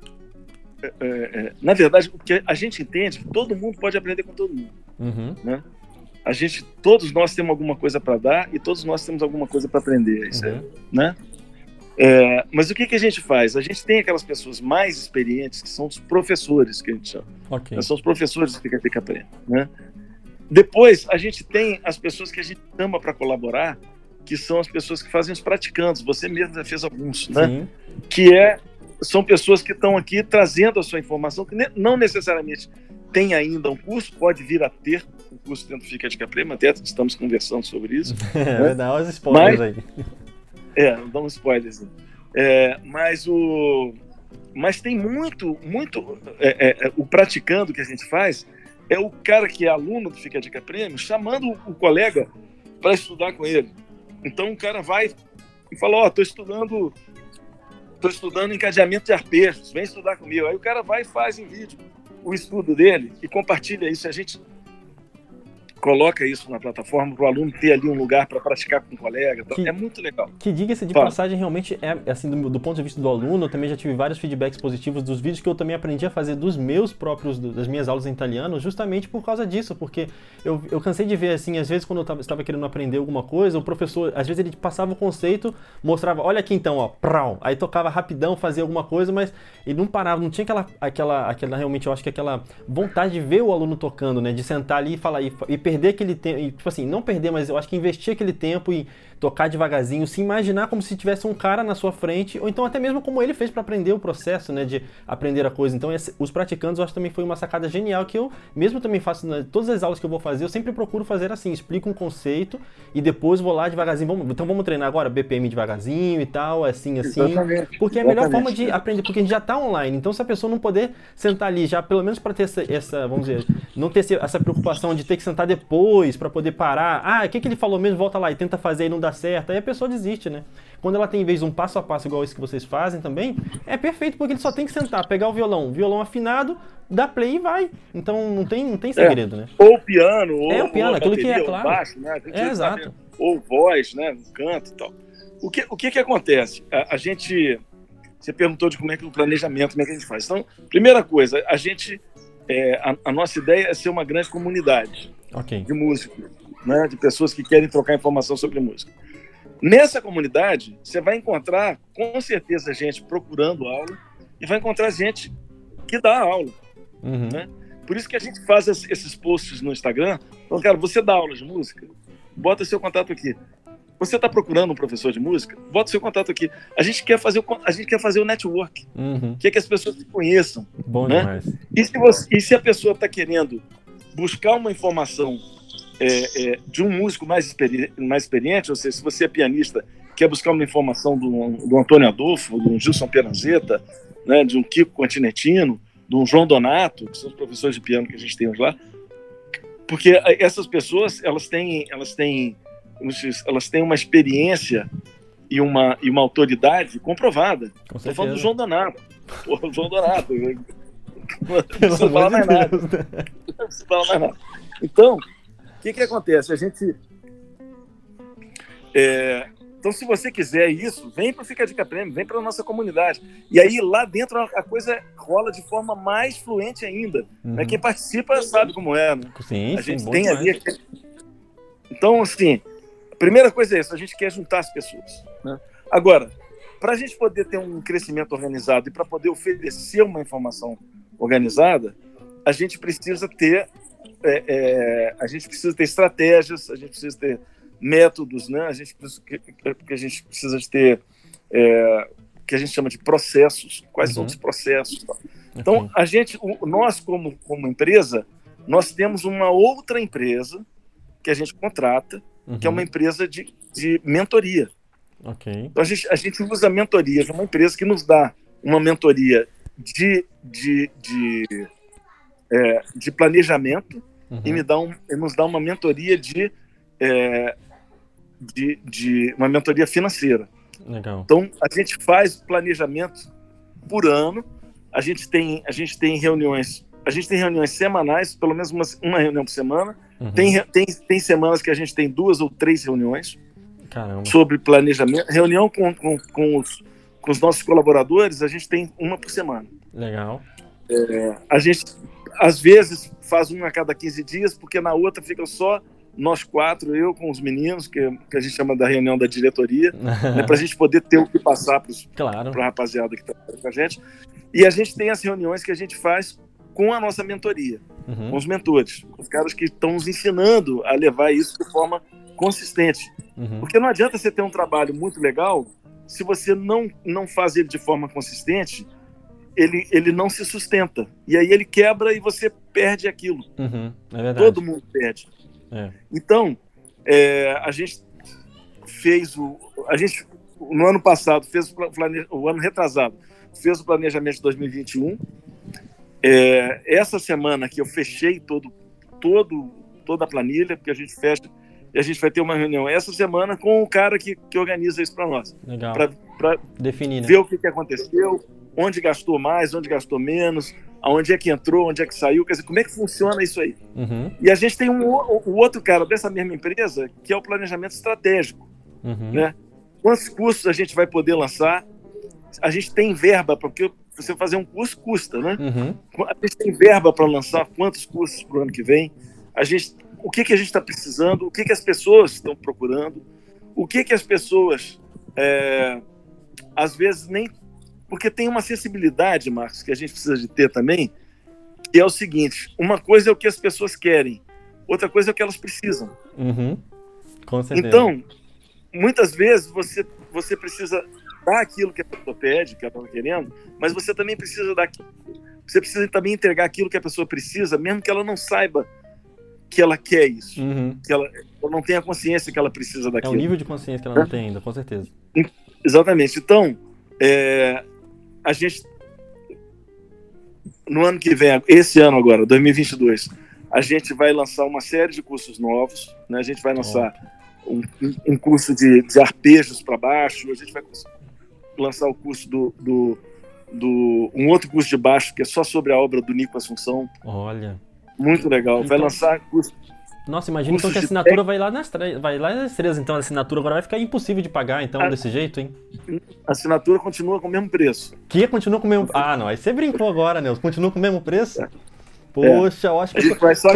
na verdade, o que a gente entende que todo mundo pode aprender com todo mundo. Uhum. Né? Todos nós temos alguma coisa para dar e todos nós temos alguma coisa para aprender. Isso né? Mas o que a gente faz? A gente tem aquelas pessoas mais experientes, que são os professores, que a gente chama. Okay. São os professores do Fica a Dica Prêmio, né? Depois, a gente tem as pessoas que a gente chama para colaborar, que são as pessoas que fazem os praticantes. Você mesmo já fez alguns, né? Sim. Que são pessoas que estão aqui trazendo a sua informação, que não necessariamente tem ainda um curso, pode vir a ter um curso dentro do Fica a Dica Prêmio, até estamos conversando sobre isso. Né? Dá uns spoilers aí. Não dá um spoiler. Mas tem muito o praticando que a gente faz é o cara que é aluno do Fica a Dica Prêmio chamando o colega para estudar com ele. Então o cara vai e fala, estou estudando encadeamento de arpejos, vem estudar comigo. Aí o cara vai e faz em vídeo o estudo dele e compartilha isso. A gente coloca isso na plataforma para o aluno ter ali um lugar para praticar com um colega. É muito legal. Que diga-se de passagem, realmente assim, do ponto de vista do aluno, eu também já tive vários feedbacks positivos dos vídeos que eu também aprendi a fazer das minhas aulas em italiano, justamente por causa disso, porque eu cansei de ver, assim, às vezes quando eu estava querendo aprender alguma coisa, o professor, às vezes ele passava o conceito, mostrava, olha aqui então, ó, prau, aí tocava rapidão, fazia alguma coisa, mas ele não parava, não tinha aquela realmente, eu acho que aquela vontade de ver o aluno tocando, né, de sentar ali e falar, e perder aquele tempo, tipo assim, não perder, mas eu acho que investir aquele tempo e tocar devagarzinho, se imaginar como se tivesse um cara na sua frente, ou então até mesmo como ele fez para aprender o processo, né, de aprender a coisa. Então, os praticantes, eu acho que também foi uma sacada genial, que eu mesmo também faço, né, todas as aulas que eu vou fazer, eu sempre procuro fazer assim, explico um conceito e depois vou lá devagarzinho, então vamos treinar agora BPM devagarzinho e tal, assim, exatamente, porque é a melhor forma de aprender, porque a gente já tá online, então se a pessoa não poder sentar ali, já pelo menos para ter essa, vamos dizer, não ter essa preocupação de ter que sentar depois para poder parar, o que ele falou mesmo, volta lá e tenta fazer e não dá certo, aí a pessoa desiste, né? Quando ela tem, em vez de um passo a passo igual esse que vocês fazem também, é perfeito, porque ele só tem que sentar, pegar o violão afinado, dar play e vai. Então não tem segredo, né? Ou o piano, ou o piano, ou aquilo bateria, que é claro. Ou baixo, né? Exato. Ou voz, né? Canto e tal. O que acontece? A gente... Você perguntou de como é que o planejamento, como é que a gente faz. Então, primeira coisa, a gente... a nossa ideia é ser uma grande comunidade de músicos, né? De pessoas que querem trocar informação sobre música. Nessa comunidade, você vai encontrar, com certeza, gente procurando aula e vai encontrar gente que dá aula. Uhum. Né? Por isso que a gente faz esses posts no Instagram. Então, cara, você dá aula de música? Bota seu contato aqui. Você está procurando um professor de música? Bota seu contato aqui. A gente quer fazer o network. Uhum. Quer que as pessoas se conheçam. Bom né? demais. E se a pessoa está querendo buscar uma informação de um músico mais experiente, ou seja, se você é pianista, quer buscar uma informação do Antônio Adolfo, do Gilson Peranzeta, né, de um Kiko Continentino, de um João Donato, que são os professores de piano que a gente tem hoje lá, porque essas pessoas elas têm uma experiência e uma autoridade comprovada. Estou falando do João Donato. Porra, o João Donato. Não preciso falar mais nada. Não preciso falar mais nada. Então, o que acontece? A gente... Então, se você quiser isso, vem para o Fica a Dica Prêmio, vem para a nossa comunidade. E aí, lá dentro, a coisa rola de forma mais fluente ainda. Uhum. Né? Quem participa sabe como é. Né? Sim, a gente sim, tem ali... Então, assim, a primeira coisa é isso, a gente quer juntar as pessoas. Né? Agora, para a gente poder ter um crescimento organizado e para poder oferecer uma informação organizada, a gente precisa ter estratégias, a gente precisa ter métodos, né? A gente precisa ter o que a gente chama de processos. Quais são os processos? Então, nós como empresa, nós temos uma outra empresa que a gente contrata, que é uma empresa de mentoria. Então, a gente usa mentorias, uma empresa que nos dá uma mentoria de planejamento e nos dá uma mentoria uma mentoria financeira. Legal. Então, a gente faz planejamento por ano, a gente tem reuniões semanais, pelo menos uma reunião por semana. Tem semanas que a gente tem 2 ou 3 reuniões. Caramba. Sobre planejamento. Reunião com os nossos colaboradores, a gente tem uma por semana. Legal. A gente, às vezes, faz uma a cada 15 dias, porque na outra fica só nós 4, eu com os meninos, que a gente chama da reunião da diretoria, né, para a gente poder ter o que passar para a rapaziada que está com a gente. E a gente tem as reuniões que a gente faz com a nossa mentoria, com os mentores, os caras que estão nos ensinando a levar isso de forma consistente. Porque não adianta você ter um trabalho muito legal se você não faz ele de forma consistente, ele não se sustenta. E aí ele quebra e você perde aquilo. É verdade. Todo mundo perde. Então, a gente fez no ano passado, o ano retrasado, fez o planejamento de 2021. Essa semana que eu fechei toda a planilha, porque a gente fecha e a gente vai ter uma reunião essa semana com o cara que organiza isso para nós. Legal. Para definir, né? Ver o que aconteceu, onde gastou mais, onde gastou menos, aonde é que entrou, onde é que saiu, quer dizer, como é que funciona isso aí. E a gente tem o outro cara dessa mesma empresa, que é o planejamento estratégico. Né? Quantos cursos a gente vai poder lançar? A gente tem verba, porque você fazer um curso custa, né? A gente tem verba para lançar quantos cursos para o ano que vem? O que a gente está precisando? O que as pessoas estão procurando? O que as pessoas, às vezes, nem... Porque tem uma sensibilidade, Marcos, que a gente precisa de ter também, que é o seguinte: uma coisa é o que as pessoas querem, outra coisa é o que elas precisam. Com certeza. Então, muitas vezes você precisa dar aquilo que a pessoa pede, que ela está querendo, mas você também precisa você precisa também entregar aquilo que a pessoa precisa, mesmo que ela não saiba que ela quer isso, que ela não tenha consciência que ela precisa daquilo. É um nível de consciência que ela não tem ainda, com certeza. Exatamente. Então, a gente, no ano que vem, esse ano agora, 2022, a gente vai lançar uma série de cursos novos, né? A gente vai lançar um curso de arpejos para baixo, a gente vai lançar o curso um outro curso de baixo que é só sobre a obra do Nico Assunção. Olha. Muito legal. Então, vai lançar curso. Nossa, imagina então que a assinatura vai lá nas estrelas, então a assinatura agora vai ficar impossível de pagar, então, desse jeito, hein? A assinatura continua com o mesmo preço. Que continua com o mesmo... Ah, não, aí você brincou agora, Nelson. Continua com o mesmo preço? Poxa, eu acho que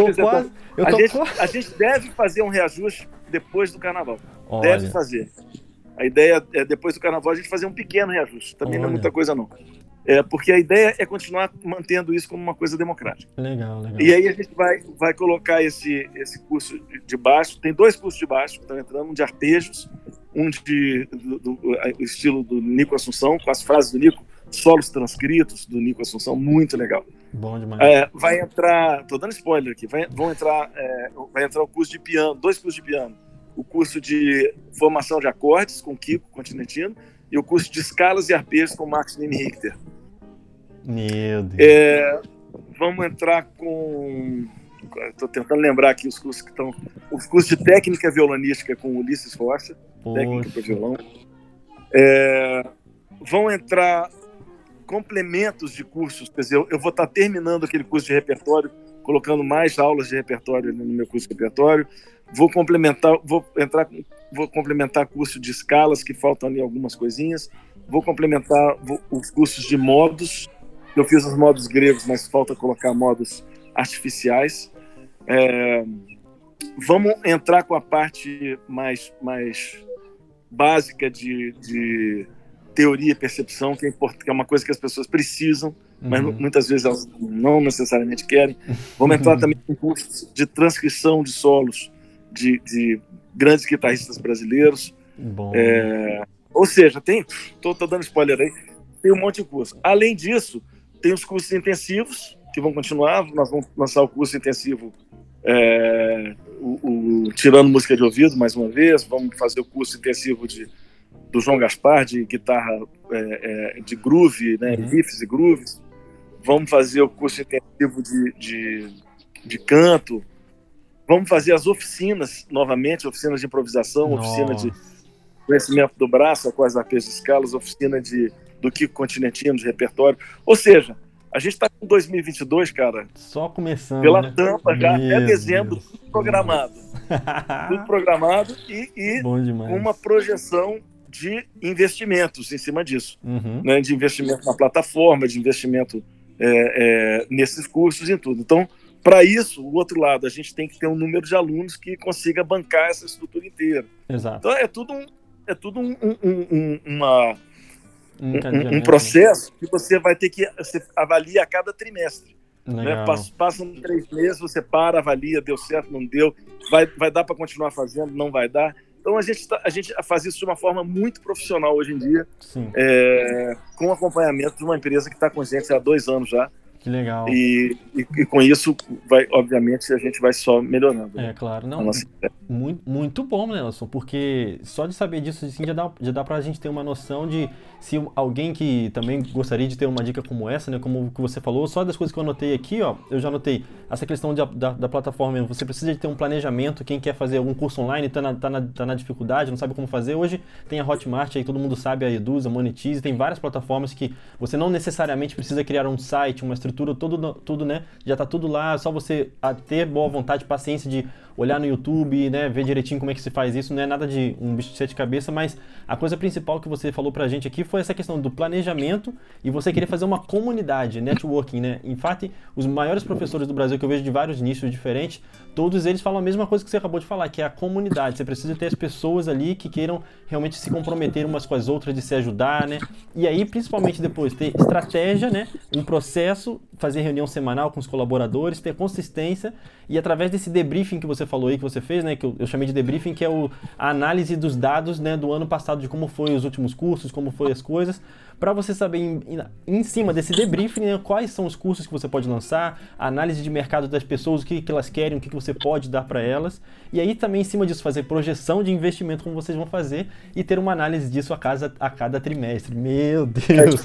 a gente deve fazer um reajuste depois do carnaval. Olha. Deve fazer. A ideia é, depois do carnaval, a gente fazer um pequeno reajuste. Também não é muita coisa, não. Porque a ideia é continuar mantendo isso como uma coisa democrática. Legal. E aí a gente vai colocar esse curso de baixo. Tem 2 cursos de baixo que estão entrando, um de arpejos, um do estilo do Nico Assunção, com as frases do Nico, solos transcritos do Nico Assunção, muito legal. Bom demais. Vai entrar, tô dando spoiler aqui, vai entrar o curso de piano, 2 cursos de piano. O curso de formação de acordes com Kiko Continentino e o curso de escalas e arpejos com Marcos Nini Richter. Meu Deus. Vamos entrar com... Estou tentando lembrar aqui os cursos que estão... Os cursos de técnica violonística com Ulisses Rocha, técnica para violão. Vão entrar complementos de cursos, quer dizer, eu vou estar terminando aquele curso de repertório, colocando mais aulas de repertório no meu curso de repertório. Vou complementar curso de escalas, que faltam ali algumas coisinhas. Vou complementar os cursos de modos. Eu fiz os modos gregos, mas falta colocar modos artificiais. Vamos entrar com a parte mais básica de teoria e percepção, que é uma coisa que as pessoas precisam, mas muitas vezes elas não necessariamente querem. Vamos entrar também em cursos de transcrição de solos de grandes guitarristas brasileiros. Bom. Ou seja, tô dando spoiler aí, tem um monte de curso. Além disso, tem os cursos intensivos, que vão continuar. Nós vamos lançar o curso intensivo Tirando Música de Ouvido, mais uma vez. Vamos fazer o curso intensivo do João Gaspar, de guitarra de groove, né, riffs e grooves. Vamos fazer o curso intensivo de canto. Vamos fazer as oficinas novamente, oficinas de improvisação, oficina de conhecimento do braço, com as arpejos de escalas, oficina do Kiko Continentino, de repertório. Ou seja, a gente está com 2022, cara. Só começando, pela né? tampa já, até dezembro, tudo programado. Tudo programado e uma projeção de investimentos em cima disso. Né? De investimento na plataforma, de investimento nesses cursos e tudo. Então, para isso, o outro lado, a gente tem que ter um número de alunos que consiga bancar essa estrutura inteira. Exato. Então, é tudo um processo que você vai ter que avaliar a cada trimestre. Né? Passam 3 meses, você para, avalia, deu certo, não deu, vai dar para continuar fazendo, não vai dar. Então a gente faz isso de uma forma muito profissional hoje em dia, com acompanhamento de uma empresa que está com a gente há 2 anos já. Que legal. E com isso, obviamente, a gente vai só melhorando. Claro. Não, muito bom, Nelson, porque só de saber disso assim, já dá pra gente ter uma noção de se alguém que também gostaria de ter uma dica como essa, né, como que você falou, só das coisas que eu anotei aqui, eu já anotei essa questão da plataforma, você precisa de ter um planejamento, quem quer fazer algum curso online, tá na dificuldade, não sabe como fazer, hoje tem a Hotmart, aí todo mundo sabe, a Eduza, a Monetize, tem várias plataformas que você não necessariamente precisa criar um site, uma estrutura, tudo, né, já tá tudo lá, só você ter boa vontade, paciência de olhar no YouTube, né, ver direitinho como é que se faz isso, não é nada de um bicho de 7 cabeças, mas a coisa principal que você falou pra gente aqui foi essa questão do planejamento e você querer fazer uma comunidade, networking, né? Em fato, os maiores professores do Brasil que eu vejo de vários nichos diferentes, todos eles falam a mesma coisa que você acabou de falar, que é a comunidade. Você precisa ter as pessoas ali que queiram realmente se comprometer umas com as outras, de se ajudar, né? E aí, principalmente depois, ter estratégia, né? Um processo, fazer reunião semanal com os colaboradores, ter consistência e através desse debriefing que você falou aí, que você fez, né? Que eu chamei de debriefing, que é a análise dos dados, né, do ano passado, de como foi os últimos cursos, como foi as coisas, para você saber em cima desse debriefing, né, quais são os cursos que você pode lançar, a análise de mercado das pessoas, o que elas querem, o que você pode dar para elas, e aí também em cima disso fazer projeção de investimento como vocês vão fazer e ter uma análise disso a cada trimestre. Meu Deus!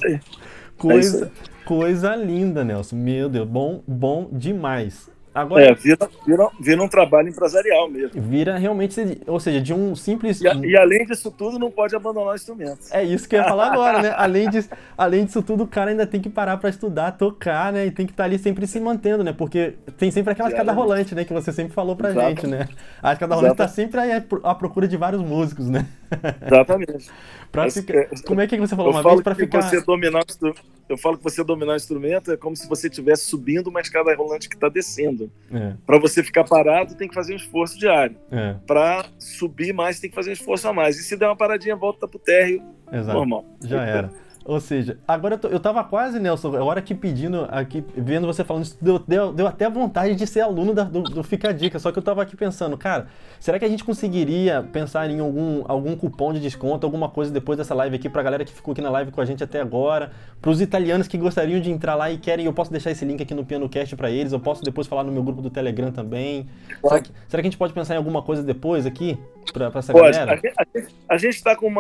Coisa linda, Nelson. Meu Deus, bom demais. Agora, vira um trabalho empresarial mesmo. Vira realmente, ou seja, de um simples... E além disso tudo, não pode abandonar o instrumento. É isso que eu ia falar agora, né? Além disso tudo, o cara ainda tem que parar para estudar, tocar, né? E tem que estar ali sempre se mantendo, né? Porque tem sempre aquela escada rolante, né? Que você sempre falou pra gente, né? A escada rolante tá sempre aí à procura de vários músicos, né? Exatamente. Como é que você falou uma vez para ficar... Eu falo que você dominar o instrumento é como se você estivesse subindo uma escada rolante que está descendo. Para você ficar parado, tem que fazer um esforço diário. Para subir mais, tem que fazer um esforço a mais. E se der uma paradinha, volta pro térreo. Exato. Normal. Já era. Ou seja, agora eu tava quase, Nelson, a hora aqui pedindo, vendo você falando isso, deu até vontade de ser aluno do Fica a Dica, só que eu tava aqui pensando, cara, será que a gente conseguiria pensar em algum cupom de desconto, alguma coisa depois dessa live aqui, pra galera que ficou aqui na live com a gente até agora, pros italianos que gostariam de entrar lá e querem, eu posso deixar esse link aqui no PianoCast pra eles, eu posso depois falar no meu grupo do Telegram também. Será que a gente pode pensar em alguma coisa depois aqui, pra essa galera? A gente tá com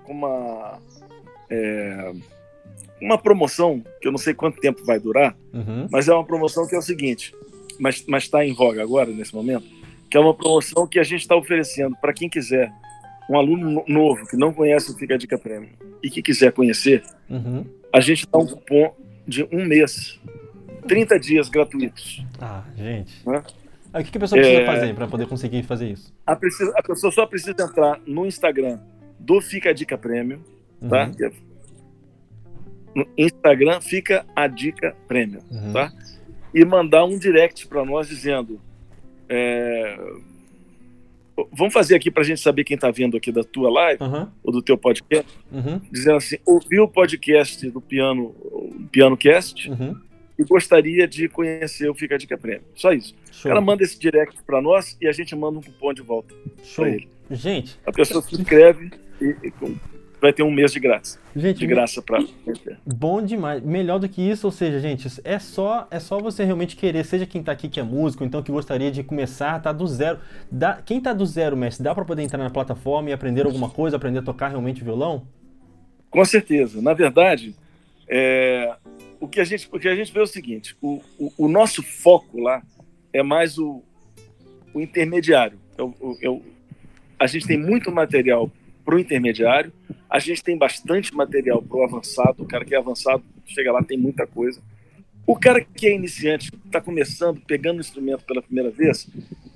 uma promoção que eu não sei quanto tempo vai durar, mas é uma promoção que é o seguinte, mas está em voga agora, nesse momento, que é uma promoção que a gente está oferecendo para quem quiser, um aluno novo que não conhece o Fica a Dica Premium e que quiser conhecer, a gente dá um cupom de 1 mês, 30 dias gratuitos. Gente. Né? O que a pessoa precisa fazer para poder conseguir fazer isso? A pessoa só precisa entrar no Instagram do Fica a Dica Premium, tá? No Instagram Fica a Dica Premium, tá? E mandar um direct para nós dizendo Vamos fazer aqui para a gente saber quem está vendo aqui da tua live, ou do teu podcast, dizendo assim, ouviu o podcast do PianoCast e gostaria de conhecer o Fica a Dica Prêmio. Só isso. Show. O cara manda esse direct para nós e a gente manda um cupom de volta para ele. Gente, a pessoa se inscreve e vai ter um mês de graça. Gente, de graça para... Bom demais. Melhor do que isso, ou seja, gente, é só você realmente querer, seja quem tá aqui que é músico, então que gostaria de começar, tá do zero. Quem tá do zero, mestre, dá para poder entrar na plataforma e aprender alguma coisa, aprender a tocar realmente violão? Com certeza. Na verdade, o que a gente vê é o seguinte, o nosso foco lá é mais o intermediário. A gente tem muito material para o intermediário, a gente tem bastante material para o avançado. O cara que é avançado chega lá, tem muita coisa. O cara que é iniciante, está começando, pegando o instrumento pela primeira vez,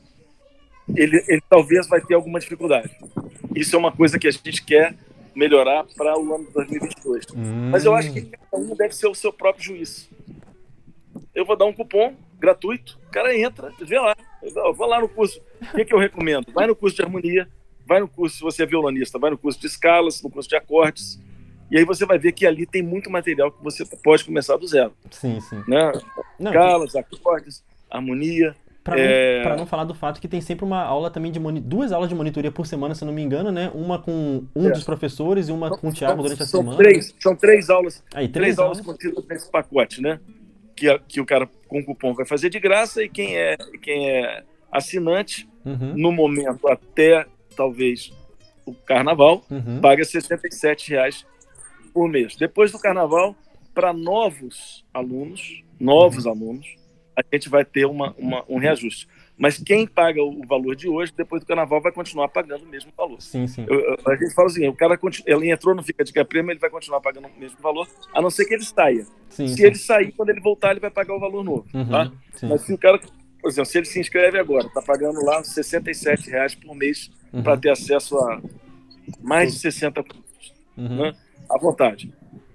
ele talvez vai ter alguma dificuldade. Isso é uma coisa que a gente quer melhorar para o ano de 2022. Mas eu acho que cada um deve ser o seu próprio juiz. Eu vou dar um cupom gratuito, o cara entra, vê lá. Eu vou lá no curso. O que eu recomendo? Vai no curso de harmonia, vai no curso, se você é violonista, vai no curso de escalas, no curso de acordes, e aí você vai ver que ali tem muito material que você pode começar do zero. Sim, sim. Né? Escalas, acordes, harmonia. Para não falar do fato que tem sempre uma aula também duas aulas de monitoria por semana, se eu não me engano, né? Uma com dos professores e uma com o Thiago durante a semana. São três aulas. Aí, três aulas contidas nesse pacote, né? Que o cara com cupom vai fazer de graça, e quem é assinante, no momento até talvez o carnaval, paga R$ 67,00 por mês. Depois do carnaval, para novos alunos, a gente vai ter um reajuste. Mas quem paga o valor de hoje, depois do carnaval, vai continuar pagando o mesmo valor. Sim, sim. A gente fala assim, o cara ele entrou no Fica a Dica Prêmio, ele vai continuar pagando o mesmo valor, a não ser que ele saia. Se ele sair, quando ele voltar, ele vai pagar o valor novo. Tá? Mas se o cara, por exemplo, se ele se inscreve agora, está pagando lá R$ 67,00 por mês para ter acesso a mais de 60 cursos, né? À vontade.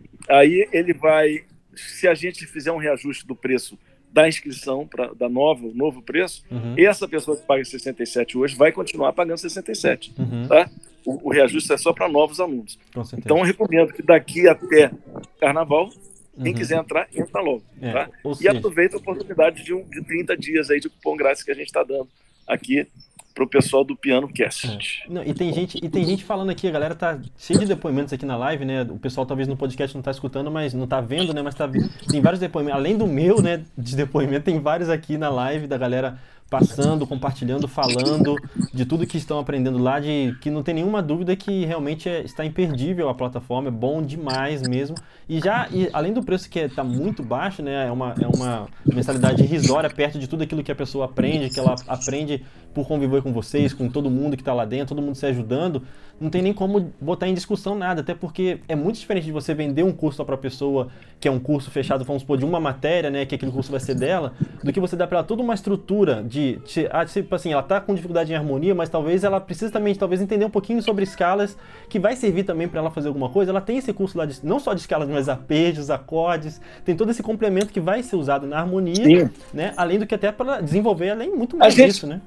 Aí ele vai, se a gente fizer um reajuste do preço da inscrição, da novo preço, essa pessoa que paga 67 hoje vai continuar pagando 67. Tá? O reajuste é só para novos alunos. Então eu recomendo que daqui até carnaval, quem quiser entrar, entra logo. Tá? E aproveita a oportunidade de 30 dias aí de cupom grátis que a gente está dando aqui para o pessoal do PianoCast. Não, e tem gente falando aqui, a galera tá cheia de depoimentos aqui na live, né? O pessoal talvez no podcast não tá escutando, mas não tá vendo, né? Mas tem vários depoimentos, além do meu, né, de depoimento, tem vários aqui na live da galera passando, compartilhando, falando de tudo que estão aprendendo lá, de que não tem nenhuma dúvida que realmente está imperdível a plataforma, é bom demais mesmo. E além do preço que está muito baixo, né, é uma mensalidade irrisória perto de tudo aquilo que a pessoa aprende, que ela aprende por conviver com vocês, com todo mundo que está lá dentro, todo mundo se ajudando, não tem nem como botar em discussão nada, até porque é muito diferente de você vender um curso só para a pessoa, que é um curso fechado, vamos supor, de uma matéria, né, que aquele curso vai ser dela, do que você dar para ela toda uma estrutura tipo assim, ela tá com dificuldade em harmonia, mas talvez ela precise também, entender um pouquinho sobre escalas, que vai servir também para ela fazer alguma coisa. Ela tem esse curso lá, não só de escalas, mas arpejos, acordes, tem todo esse complemento que vai ser usado na harmonia, né? Além do que até para desenvolver, além muito mais disso, né?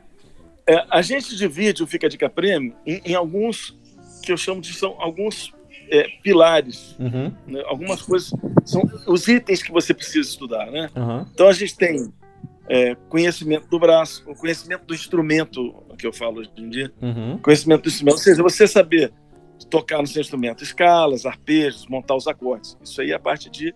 A gente divide o Fica a Dica Prêmio em alguns, que eu chamo de são alguns pilares, né? Algumas coisas, são os itens que você precisa estudar, né? Então a gente tem conhecimento do braço, o conhecimento do instrumento, que eu falo hoje em dia, conhecimento do instrumento, ou seja, você saber tocar no seu instrumento, escalas, arpejos, montar os acordes, isso aí é a parte de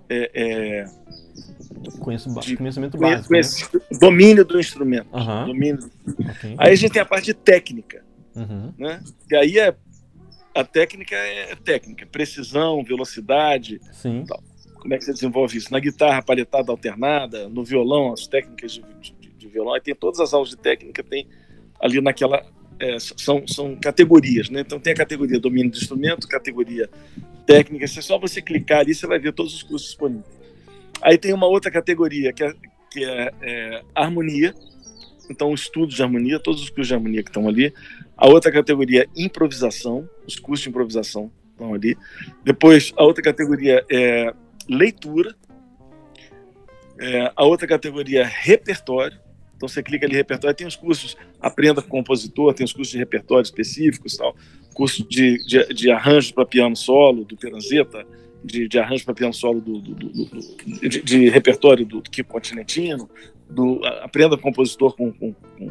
conhecimento básico, né? Domínio do instrumento. Aí a gente tem a parte de técnica, né? E aí a técnica é técnica, precisão, velocidade, tal. Como é que você desenvolve isso? Na guitarra, palhetada alternada, no violão, as técnicas de violão. Aí tem todas as aulas de técnica, tem ali naquela... são categorias, né? Então tem a categoria domínio do instrumento, categoria técnica. É só você clicar ali, você vai ver todos os cursos disponíveis. Aí tem uma outra categoria, que é harmonia. Então, estudos de harmonia, todos os cursos de harmonia que estão ali. A outra categoria é improvisação, os cursos de improvisação estão ali. Depois, a outra categoria é leitura. A outra categoria é repertório. Então você clica ali repertório, tem os cursos Aprenda com Compositor, tem os cursos de repertório específicos, tal, curso de arranjo para piano solo do Peranzeta, de arranjo para piano solo de repertório do Kiko Continentino, Aprenda com Compositor com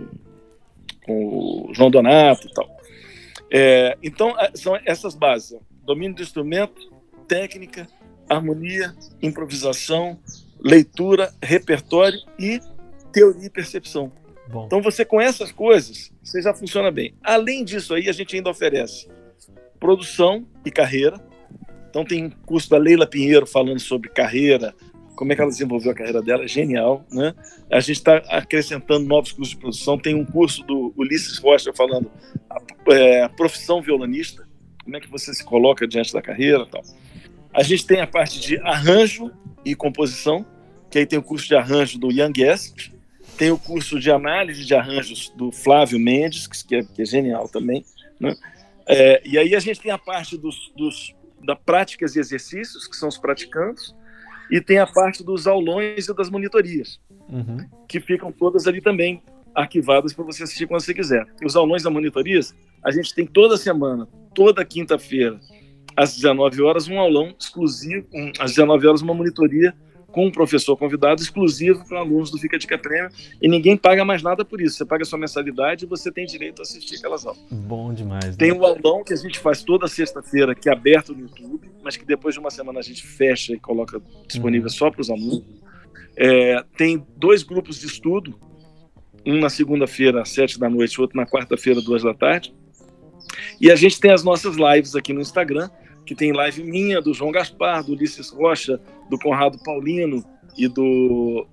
o João Donato e tal. Então são essas bases: domínio do instrumento, técnica, harmonia, improvisação, leitura, repertório e teoria e percepção. Bom. Então você com essas coisas, você já funciona bem. Além disso aí, a gente ainda oferece produção e carreira. Então tem curso da Leila Pinheiro falando sobre carreira, como é que ela desenvolveu a carreira dela, é genial, né? A gente está acrescentando novos cursos de produção, tem um curso do Ulisses Rocha falando a profissão violonista, como é que você se coloca diante da carreira e tal. A gente tem a parte de arranjo e composição, que aí tem o curso de arranjo do Young Guest, tem o curso de análise de arranjos do Flávio Mendes, que é genial também, né? E aí a gente tem a parte da práticas e exercícios, que são os praticantes, e tem a parte dos aulões e das monitorias, que ficam todas ali também arquivadas para você assistir quando você quiser. E os aulões e monitorias, a gente tem toda semana, toda quinta-feira, às 19 horas, um aulão exclusivo, às 19 horas uma monitoria com um professor convidado exclusivo para alunos do Fica a Dica Prêmio, e ninguém paga mais nada por isso. Você paga a sua mensalidade e você tem direito a assistir aquelas aulas. Bom demais. Né? Tem o aulão que a gente faz toda sexta-feira, que é aberto no YouTube, mas que depois de uma semana a gente fecha e coloca disponível só para os alunos. Tem 2 grupos de estudo, um na segunda-feira às 7 da noite, outro na quarta-feira, 2 da tarde. E a gente tem as nossas lives aqui no Instagram, que tem live minha, do João Gaspar, do Ulisses Rocha, do Conrado Paulino e do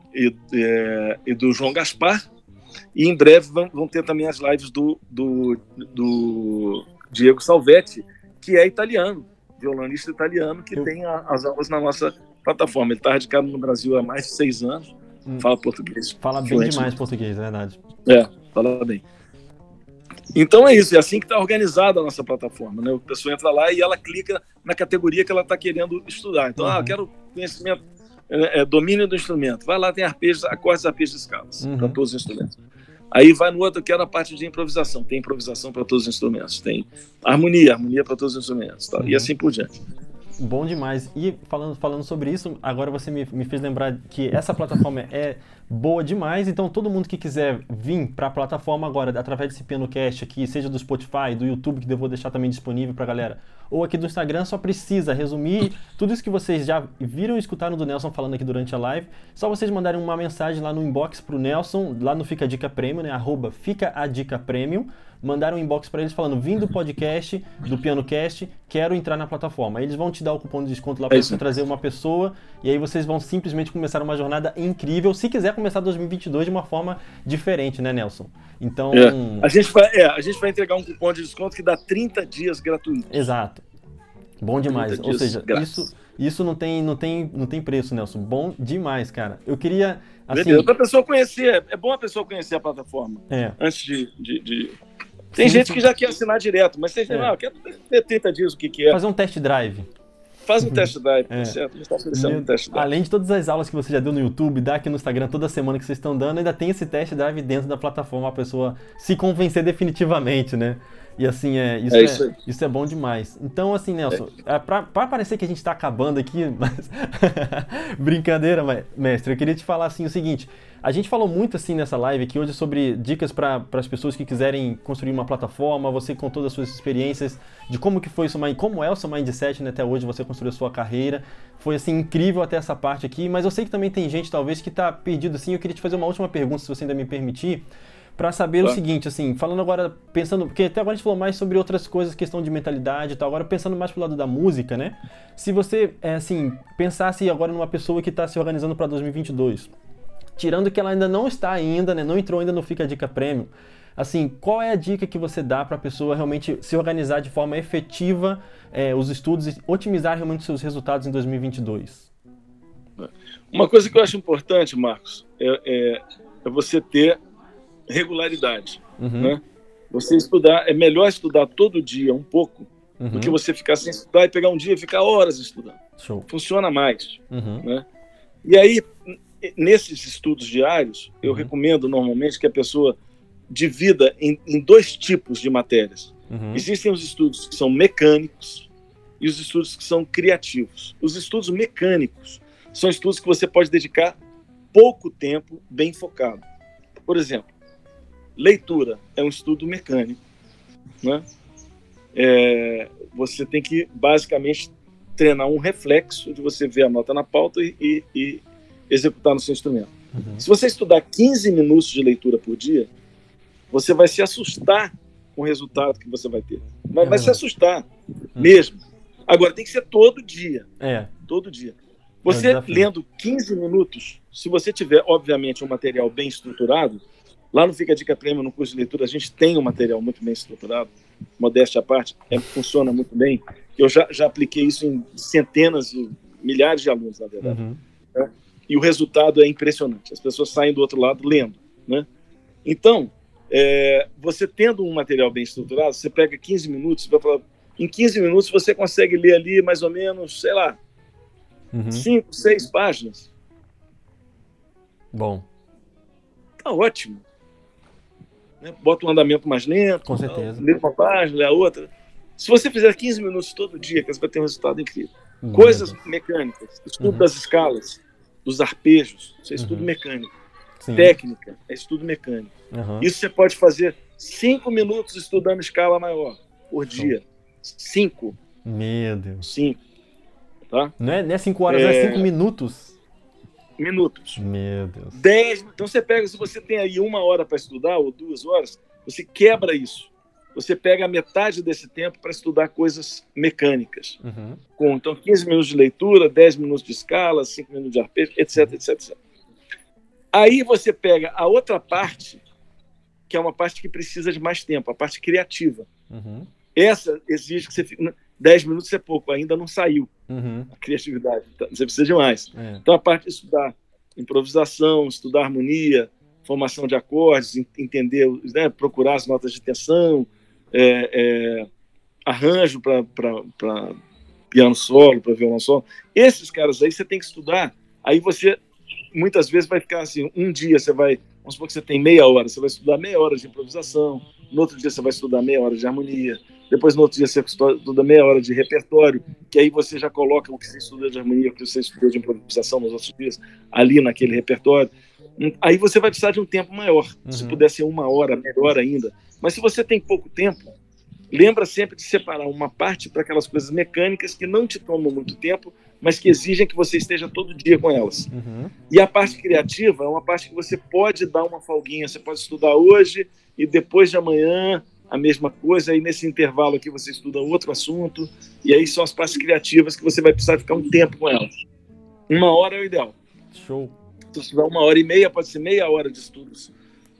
João Gaspar. E em breve vão ter também as lives do Diego Salvetti, que é italiano, violonista italiano, que tem as aulas na nossa plataforma. Ele está radicado no Brasil há mais de 6 anos, fala português. Fala bem demais português, é verdade. Fala bem. Então é isso, é assim que está organizada a nossa plataforma, né? A pessoa entra lá e ela clica na categoria que ela está querendo estudar. Então, eu quero conhecimento, domínio do instrumento. Vai lá, tem arpejos, acordes, arpejos e escalas para todos os instrumentos. Aí vai no outro, que era a parte de improvisação. Tem improvisação para todos os instrumentos. Tem harmonia para todos os instrumentos. Tá? E assim por diante. Bom demais. E falando sobre isso, agora você me fez lembrar que essa plataforma é boa demais, então todo mundo que quiser vir para a plataforma agora, através desse PianoCast aqui, seja do Spotify, do YouTube, que eu vou deixar também disponível para a galera, ou aqui do Instagram, só precisa resumir tudo isso que vocês já viram e escutaram do Nelson falando aqui durante a live, só vocês mandarem uma mensagem lá no inbox pro Nelson, lá no Fica a Dica Premium, né, @Fica a Dica Premium, mandaram um inbox para eles falando, vim do podcast, do PianoCast, quero entrar na plataforma. Aí eles vão te dar o cupom de desconto lá para você trazer uma pessoa, e aí vocês vão simplesmente começar uma jornada incrível, se quiser começar 2022 de uma forma diferente, né, Nelson? Então... A gente vai entregar um cupom de desconto que dá 30 dias gratuitos. Exato. Bom demais. Ou seja, isso não tem preço, Nelson. Bom demais, cara. Eu queria... Assim... Pra pessoa conhecer, é bom a pessoa conhecer a plataforma. Antes de... Tem gente que já quer assinar direto, mas vocês dizem, eu quero ter 30 dias, o que é. Fazer um test drive. Faz um test drive, certo? A gente está oferecendo um test drive. Além de todas as aulas que você já deu no YouTube, dá aqui no Instagram toda semana que vocês estão dando, ainda tem esse test drive dentro da plataforma, a pessoa se convencer definitivamente, né? E assim, isso é bom demais. Então, assim, Nelson, pra parecer que a gente tá acabando aqui, mas... Brincadeira, mestre, eu queria te falar assim o seguinte, a gente falou muito assim nessa live aqui hoje sobre dicas para as pessoas que quiserem construir uma plataforma, você com todas as suas experiências, de como que foi isso, como é o seu mindset, né, até hoje você construiu a sua carreira, foi assim incrível até essa parte aqui, mas eu sei que também tem gente talvez que tá perdido assim, eu queria te fazer uma última pergunta, se você ainda me permitir, para saber o seguinte, assim, falando agora, pensando, porque até agora a gente falou mais sobre outras coisas, questão de mentalidade e tal, agora pensando mais pro lado da música, né? Se você, assim, pensasse agora numa pessoa que está se organizando para 2022, tirando que ela ainda não está ainda, né, não entrou ainda no Fica a Dica Premium, assim, qual é a dica que você dá para a pessoa realmente se organizar de forma efetiva os estudos e otimizar realmente os seus resultados em 2022? Uma coisa que eu acho importante, Marcos, é você ter regularidade, né? Você estudar, é melhor estudar todo dia um pouco do que você ficar sem estudar e pegar um dia e ficar horas estudando. Show. Funciona mais, né? E aí, nesses estudos diários, eu recomendo normalmente que a pessoa divida em 2 tipos de matérias. Existem os estudos que são mecânicos e os estudos que são criativos. Os estudos mecânicos são estudos que você pode dedicar pouco tempo bem focado. Por exemplo, leitura é um estudo mecânico, né? Você tem que basicamente treinar um reflexo de você ver a nota na pauta e executar no seu instrumento. Se você estudar 15 minutos de leitura por dia, você vai se assustar com o resultado que você vai ter. Vai se assustar mesmo. Agora, tem que ser todo dia. Todo dia. Você lendo 15 minutos, se você tiver, obviamente, um material bem estruturado, lá no Fica a Dica Prêmio, no curso de leitura, a gente tem um material muito bem estruturado, modéstia à parte, funciona muito bem. Eu já apliquei isso em centenas e milhares de alunos, na verdade. Né? E o resultado é impressionante. As pessoas saem do outro lado lendo. Né? Então, você tendo um material bem estruturado, você pega 15 minutos, você vai falar, em 15 minutos você consegue ler ali mais ou menos, sei lá, 5, 6 páginas. Bom. Tá ótimo. Né? Bota um andamento mais lento. Com certeza. Lê uma página, lê a outra. Se você fizer 15 minutos todo dia, você vai ter um resultado incrível. Coisas mecânicas, estudo das escalas, dos arpejos, isso é estudo mecânico. Sim. Técnica, é estudo mecânico. Isso você pode fazer 5 minutos estudando escala maior por dia. 5. Meu Deus. 5. Tá? Não é 5 horas, é 5 minutos? Minutos. Meu Deus. 10. Então você pega, se você tem aí 1 hora para estudar, ou 2 horas, você quebra isso. Você pega a metade desse tempo para estudar coisas mecânicas. Então, 15 minutos de leitura, 10 minutos de escala, 5 minutos de arpejo, etc, etc, etc. Aí você pega a outra parte, que é uma parte que precisa de mais tempo, a parte criativa. Essa exige que você fique... 10 minutos é pouco, ainda não saiu a criatividade. Então, você precisa de mais. Então, a parte de estudar improvisação, estudar harmonia, formação de acordes, entender, né, procurar as notas de tensão, arranjo para piano solo, para violão solo. Esses caras aí você tem que estudar. Aí você, muitas vezes, vai ficar assim, um dia você vai... Vamos supor que você tem meia hora, você vai estudar meia hora de improvisação, no outro dia você vai estudar meia hora de harmonia, depois no outro dia você estuda meia hora de repertório, que aí você já coloca o que você estudou de harmonia, o que você estudou de improvisação nos outros dias, ali naquele repertório. Aí você vai precisar de um tempo maior. Se puder ser 1 hora, melhor ainda. Mas se você tem pouco tempo, lembra sempre de separar uma parte para aquelas coisas mecânicas que não te tomam muito tempo, mas que exigem que você esteja todo dia com elas. E a parte criativa é uma parte que você pode dar uma folguinha. Você pode estudar hoje e depois de amanhã a mesma coisa, aí nesse intervalo aqui você estuda outro assunto, e aí são as partes criativas que você vai precisar ficar um tempo com elas. 1 hora é o ideal. Show. Se estudar 1h30, pode ser meia hora de estudos,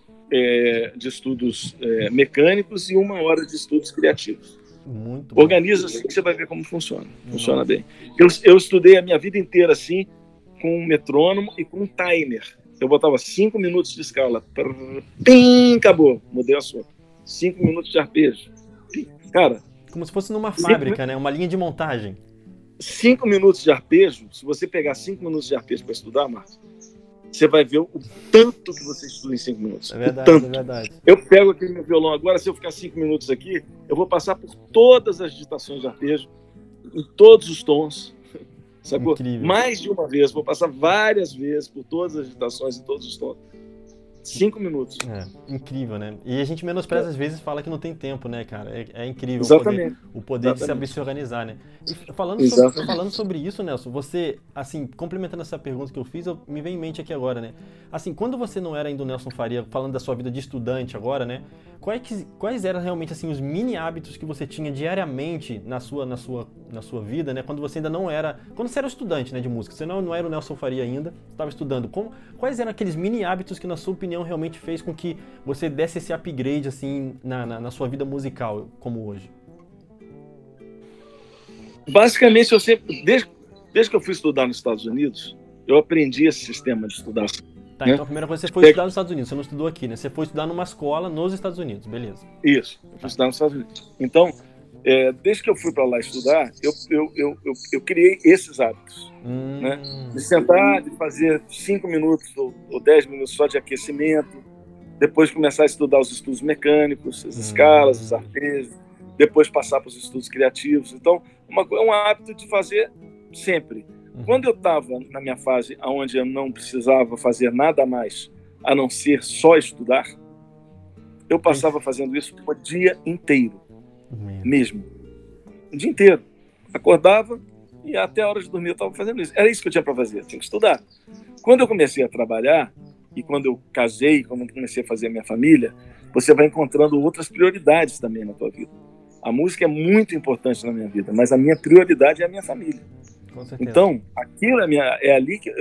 mecânicos e 1 hora de estudos criativos. Muito bom. Organiza assim que você vai ver como funciona. Funciona bem. Eu estudei a minha vida inteira assim, com um metrônomo e com um timer. Eu botava 5 minutos de escala. Pim, acabou. Mudei o assunto. 5 minutos de arpejo. Cara... Como se fosse numa fábrica, né? Uma linha de montagem. 5 minutos de arpejo, se você pegar 5 minutos de arpejo para estudar, Marcos, você vai ver o tanto que você estuda em 5 minutos. É verdade, é verdade. Eu pego aqui meu violão agora, se eu ficar 5 minutos aqui, eu vou passar por todas as digitações de arpejo, em todos os tons, sacou? Incrível. Mais de uma vez, vou passar várias vezes por todas as digitações em todos os tons. 5 minutos. Incrível, né? E a gente menospreza às vezes, fala que não tem tempo, né, cara? É incrível o poder de saber se organizar, né? E falando sobre isso, Nelson, você, assim, complementando essa pergunta que eu fiz, me vem em mente aqui agora, né? Assim, quando você não era ainda o Nelson Faria, falando da sua vida de estudante agora, né? Quais eram realmente, assim, os mini hábitos que você tinha diariamente na sua vida, né? Quando você ainda não era... Quando você era estudante, né, de música, você não era o Nelson Faria ainda, estava estudando. Quais eram aqueles mini hábitos que, na sua opinião, realmente fez com que você desse esse upgrade, assim, na sua vida musical, como hoje? Basicamente, eu sempre... Desde que eu fui estudar nos Estados Unidos, eu aprendi esse sistema de estudar. Tá, então a primeira coisa você foi estudar nos Estados Unidos, você não estudou aqui, né? Você foi estudar numa escola nos Estados Unidos, beleza. Isso, eu fui estudar nos Estados Unidos. Então, desde que eu fui para lá estudar, eu criei esses hábitos. Né? De sentar, de fazer 5 minutos ou 10 minutos só de aquecimento, depois começar a estudar os estudos mecânicos, as escalas, os arpejos, depois passar para os estudos criativos. Então, é um hábito de fazer sempre. Quando eu estava na minha fase onde eu não precisava fazer nada mais a não ser só estudar, eu passava fazendo isso o dia inteiro, mesmo. O dia inteiro. Acordava e até a hora de dormir eu estava fazendo isso. Era isso que eu tinha para fazer, eu tinha que estudar. Quando eu comecei a trabalhar, e quando eu casei, quando eu comecei a fazer a minha família, você vai encontrando outras prioridades também na tua vida. A música é muito importante na minha vida, mas a minha prioridade é a minha família. Com certeza. Então, aquilo é ali que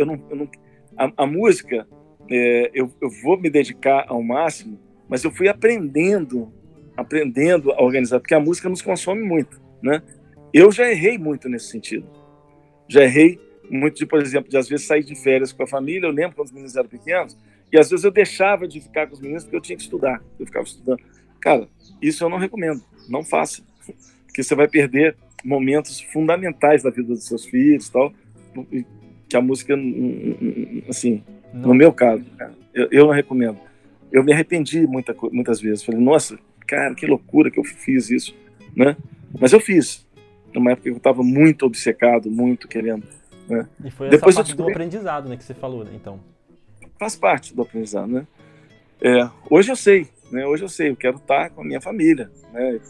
a música, eu vou me dedicar ao máximo, mas eu fui aprendendo a organizar, porque a música nos consome muito, né? Eu já errei muito nesse sentido. Já errei muito, por exemplo, de às vezes sair de férias com a família. Eu lembro quando os meninos eram pequenos, e às vezes eu deixava de ficar com os meninos porque eu tinha que estudar. Eu ficava estudando. Cara, isso eu não recomendo. Não faça. Porque você vai perder momentos fundamentais da vida dos seus filhos e tal, que a música, assim, no meu caso, eu não recomendo. Eu me arrependi muitas vezes. Falei, nossa, cara, que loucura que eu fiz isso, né? Mas eu fiz. Numa época que eu estava muito obcecado, muito querendo, né? E foi essa parte do aprendizado, né, que você falou, né, então. Faz parte do aprendizado, né? Hoje eu sei, né? Hoje eu sei, eu quero estar com a minha família, né?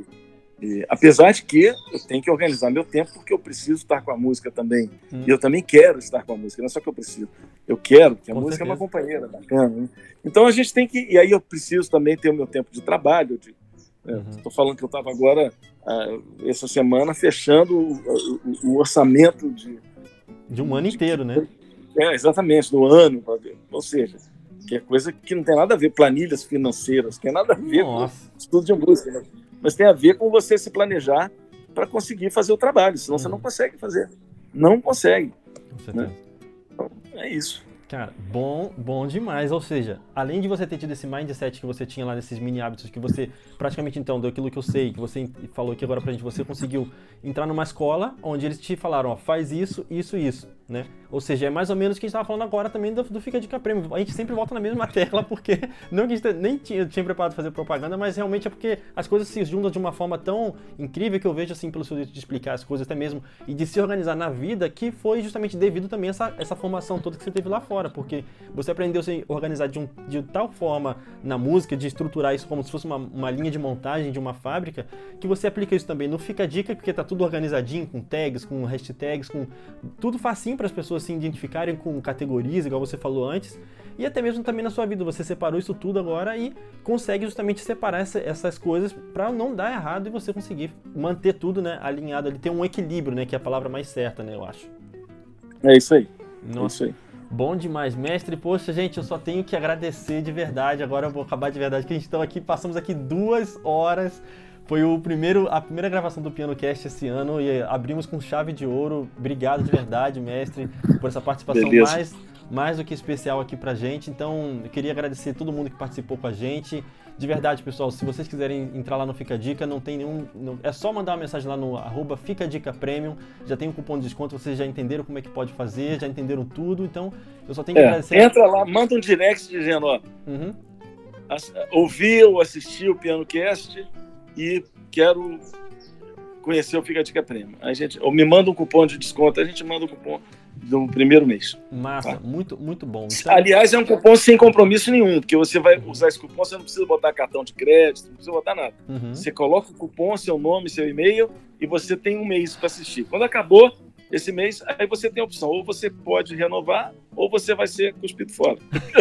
E apesar de que eu tenho que organizar meu tempo, porque eu preciso estar com a música também. E eu também quero estar com a música, não é só que eu preciso. Eu quero, porque a música é uma companheira bacana, né? Então a gente tem que... E aí eu preciso também ter o meu tempo de trabalho. Estou falando que eu estava agora, essa semana, fechando o orçamento de um ano inteiro, né? Exatamente, do ano. Ou seja, que é coisa que não tem nada a ver, planilhas financeiras, que tem nada a ver com estudo de música, né? Mas tem a ver com você se planejar para conseguir fazer o trabalho, senão você não consegue fazer. Não consegue. Com certeza. Né? Então, é isso. Cara, bom demais. Ou seja, além de você ter tido esse mindset que você tinha lá nesses mini hábitos, que você praticamente, então, daquilo que eu sei, que você falou aqui agora pra gente, você conseguiu entrar numa escola onde eles te falaram, ó, faz isso, isso, isso, né? Ou seja, é mais ou menos o que a gente tava falando agora também do Fica a Dica Premium. A gente sempre volta na mesma tecla, porque não que a gente nem tinha preparado pra fazer propaganda, mas realmente é porque as coisas se juntam de uma forma tão incrível que eu vejo, assim, pelo seu jeito de explicar as coisas até mesmo, e de se organizar na vida, que foi justamente devido também a essa formação toda que você teve lá fora, porque você aprendeu a se organizar de tal forma na música, de estruturar isso como se fosse uma linha de montagem de uma fábrica, que você aplica isso também no Fica a Dica, porque tá tudo organizadinho, com tags, com hashtags, com tudo facinho para as pessoas se identificarem com categorias, igual você falou antes, e até mesmo também na sua vida, você separou isso tudo agora e consegue justamente separar essas coisas para não dar errado e você conseguir manter tudo, né, alinhado ali, ter um equilíbrio, né, que é a palavra mais certa, né, eu acho. É isso aí. Nossa. É isso aí. Bom demais, mestre. Poxa, gente, eu só tenho que agradecer de verdade. Agora eu vou acabar de verdade, que a gente está aqui, passamos aqui 2 horas. Foi a primeira gravação do PianoCast esse ano e abrimos com chave de ouro. Obrigado de verdade, mestre, por essa participação mais do que especial aqui pra gente. Então, eu queria agradecer a todo mundo que participou com a gente. De verdade, pessoal, se vocês quiserem entrar lá no Fica a Dica, não tem nenhum... é só mandar uma mensagem lá no @FicaDicaPremium, já tem um cupom de desconto, vocês já entenderam como é que pode fazer, já entenderam tudo, então eu só tenho que agradecer... Entra lá, manda um direct dizendo, ó, ouvi ou assisti o PianoCast e quero conhecer o Fica a Dica Premium. Ou me manda um cupom de desconto, a gente manda o cupom do primeiro mês. Massa, tá? Muito, muito bom. Então... Aliás, é um cupom sem compromisso nenhum, porque você vai usar esse cupom, você não precisa botar cartão de crédito, não precisa botar nada. Você coloca o cupom, seu nome, seu e-mail, e você tem um mês para assistir. Quando acabou esse mês, aí você tem a opção, ou você pode renovar, ou você vai ser cuspido fora.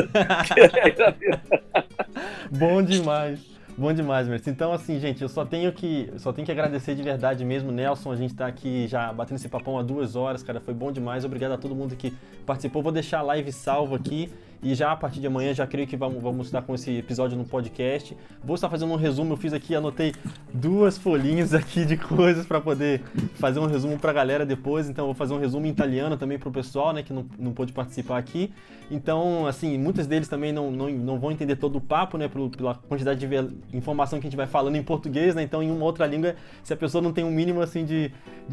Bom demais. Bom demais, mestre. Então, assim, gente, eu só tenho que agradecer de verdade mesmo, Nelson. A gente tá aqui já batendo esse papão há 2 horas, cara. Foi bom demais. Obrigado a todo mundo que participou. Vou deixar a live salva aqui. E já a partir de amanhã, já creio que vamos estar com esse episódio no podcast. Vou estar fazendo um resumo, eu fiz aqui, anotei 2 folhinhas aqui de coisas para poder fazer um resumo para a galera depois. Então, vou fazer um resumo em italiano também para o pessoal, né, que não pôde participar aqui. Então, assim, muitos deles também não vão entender todo o papo, né, pela quantidade de informação que a gente vai falando em português, né. Então, em uma outra língua, se a pessoa não tem um mínimo, assim, de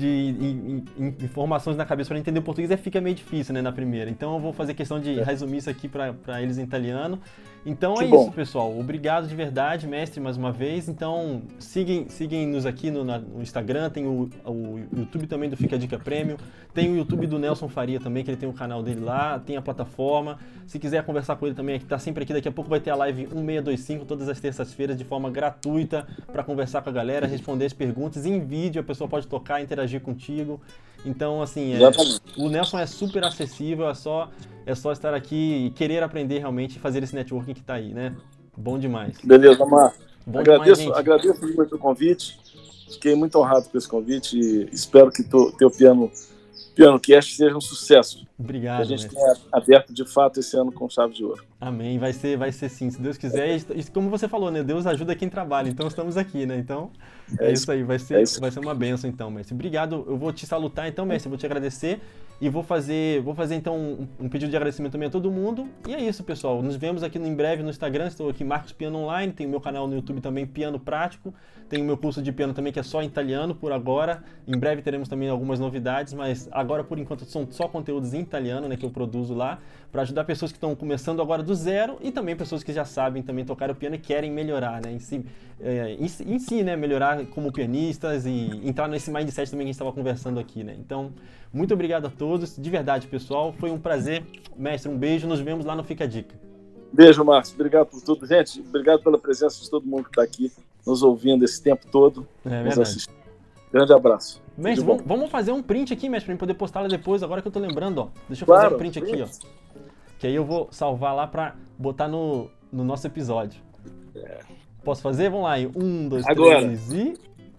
informações na cabeça para entender o português, fica meio difícil, né, na primeira. Então, eu vou fazer questão de resumir isso aqui para eles em italiano. Então é isso, pessoal. Obrigado de verdade, mestre, mais uma vez. Então, seguem-nos aqui no Instagram, tem o YouTube também do Fica a Dica Premium, tem o YouTube do Nelson Faria também, que ele tem o canal dele lá, tem a plataforma. Se quiser conversar com ele também, tá sempre aqui. Daqui a pouco vai ter a live 1625, todas as terças-feiras, de forma gratuita, para conversar com a galera, responder as perguntas em vídeo, a pessoa pode tocar, interagir contigo. Então, assim, o Nelson é super acessível, é só estar aqui e querer aprender realmente e fazer esse networking que está aí, né? Bom demais. Beleza, Marcos. Agradeço muito o convite. Fiquei muito honrado com esse convite e espero que teu PianoCast seja um sucesso. Obrigado. Que a gente tenha aberto de fato esse ano com chave de ouro. Amém. Vai ser sim, se Deus quiser. E como você falou, né? Deus ajuda quem trabalha. Então estamos aqui, né? Então é isso aí. Vai ser uma bênção, então, mestre. Obrigado. Eu vou te salutar, então, mestre. Eu vou te agradecer. E vou fazer então um pedido de agradecimento também a todo mundo. E é isso, pessoal. Nos vemos aqui em breve no Instagram. Estou aqui, Marcos Piano Online. Tem o meu canal no YouTube também, Piano Prático. Tem o meu curso de piano também, que é só em italiano por agora. Em breve teremos também algumas novidades, mas agora, por enquanto, são só conteúdos em italiano, né, que eu produzo lá, para ajudar pessoas que estão começando agora do zero e também pessoas que já sabem também tocar o piano e querem melhorar, né, em si, né, melhorar como pianistas e entrar nesse mindset também que a gente estava conversando aqui, né. Então, muito obrigado a todos, de verdade, pessoal. Foi um prazer. Mestre, um beijo. Nos vemos lá no Fica a Dica. Beijo, Marcos. Obrigado por tudo. Gente, obrigado pela presença de todo mundo que está aqui nos ouvindo esse tempo todo. Nos assistindo. Grande abraço. Mestre, vamos fazer um print aqui, mestre, para poder postar lá depois, agora que eu tô lembrando, ó. Deixa eu fazer um print aqui, ó. Que aí eu vou salvar lá para botar no nosso episódio. Posso fazer? Vamos lá, 1, 2, 3 e...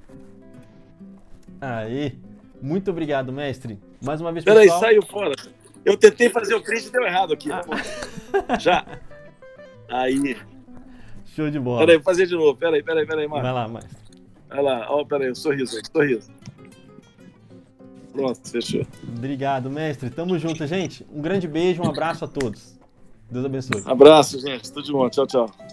Aí. Muito obrigado, mestre. Mais uma vez, pessoal. Peraí, saiu fora. Eu tentei fazer o print e deu errado aqui. Já. Aí. Show de bola. Peraí, vou fazer de novo. Peraí, Marcos. Vai lá, mestre. Vai lá. Ó, peraí, o sorriso. Pronto, fechou. Obrigado, mestre. Tamo junto, gente. Um grande beijo, um abraço a todos. Deus abençoe. Abraço, gente. Tudo de bom. Tchau, tchau.